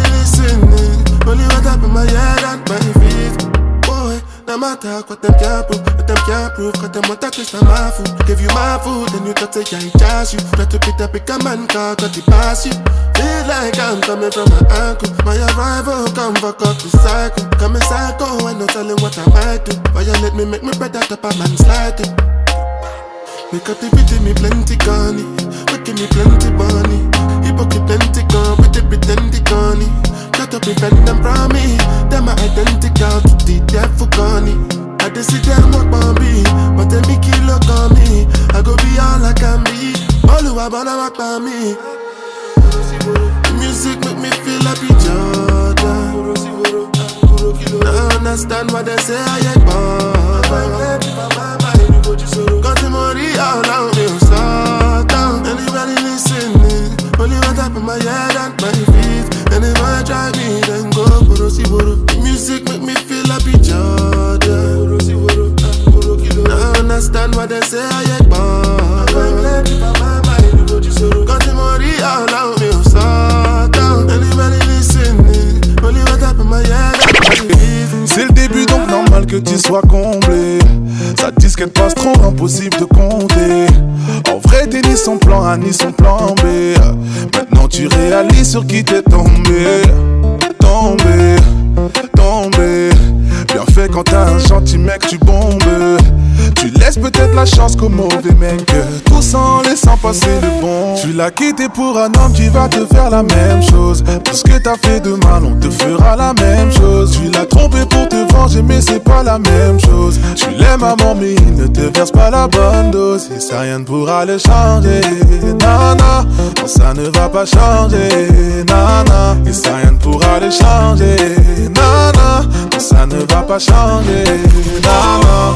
listening? Only what up in my head and my feet. Boy, no matter what them can't prove, what them can't prove, cause them want to taste of my food. Give you my food, then you thought say I charge you. Try to pick up pick a man car, got it pass you. Feel like I'm coming from my uncle. My arrival, come fuck up the cycle. Come in psycho, I no telling what I might do. Violate me, make me better, top a man sliding. Make up the pity, me plenty gunny. Making me plenty money. Hypocrite plenty gun, with the pretend gunny. Shut up, defend them from me. Them are identical to the devil gunny. I just see them up on me, but they make you look on me. I go be all I can be. All who are born walk by me. The music make me feel like a Jordan. I understand what they say, I ain't born. Got the money all around me, so down. Anybody listening? Only one top of my head and my feet. And if I try me, then go Borosi Boro. The music make me feel like a Jordan. I understand what they say, I ain't born. Got the money all around me, so down. Anybody listening? Only one top of my head and my feet. C'est le début donc normal que tu sois comblé. Ça disquette passe trop impossible de compter. En vrai t'es ni son plan A ni son plan B. Maintenant tu réalises sur qui t'es tombé. Tombé, tombé. Bien fait quand t'as un gentil mec tu bombes. Tu laisses peut-être la chance qu'au mauvais mec. Tout en laissant passer le bon. Tu l'as quitté pour un homme qui va te faire la même chose. Tout ce que t'as fait de mal on te fera la même chose. Tu l'as trompé pour te venger mais c'est pas la même chose. Tu l'aimes à mort mais il ne te verse pas la bonne dose. Et ça rien ne pourra le changer. Nana, non ça ne va pas changer. Nana, et ça rien ne pourra le changer. Nana, non ça ne va pas changer. Nana.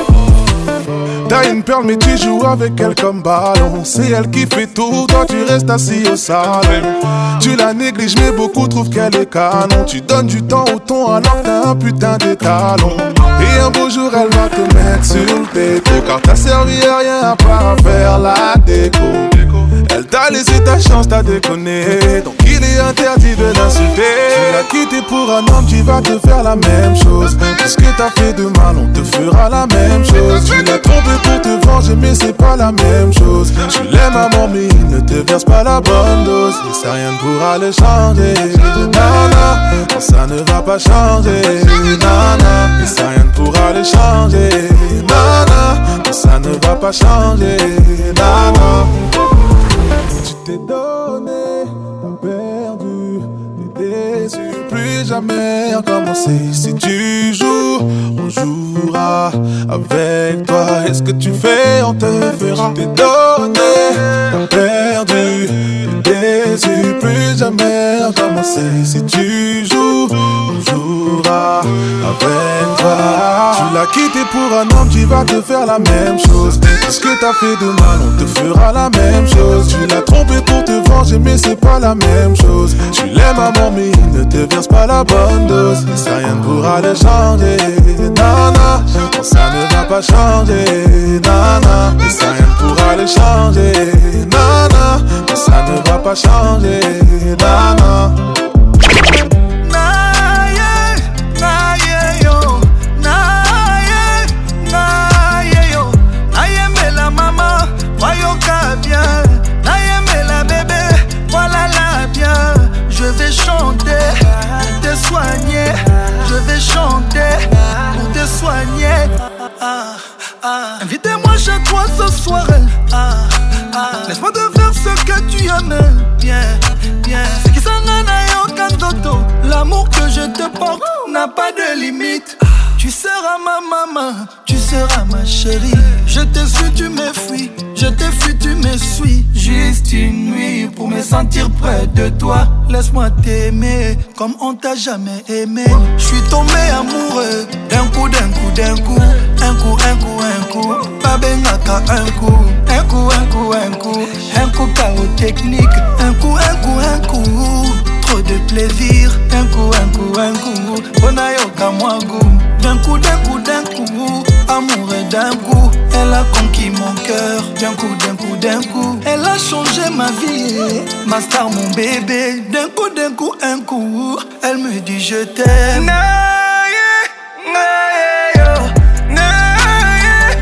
T'as une perle mais tu joues avec elle comme ballon. C'est elle qui fait tout, toi tu restes assis au salon. Tu la négliges mais beaucoup trouvent qu'elle est canon. Tu donnes du temps au ton alors que t'as un putain d'étalon. Et un beau jour elle va te mettre sur le této. Car t'as servi à rien à part faire la déco. Elle t'a laissé ta chance, t'as déconné. Donc il est interdit de l'insulter. Tu l'as quitté pour un homme qui va te faire la même chose. Tout ce que t'as fait de mal on te fera la même chose. Tu l'as trompé pour te venger mais c'est pas la même chose. Tu l'aimes à mort mais il ne te verse pas la bonne dose. Et ça rien ne pourra le changer. Nana, non ça ne va pas changer. Nana, et ça rien ne pourra le changer. Nana, non ça ne va pas changer. Nana. Tu t'es donné, t'as perdu, t'es déçu, plus jamais recommencer. Si tu joues, on jouera avec toi. Et ce que tu fais, on te fera. Tu t'es donné, t'as perdu, t'es déçu, plus jamais recommencer. Si tu joues, on jouera avec toi. Tu l'as quitté pour un homme qui va te faire la même chose. Tout ce que t'as fait de mal, on te fera la même chose. Tu l'as trompé pour te venger, mais c'est pas la même chose. Tu l'aimes à mort, mais il ne te verse pas la bonne dose. Et ça rien ne pourra le changer. Nana, non, ça ne va pas changer. Nana, et ça rien ne pourra le changer. Nana, non, ça ne va pas changer. Nana. Je vais chanter pour te soigner. Je vais chanter pour te soigner. Ah, ah. Invitez-moi chez toi ce soir. Ah, ah. Laisse-moi te faire ce que tu aimes. Bien, bien. C'est qui s'en a aucun dodo. L'amour que je te porte n'a pas de limite. Tu seras ma maman, tu seras ma chérie. Je t'ai su, tu me fuis. Je t'ai fui, tu me suis. Juste une nuit pour me sentir près de toi. Laisse-moi t'aimer comme on t'a jamais aimé. Je suis tombé amoureux d'un coup, d'un coup, d'un coup. Un coup, un coup, un coup. Pas bengaka, un coup. Un coup, un coup, un coup. Un coup, chaos technique. Un coup, un coup, un coup. Trop de plaisir. Un coup, un coup, un coup. Bonayoka mwangu. D'un coup, d'un coup, d'un coup. Amoureux d'un coup. Elle a conquis mon cœur. D'un coup, d'un coup, d'un coup. Elle a changé ma vie. Ma star, mon bébé. D'un coup, d'un coup, un coup. Elle me dit je t'aime. Naye, naye, yo. Naye,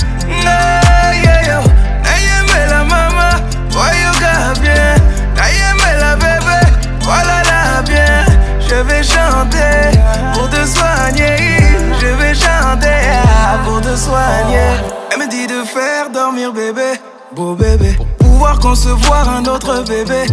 chanter pour te soigner. Je vais chanter pour te soigner. Elle me dit de faire dormir bébé, beau bébé, pour pouvoir concevoir un autre bébé.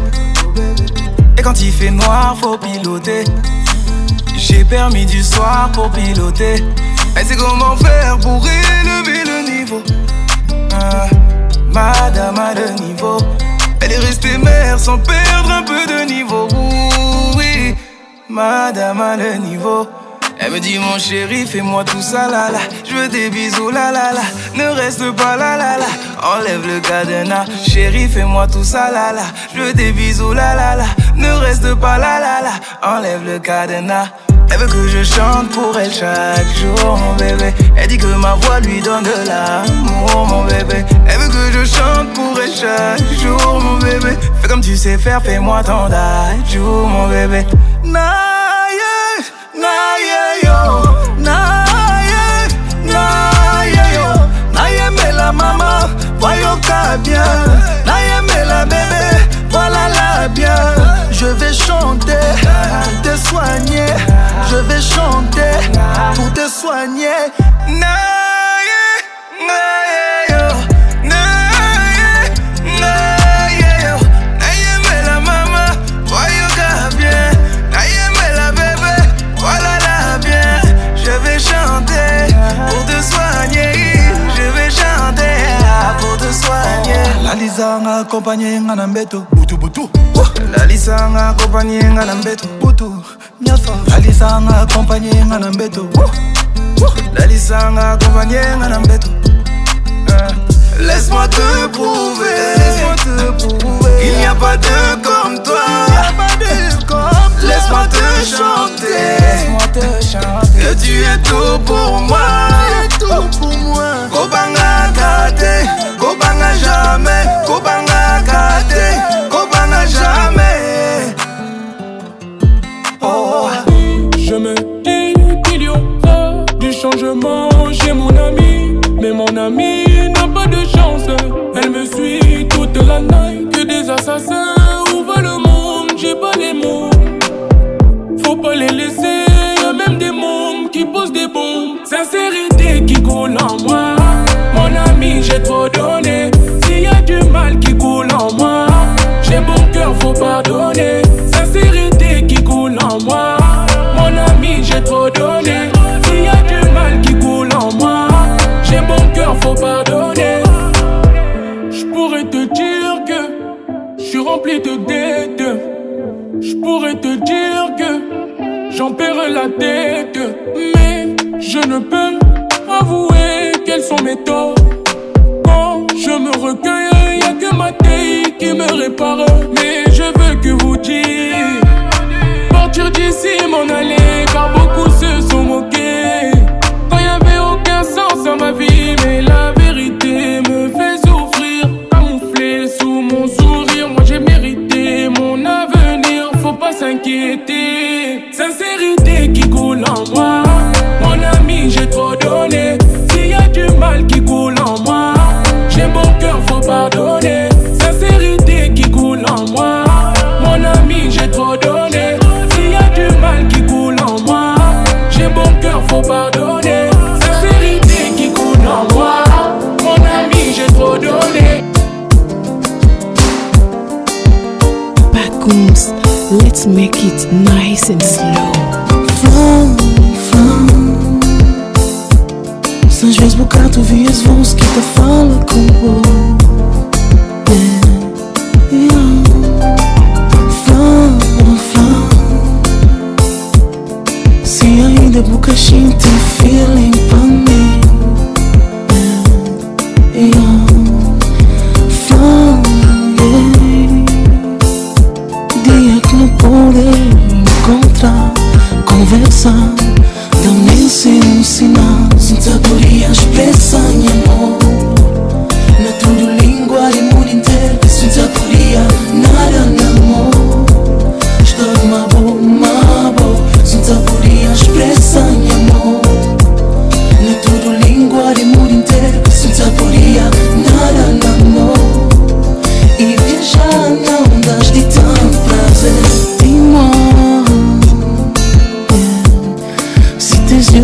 Et quand il fait noir, faut piloter. J'ai permis du soir pour piloter. Elle sait comment faire pour élever le niveau. Ah, madame a le niveau. Elle est restée mère sans perdre un peu de niveau. Ouh, oui, madame a le niveau. Elle me dit mon chéri, fais-moi tout ça là là. Je veux des bisous là là là. Ne reste pas là là là. Enlève le cadenas. Chéri, fais-moi tout ça là là. Je veux des bisous là là là. Ne reste pas là là là. Enlève le cadenas. Elle veut que je chante pour elle chaque jour, mon bébé. Elle dit que ma voix lui donne de l'amour, mon bébé. Elle veut que je chante pour elle chaque jour, mon bébé. Fais comme tu sais faire, fais-moi ton jour, mon bébé. Naïe, naïe, yo. Naïe, naïe, yo. Naïe, mais la maman, voyons qu'à bien. Naïe, mais la bébé, voilà la bien. Je vais chanter pour te soigner. Je vais chanter pour te soigner. Naïe, naïe, yo. Naïe, naïe, yo. Naïe, mais la maman, voyons qu'à bien. Naïe, mais la bébé, voilà la bien. Je vais chanter pour te soigner. Je vais chanter pour te soigner. La Lisa m'a accompagné en ambeto. Boutou boutou. La Lisa m'a accompagné en ambeto. Boutou. La Lisa m'a accompagné en ambeto. La Lisa m'a accompagné en ambeto. Laisse-moi te prouver, laisse-moi te prouver qu'il n'y a pas de comme toi. Laisse-moi te chanter, laisse-moi te chanter que tu es tout pour moi, tout pour moi. Kobanga kate, Kobanga jamais, Kobanga kate, Kobanga jamais. Oh. Je me dis qu'il y aura du changement chez mon ami, mais mon ami n'a pas de chance. Elle me suit toute la nuit, que des assassins ouvrent le monde. J'ai pas les mots, faut pas les laisser. Y'a même des mômes qui posent des bombes. Sincérité qui coule en moi. Mon ami, j'ai trop donné. S'il y a du mal qui coule en moi, j'ai bon cœur, faut pardonner. Sincérité qui coule en moi. Mon ami, j'ai trop donné. S'il y a du mal qui coule en moi, j'ai bon cœur, faut pardonner. J'pourrais te dire que j'suis rempli de dettes. J'pourrais te dire que j'en perds la tête. Mais je ne peux avouer quels sont mes torts. Quand je me recueille, y'a que ma taille qui me répare. Mais je veux que vous dites partir d'ici, m'en aller, car beaucoup se sont moqués. Quand y'avait aucun sens à ma vie, mais la vérité me fait souffrir. Camouflé sous mon sourire, moi j'ai mérité mon avenir, faut pas s'inquiéter. Sincérité qui coule en moi. Mon ami, j'ai trop donné. S'il y a du mal qui coule en moi, j'ai bon cœur, faut pardonner. Sincérité qui coule en moi. Mon ami, j'ai trop donné. S'il y a du mal qui coule en moi, j'ai bon cœur, faut pardonner. Sincérité qui coule en moi. Mon ami, j'ai trop donné. Backums, let's make it nice and slow. Às vezes bocado vi as vozes que te fala com o yeah, yeah. Fala, fala. Se ainda boca gente feeling pra mim yeah, yeah. Fala, yeah. Dia que não pude encontrar, conversar, dá-me um sinal. Sabedoria expressa em amor. Na tua língua e mundo inteiro. Sabedoria nada no amor. Estou uma boa, uma boa. Sabedoria expressa em amor. Na tua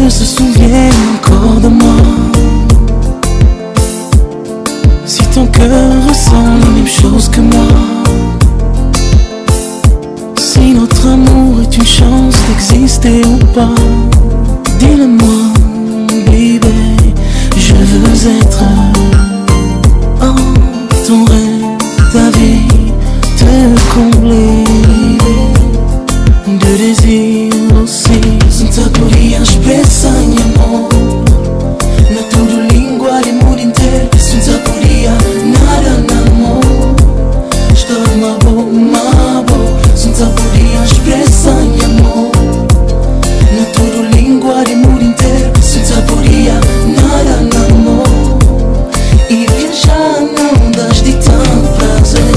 ne se souvienne encore de moi. Si ton cœur ressent les mêmes choses que moi, si notre amour est une chance d'exister ou pas, dis-le-moi, baby. Je veux être en ton rêve, ta vie, te combler de désir aussi. Sinta podías pensar em amor na tua língua de mundo inteiro. Sinta podia nada na amor. Estou uma boa, uma boa. Sinta podias pensar em amor na tua língua de mundo inteiro. Sinta podia nada na amor e viajar não das de tanto prazer.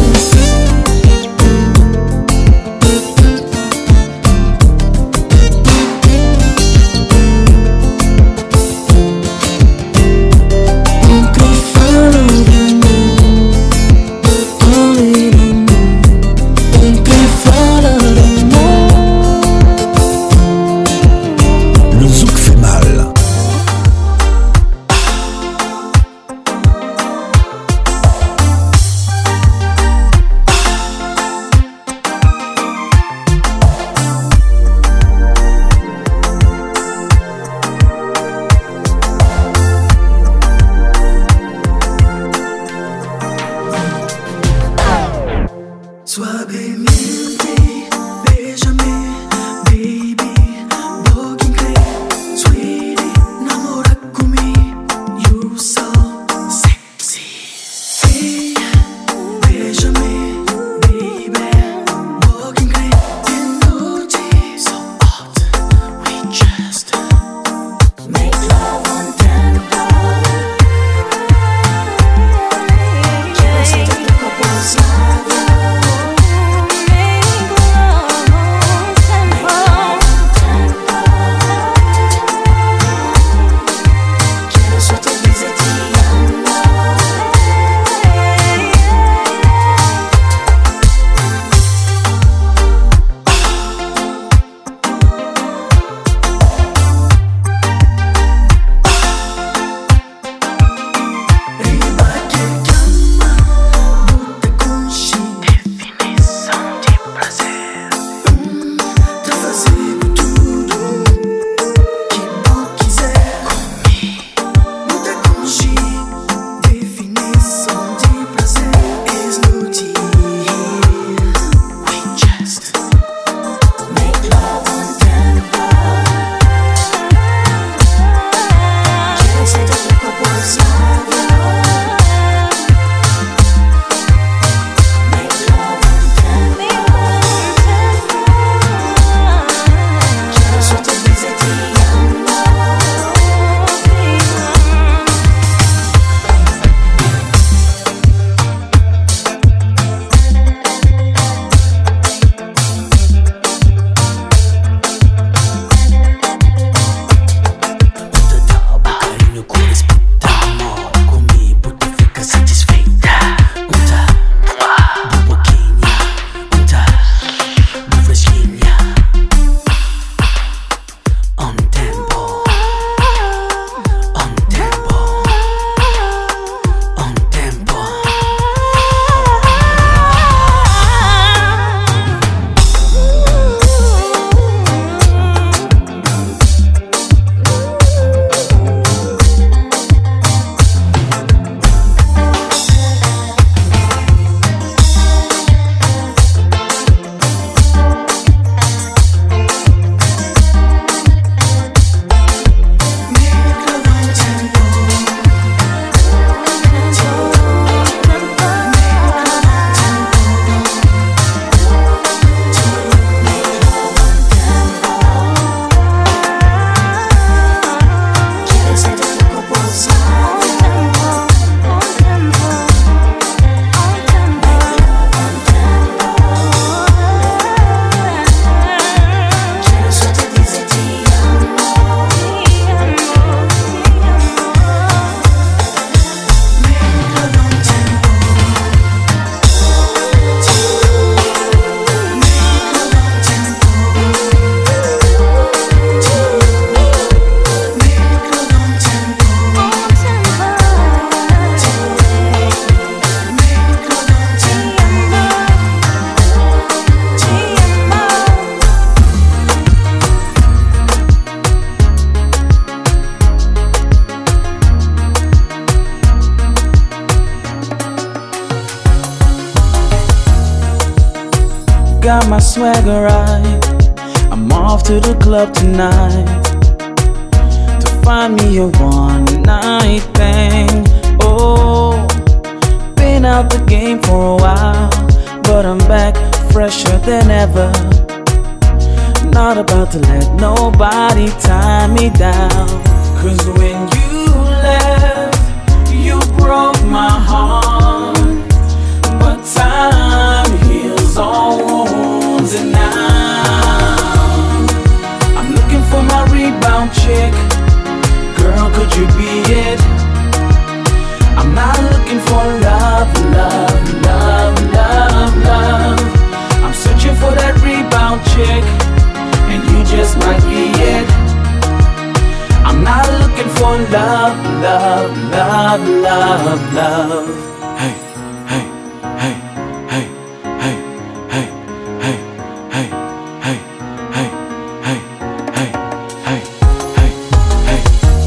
Got my swagger right. I'm off to the club tonight to find me a one night thing. Oh, been out the game for a while, but I'm back fresher than ever. Not about to let nobody tie me down. Cause when you left, you broke my heart. But time heals all wounds, and now I'm looking for my rebound chick. Girl, could you be it? I'm not looking for love, love, love, love, love. I'm searching for that rebound chick, and you just might be it. I'm not looking for love, love, love, love, love. Hey, hey, hey, hey, hey, hey, hey, hey, hey, hey, hey, hey, hey, hey, hey.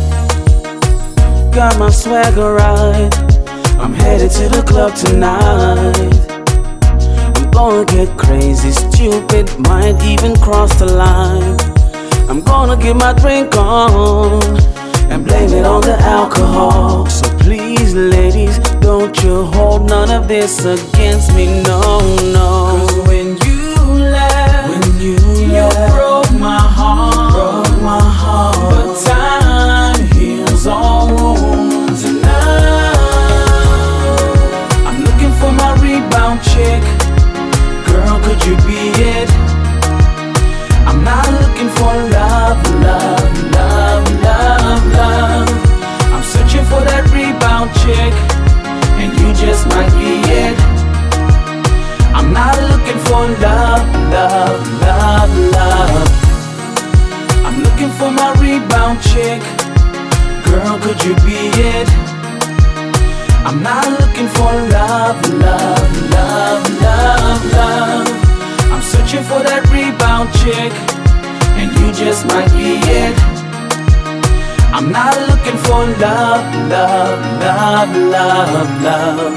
Got my swagger right. I'm headed to the club tonight. I'm gonna get crazy, stupid, might even cross the line. I'm gonna get my drink on and blame it on the alcohol. So please, ladies, don't you hold none of this against me, no, no. Cause when you left, when you, you left, broke my heart, broke my heart. But time heals all wounds, and now I'm looking for my rebound chick. Girl, could you be it? I'm not looking for love, love, love, love, love. I'm searching for that rebound chick, and you just might be it. I'm not looking for love, love, love, love. I'm looking for my rebound chick. Girl, could you be it? I'm not looking for love, love, love, love, love. I'm searching for that rebound chick, and you just might be it. I'm not looking for love, love, love, love, love.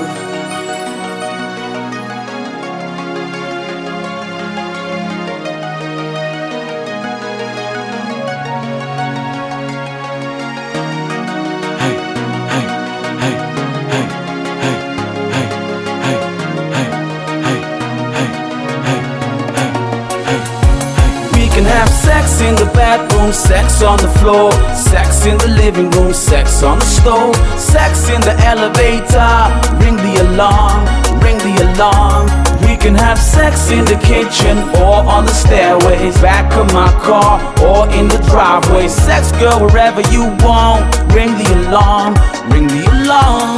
Sex in the bathroom, sex on the floor, sex in the living room, sex on the stove, sex in the elevator, ring the alarm, ring the alarm. We can have sex in the kitchen or on the stairways, back of my car or in the driveway. Sex, girl, wherever you want, ring the alarm, ring the alarm.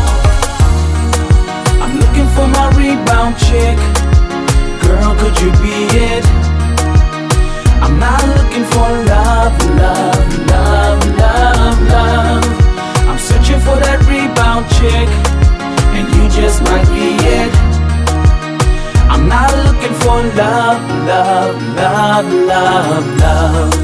I'm looking for my rebound chick. Girl, could you be it? I'm not looking for love, love, love, love, love. I'm searching for that rebound chick, and you just might be it. I'm not looking for love, love, love, love, love.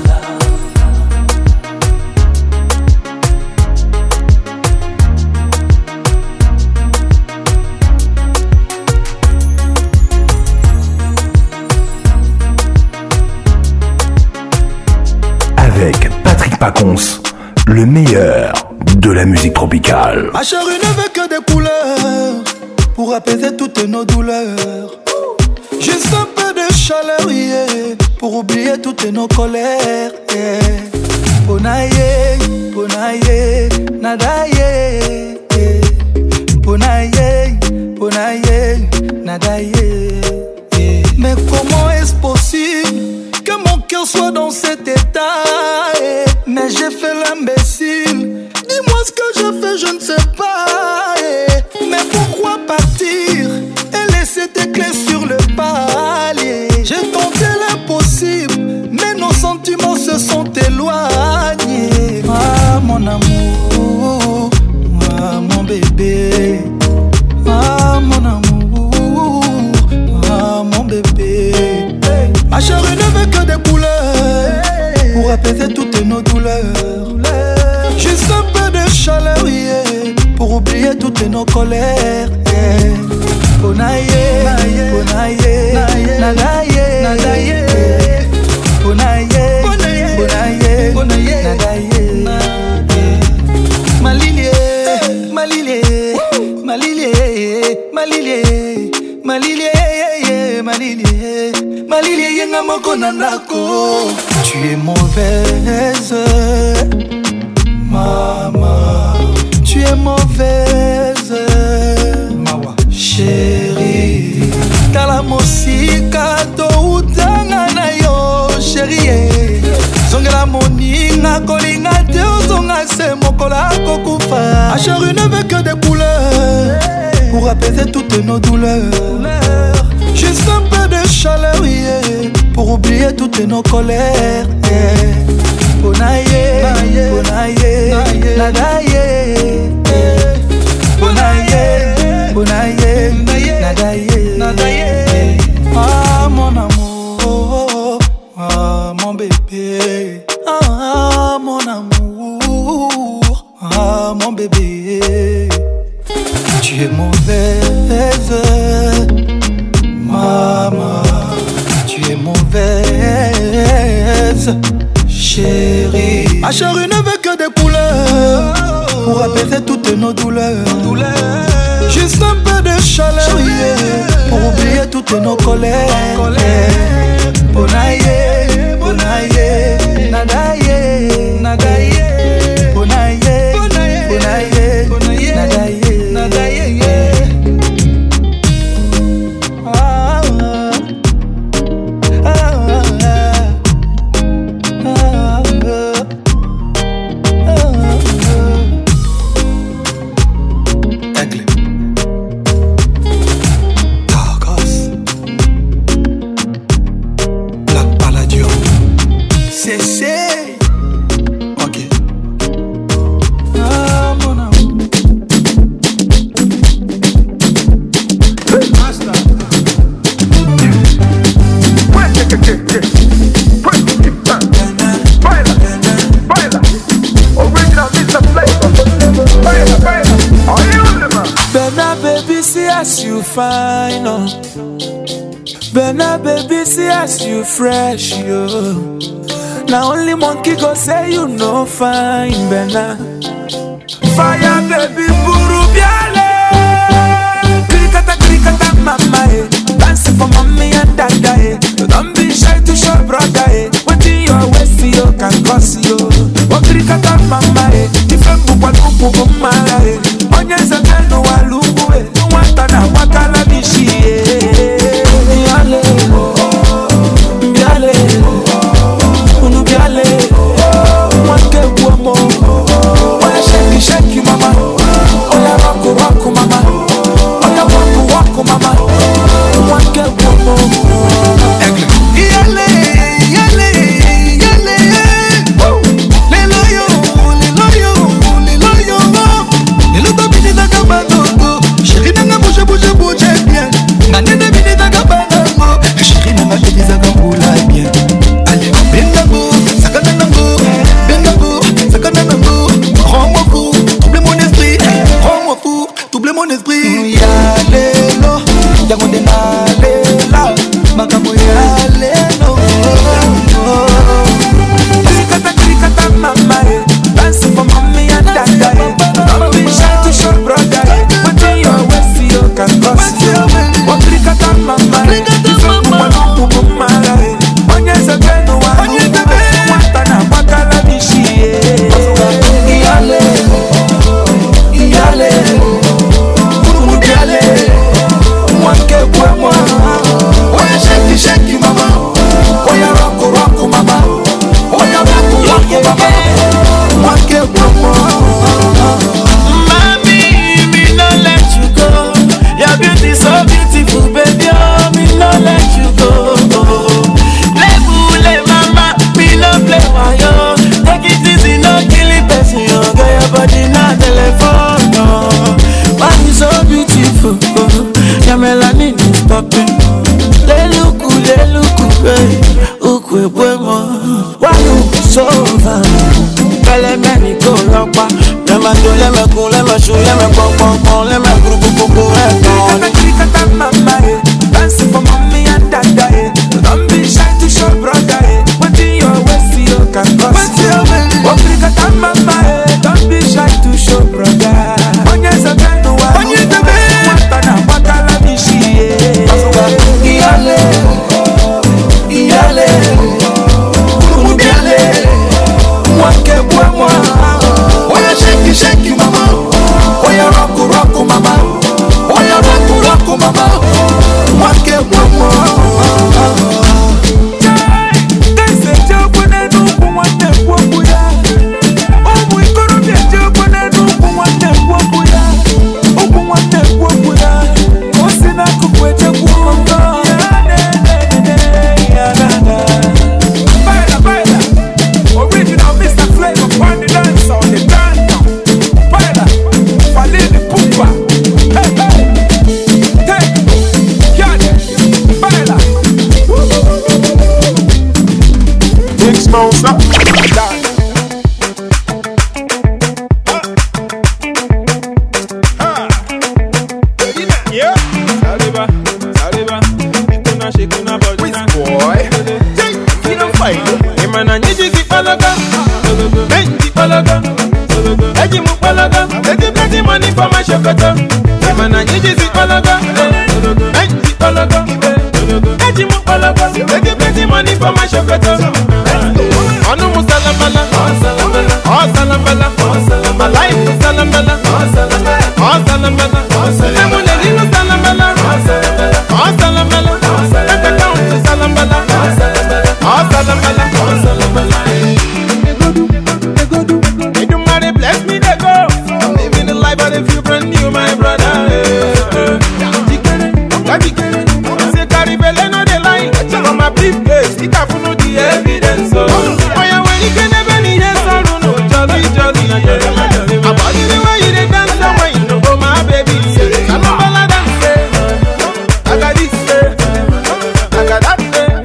Avec Patrick Pacons, le meilleur de la musique tropicale. Ma chérie ne veut que des couleurs pour apaiser toutes nos douleurs. Juste un peu de chaleur, yeah, pour oublier toutes nos colères. Yeah. Ponaye, ponaye, nadaye. Yeah. Ponaye, ponaye, nadaye. Yeah. Mais comment est-ce possible que mon cœur soit dans cet état, eh. Mais j'ai fait l'imbécile. Dis-moi ce que j'ai fait, je ne sais pas, eh. Mais pourquoi partir et laisser tes clés sur le palier? J'ai tenté l'impossible, mais nos sentiments se sont éloignés. Ah mon amour, ah mon bébé, ah mon amour, ah mon bébé. Ma chérie ne veut que des couleurs pour apaiser toutes nos douleurs. Juste un peu de chaleur, yeah, pour oublier toutes nos colères. Yeah. Bonaye, bonaye, nadaye, nadaye, bonaye, bonaye, bonaye, nadaye. Malilie, malilie, malilie, malilie, malilie, malilie, malilie, yenga moko nanako. Tu es mauvaise, maman. Tu es mauvaise, mawa, chérie. Tala mosika to utanga na yo, chérie. Zongela moninga kolinga te ozonga se mokola kokufa. Achérie ne veut que des couleurs pour apaiser toutes nos douleurs. Juste un peu de chaleur, yeah, pour oublier toutes nos colères. Yeah. Bonaye, bonaye, nadaye, bonaye, bonaye, nadaye. Ah mon amour, ah mon bébé, ah mon amour, ah mon bébé. Tu es mauvaise, maman, tu es mauvaise, chérie. Ma chérie ne veut que des couleurs pour apaiser toutes nos douleurs. Juste un peu de chaleur, yeah, pour oublier toutes nos colères. Bonaye, bonaye, nadaye, nadaye, bonaye, bonaye, nadaye, nadaye. Ah, ah, ah, ah, ah, ah. Aigle. Targos. Black Palladium. C'est c'est. Ok. Ah mon amour. Master. Ouais, que que que. Baila, baila. Original mister Flavor. Baila, baila. Are you the man? Benna baby, see as you fine, oh. Benna baby, see as you fresh, yo. Now only monkey go say you no fine, Benna. Fire baby, buru biale. Krikata krikata mama, eh. Dance for mommy and dada, eh. Don't be shy to show brother, eh. What in your waist you can cause you. Oh krikata mama, eh. Ifembu kwa lupu kumara, eh. Onyeza tenu walubu, eh. Nwata na wakala bishi, eh. Biale, biale, unu biale, mwake buomo. Oya shake shake mama, oya waku waku mama, oya waku waku mama, mwake buomo. Yale, yale, big smoker. Yeah, Saliba, Saliba, Ikuna Shikuna Bojina. Boy, you don't fight. Imana Niji Palaga, Benji Palaga, Ejimu Palaga, take plenty money for my shokata. Imana Niji Palaga, Benji Palaga, Ejimu Palaga, take plenty money for my shokata. Anu Musalamala, Oh Salamala, my life is Salamala, Oh Salamala, Salamala, Salamala, Oh Salamala, let the count to Salamala, Oh Salamala, Oh Salamala. They go do, they go do, they do money bless me, they go. I'm living the life of the few brand new, my brother. I say carry belly, no they lie. From my briefcase, it have no the evidence. Why you when you can never need a son, no jolly jolly. I'm body the way you dey dance, the way you know, oh my baby. I'm a ballad dance, I got this, I got that.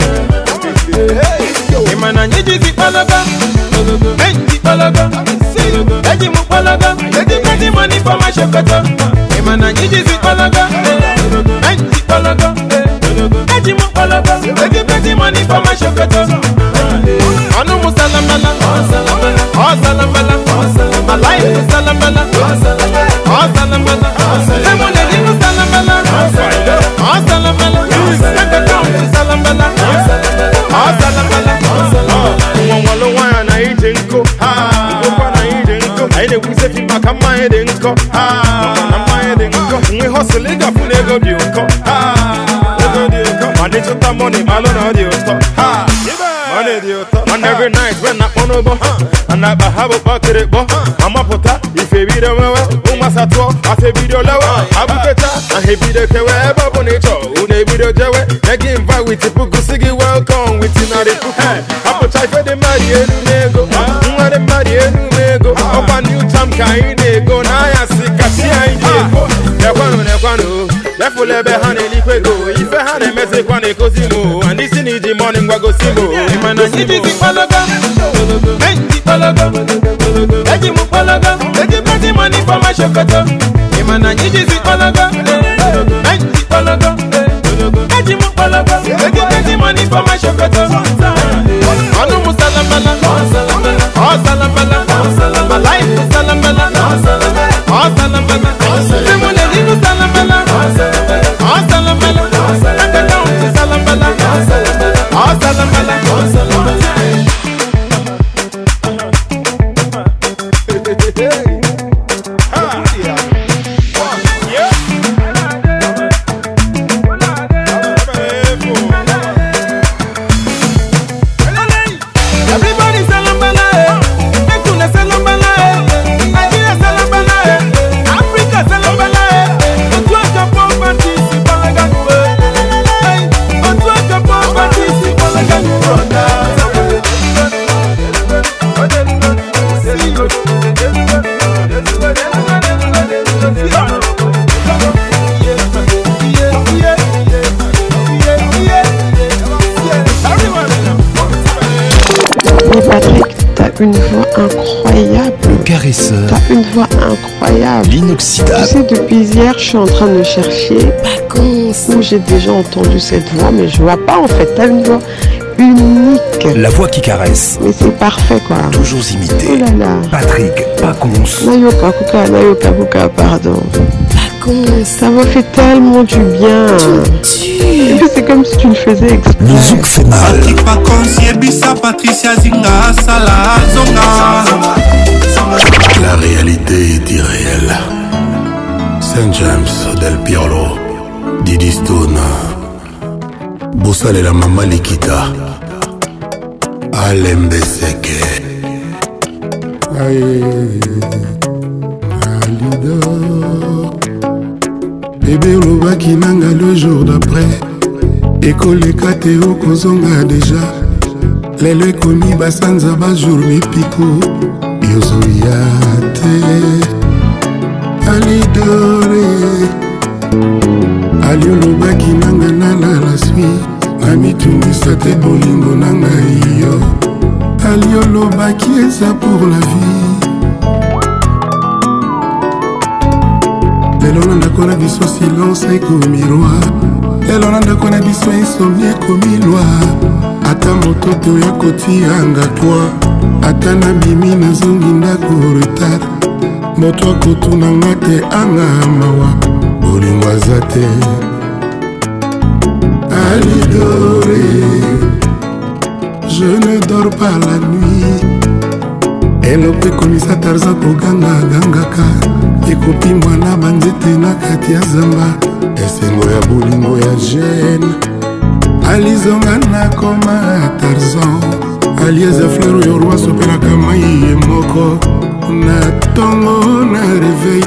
Hey, man, I need you to palaga, Benji palaga, Ejimu palaga, take plenty money for my shokata. Hey, man, I need you to palaga, Benji palaga, Ejimu palaga, take plenty money for my shokata. Anu musalamala, oh salamala, my life is salamala, oh salamala, lemon and you salamala, oh salamala, let the count to salamala, oh salamala, oh walo wana na ijenko, ha, go na ijenko, aide wuse fiba kama ijenko, ha, kama ijenko, we hustle ega funego dioko, ha, ego dioko, money to the money, malo na dioko, ha. And every night when I on over, and I have a bucket, I'm a pota. If a video, Umasato, I say video lower, Abuketa, and he be the Kewa, Bonacho, who they video Jawa, they give invite with the Pukusigi, welcome with Tinari Puka. Apple type for the Maria Nego, not the Maria Nego, up a new time kind, they go, Naya Sikatia, they're one on a one. Therefore, let me hand it go. If I had a message, one a cosimo, and this in the morning, we go simo. Man, I see the palaga, Benji palaga, Ejimu palaga, take plenty money for my shokata. Man, I need the palaga, Benji palaga, Ejimu palaga, take plenty money for my shokata. Anu musalamala, oh salamala, my life is salamala, oh salamala, lemon and you salamala, oh salamala, let the count to salamala, oh salamala, oh salamala. Une voix incroyable. Le caresseur. T'as une voix incroyable. L'inoxydable. Tu sais, depuis hier, je suis en train de chercher où j'ai déjà entendu cette voix, mais je vois pas en fait. T'as une voix unique. La voix qui caresse. Mais c'est parfait quoi. Toujours imité. Oh là là. Patrick Pacons. Nayoka Kuka, Nayoka Kuka, pardon. Ça m'a fait tellement du bien. Et puis c'est comme si tu le faisais exprès. Le zouk fait mal. Patrick Pacons, Yebisa, Patricia Zinga, Salah, Zonga. La réalité est irréelle. Saint James, Del Pirlo, Didi Stone, Boussal et la Mama Likita, Alembe Seke. Aïe, Alidor. Bébé Lobaki Nanga le jour d'après. Ekoleka Théo Kozonga déjà. Lelo ekomi basanza bajour mipiko. Yozoyate Alidore Alio Lobaki Nanga nala la suite. Amitungisa te bolingo nanga iyo. alobaki eza pour la vie. Lelo na ndako na biso silence ekomi roi. Lelo na ndako na biso insomnie ekomi loi. Ata moto te oya kotianga toi. Ata nabimi nazongi ndako retard. Moto akotunanga te anga mawa. Bolingo aza te. Alidore, je ne dors pas la nuit. Elope komisa Tarzan koganga gangaka. Ekopi mwana banzete na kati ya zamba. Esengo ya bolingo ya jeune. Alizonga na koma Tarzan. Alieza fleur yo roi sopelaka mai ye moko. Na tongo na réveil.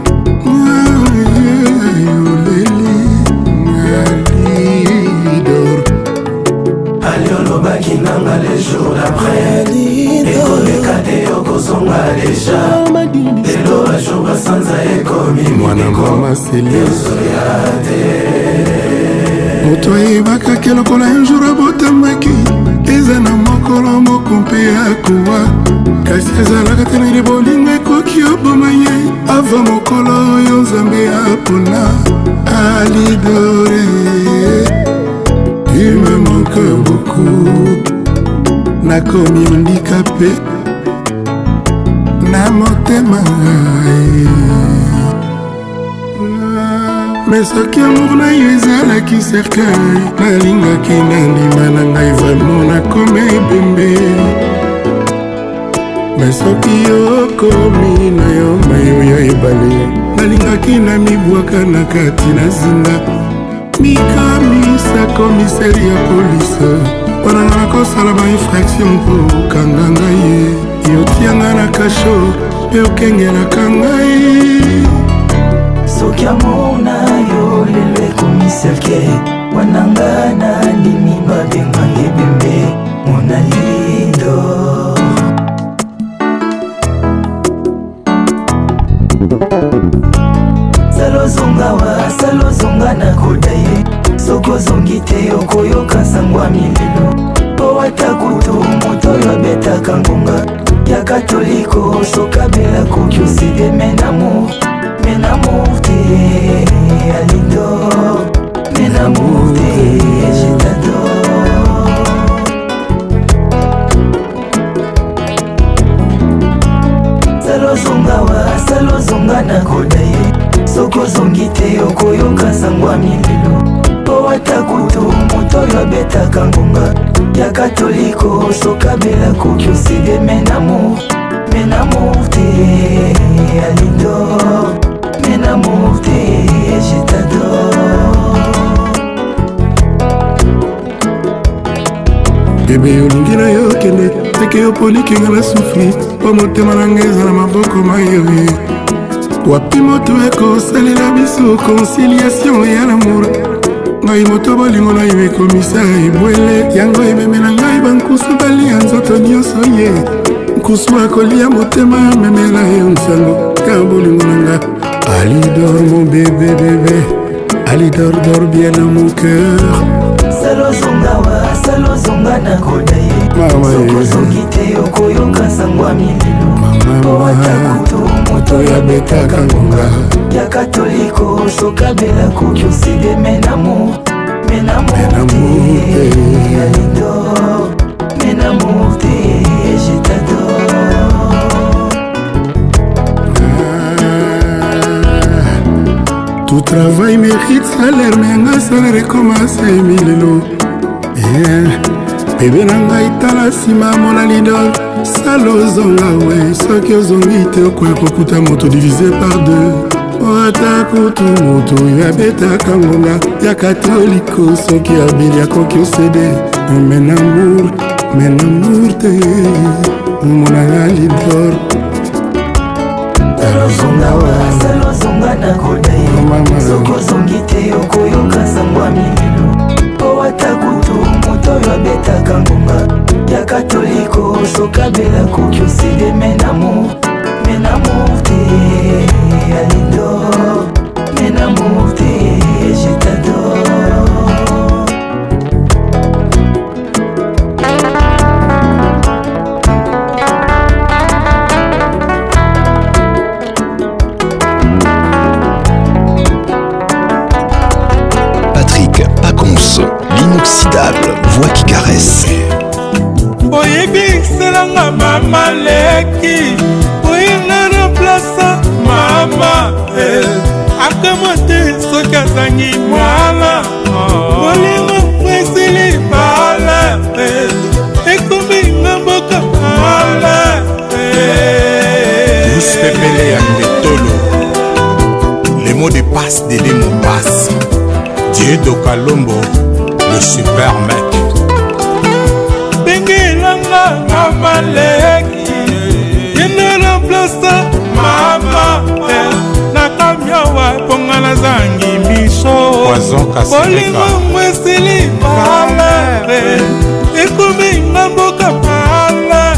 Alolobaki nanga les jours d'après. Ekoleka te yokozonga deja. Lelo bajour basanza ekomi mwana mama seli moto ayebaka ke lokola un jour abotamaki eza na mokolo moko mpe akowa kasi ezalaka te na bolingo ekoki oboma ye ava mokolo oyo nzambe apona. Alidore, tu me manques beaucoup. Nakomi handicapé na motema mais soki amour na yo ezalaki cercueil nalingaki na ndima na ngai vraiment nakoma ebembe mais soki okomi na yo mai oyo ebale nalingaki na mibwaka na kati na zinga mikamisa komiseri ya polise wananga nakosala bainfraction mpo okanga ngai ye yotianga na kasho mpe okengelaka ngai. Soki amour na yo lelo ekomi cercueil wananga na ndimi babenga ebembe mona lido. Salozonga wa salozonga na kodaye sokozongi te okoyoka sangwa mililo po atakutu moto oyo abetaka ngonga ya katoliko sokabela koki oside menamour menamour te alidor menamour te je t'adore. Salozonga wa salozonga na kodaye sokozongi te okoyoka sangwa mililo po atakutu moto oyo abetaka ngonga ya katoliko sokabela koki oside menamour menamour te alidor menamour te je t'adore. Bebe olingi na yo kende teke yo polikinga na sufri po motema na ngai eza na maboko mayoye wapi moto ekosalela biso conciliation ya lamour ngai moto bolingo na yo ekomisa ebwele yango ememela ngai bankusu balia nzoto nyonso ye nkusu akolia motema memela yo nsango ka bolingo na nga. Alidor mon bébé bébé Alidor dors bien dans mon cœur. Salozonga wa salozonga na kodaye sokozongi te okoyoka sangwa mililo po atakutu moto oyo abetaka ngonga ya katoliko sokabela koki oside menamour menamour te alidor menamour te je t'adore. Tout travail mérite salaire mais anga salaire commence milelo bebe na ngai tala nsima mona lidor salozonga we soki ozongi te okoya kokuta moto divisé par deux ata kutu moto oyo abetaka ngonga ya katoliko soki abeli akoki osede menamour menamour te monanga lidor. Salozonga wa salozonga na kodaye sokozongi te okoyoka sangwa mililo po atakutu moto oyo abetaka ngonga ya katoliko sokabela koki oside menamour menamour te alidor menamour te je t'adore. excelanga mama leki oyinga na plasa mama akama te soki azangi mwana bolingo mwesili bala ekominga mboka mala Douce Pépélé ya Ndetolo. Les mots de passe de l'emo passe. Dieu Kalombo, le super mec. Bengelanga mama leki yena na plasa mama nakamyawa ponga na zangi miso Poison Kaseleka. bolingo mwesili bala ekominga mboka mala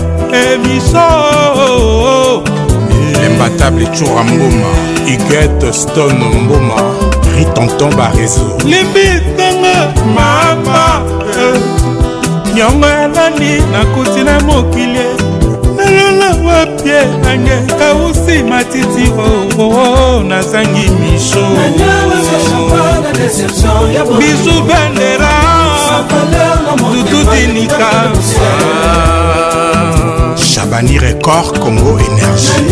miso L'imbattable Choura Mboma, Huguette Stone Mboma, Ritonton Barezo. limbitanga mama nyongo ya nani nakuti na mokili nalala wapie nange kausi matiti oo nazangi misho bisu bendera tutudinika Chabani Record Congo Énergie.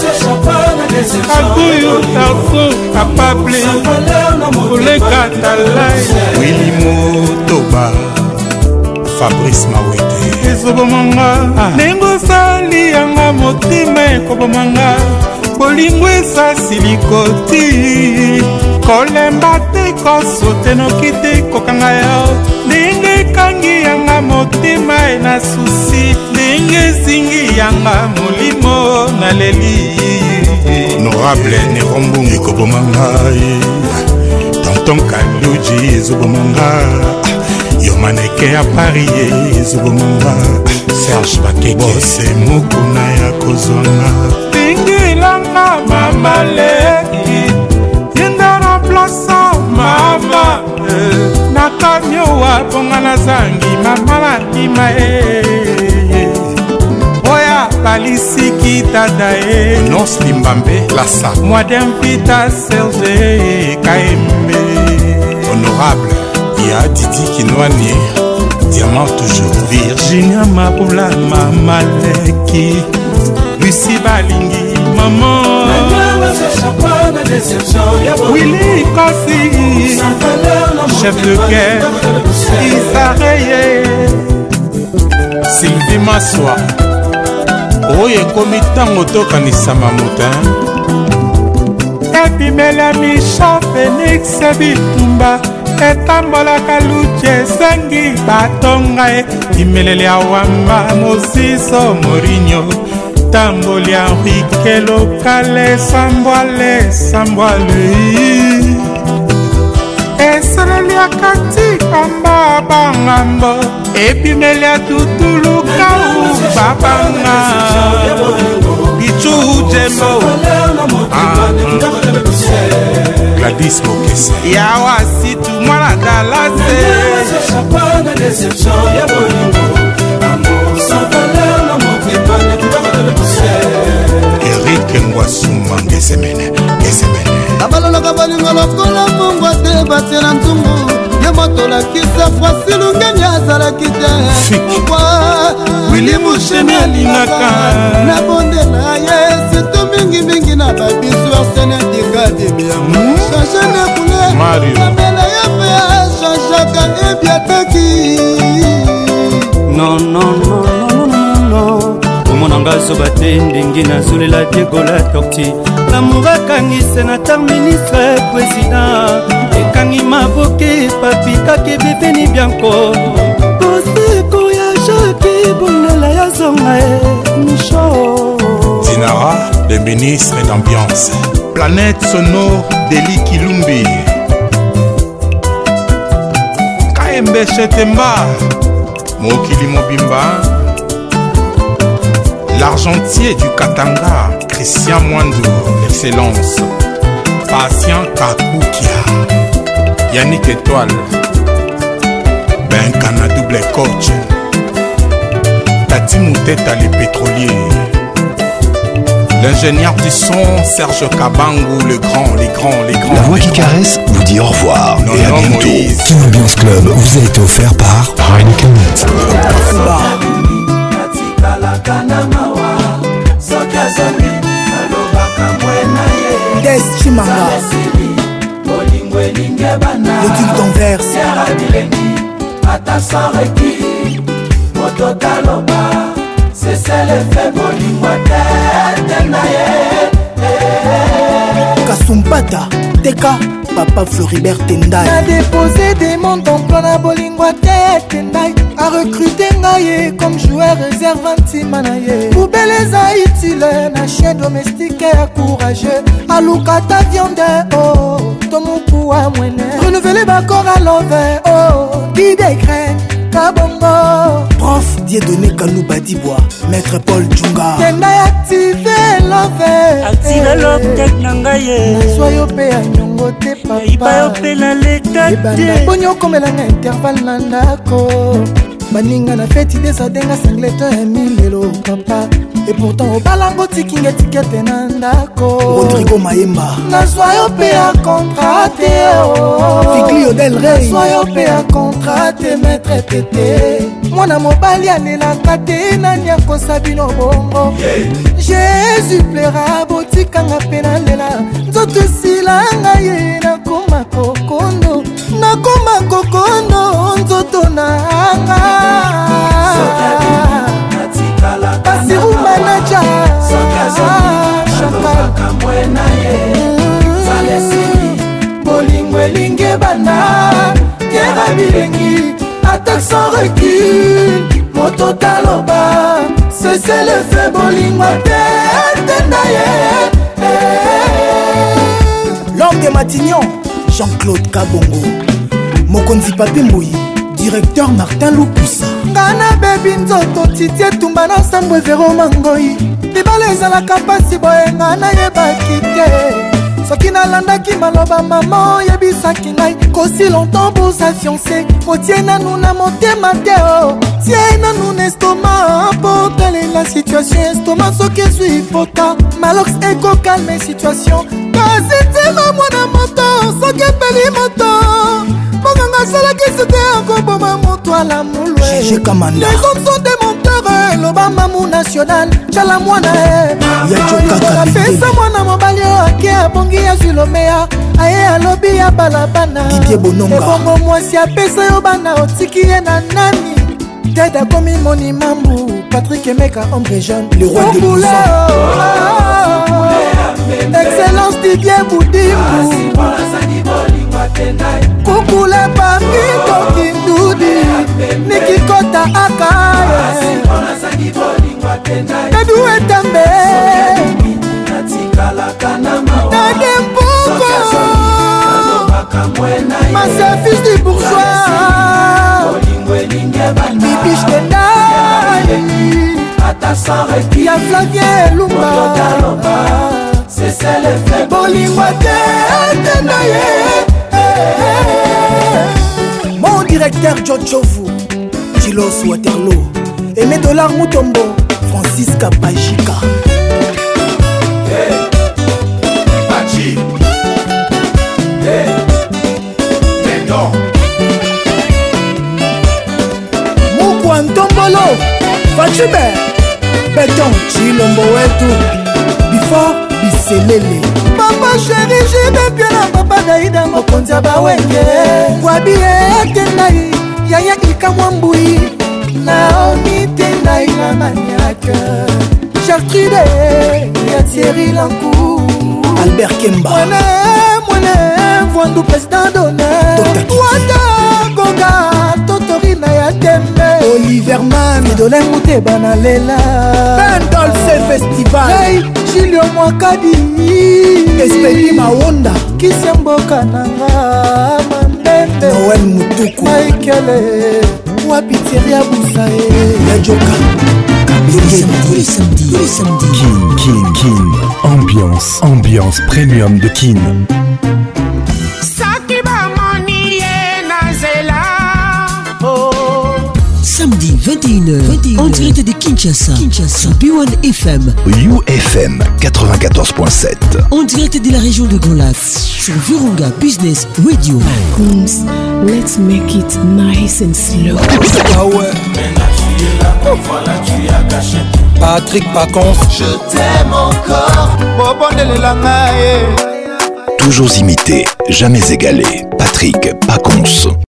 Aguyo Tarso Capable Oleka Talai Willy Motoba Fabrice Mawete ezobomanga nengo sali yanga motima ekobomanga bolingo esasili koti kolemba te kosote noki te kokanga yo ndenge ekangi yanga motima ena susi ndenge ezingi yanga molimo naleli Honorable Nerombungu ekobomanga Tonton Kaluji ezobomanga Yomaneke ya Paris ezobomanga Serge Bakeke Bose mokuna ya kozwanga Bingilanga mama leki yenda na plasa mama nakamyowa ponga na zangi mama nakima oya balisiki tata e Nos Limbambe Lassa mwadempita Serge Kaembe Honorable Ya Didi Kinwani Diamant toujours Virginia Mabula mama leki Lucie Balingi maman Willy Kossi chef de guerre Isareye Sylvie Maswa oyo ekomi ntango tokanisa mamuta epimela misha Félix Bitumba etambolaka luti esengi batonga e imeleli ya wamba Mosiso Morinho tamboli ya Enrique Lokale sambwale sambwale eseleli ya kati kamba bangambo epimeli ya tutulukau babanga bichu jembo Gladys Mokese yawa situ mwana dalase Eric Ngwasumba ngesemene ngesemene abalolaka balingo lokola mongwa te batie na nzungu ye moto lakisa fwasi lungeni azalaki te pourkui wili mushemi alingaka na bonde na ye sito mingimingi na babisu arsene dikadimiamo change ne koule namela ye mpe achangeaka ebiataki non non non non non non omonanga zoba te ndenge nazolela diegola torti lamour akangise na tar ministre président ekangi maboke papikaki bipeni bianco koseko ya jaki bondela ya zonga e micho Dinara, le ministre d'ambiance Planète sonore Deli Kilumbi Kaembe Chetemba Mokili Mobimba L'argentier du Katanga Christian Mwandou Excellence Patient Kakukia Yannick Étoile Benkana double coach Tati Mouteta les pétroliers L'ingénieur du son Serge Kabangou, le grand, les grands, les grands. La voix qui caresse vous dit au revoir non, et à non, bientôt. Kin Ambiance Club vous a été offert par Heineken. ata sans recul moto taloba c'est l'effet bolingo tete na ye Kasumpata Teka Papa Floribert Tendai a déposé des montants plan na bolingo tete Tendai a recruté ngaye comme joueur réserve anti-manaye poubelle eza utile na chien domestique et courageux alukata viande oh tomuku wa mwene renouveler bakor à love oh bidekren kabongo Prof Dieudonné Kalouba Dibois Maître Paul Djunga Tendai activé love activé love tek na ngaye nazwa yo pe ya nyongo te papa iba yo pe na leta te poni okomelanga intervalle na ndako baninga na feti desadenga sangleto ya milelo papa et pourtant obalango tikinga etikete na ndako Rodrigo Maemba nazwa yo pe ya contrate Fikli Odel Rey nazwa yo pe ya contrate maître tete mwana mobali alelaka te nani akosa bino bongo Jésus plaira botikanga pe nalela nzoto esilanga ye nakoma kokondo nakoma kokondo nzoto nanga Basirou manager bolingo elinge bana kera bilengi attaque sans recul moto taloba c'est le fait bolingo tete na ye L'homme de Matignon Jean-Claude Kabongo Mokonzi Papi Mbouyi Directeur Martin Lupusa ngana bebi nzoto titi etumba na nsambo evero mangoi libala ezalaka mpasi boye nga nayebaki te soki nalandaki maloba mama oyebisaki ngai kosi longtemps boza fiancé otie nanu na motema te o tie nanu na estoma mpo talela situation estoma soki ezwi pota malox ekokalme situation kasi ntina mwana moto soki epeli moto monganga asalaki sute akoboma moto ala mulwe Gégé Kamanda les hommes sont des menteurs loba mamu national tala mwana apesa mwana mobali oyo ake abongi azwi lomeya aye alobi ya balabana ebongo mwasi apesa yo bana otiki ye na nani tete akomi moni mambu Patrick Emeka ombre jeune le roi de Bousson excellence Didier Boudimou kukule papi kokindudi nikikota akaye edu etambe nade mpuko ma service du bourgeois bibiche tendai ya Flavien Elumba bolingo tete na ye Mon directeur Jojovu Tilos Waterloo Aimé Dollar Mutombo Francis Kapajika Hey Pachi Hey Béton Mukwa Ntombolo Fachube Béton Chilombo wetu Before Biselele papa chéri jibe pia na papa daida mokonzi ya bawenge wabie tendai yaya ikamwa mbui naomi tendai na maniake Gertrude ya Thierry Lankou Albert Kemba mwene mwene Vwandu président d'honneur wata goga totorina ya tembe Oliver Man Edolin Mouteba na lela Bendolce Festival hey, Julio Mwakadi Espeli Mawonda Kisia mboka nanga Mandende Noël Mutuku Maikele Wapiteria Boussae Yajoka Tous les samedis, tous les samedis, tous les samedis. Kin, Kin, Kin. Ambiance, ambiance premium de Kin. Samedi vingt et une heures, vingt et une heures, en direct de Kinshasa, Kinshasa, sur B un F M, U F M quatre-vingt-quatorze point sept, en direct de la région de Grand Lac, sur Virunga Business Radio. Coons, let's make it nice and slow. Ah ouais. Patrick Pacons, je t'aime encore. Toujours imité, jamais égalé. Patrick Pacons.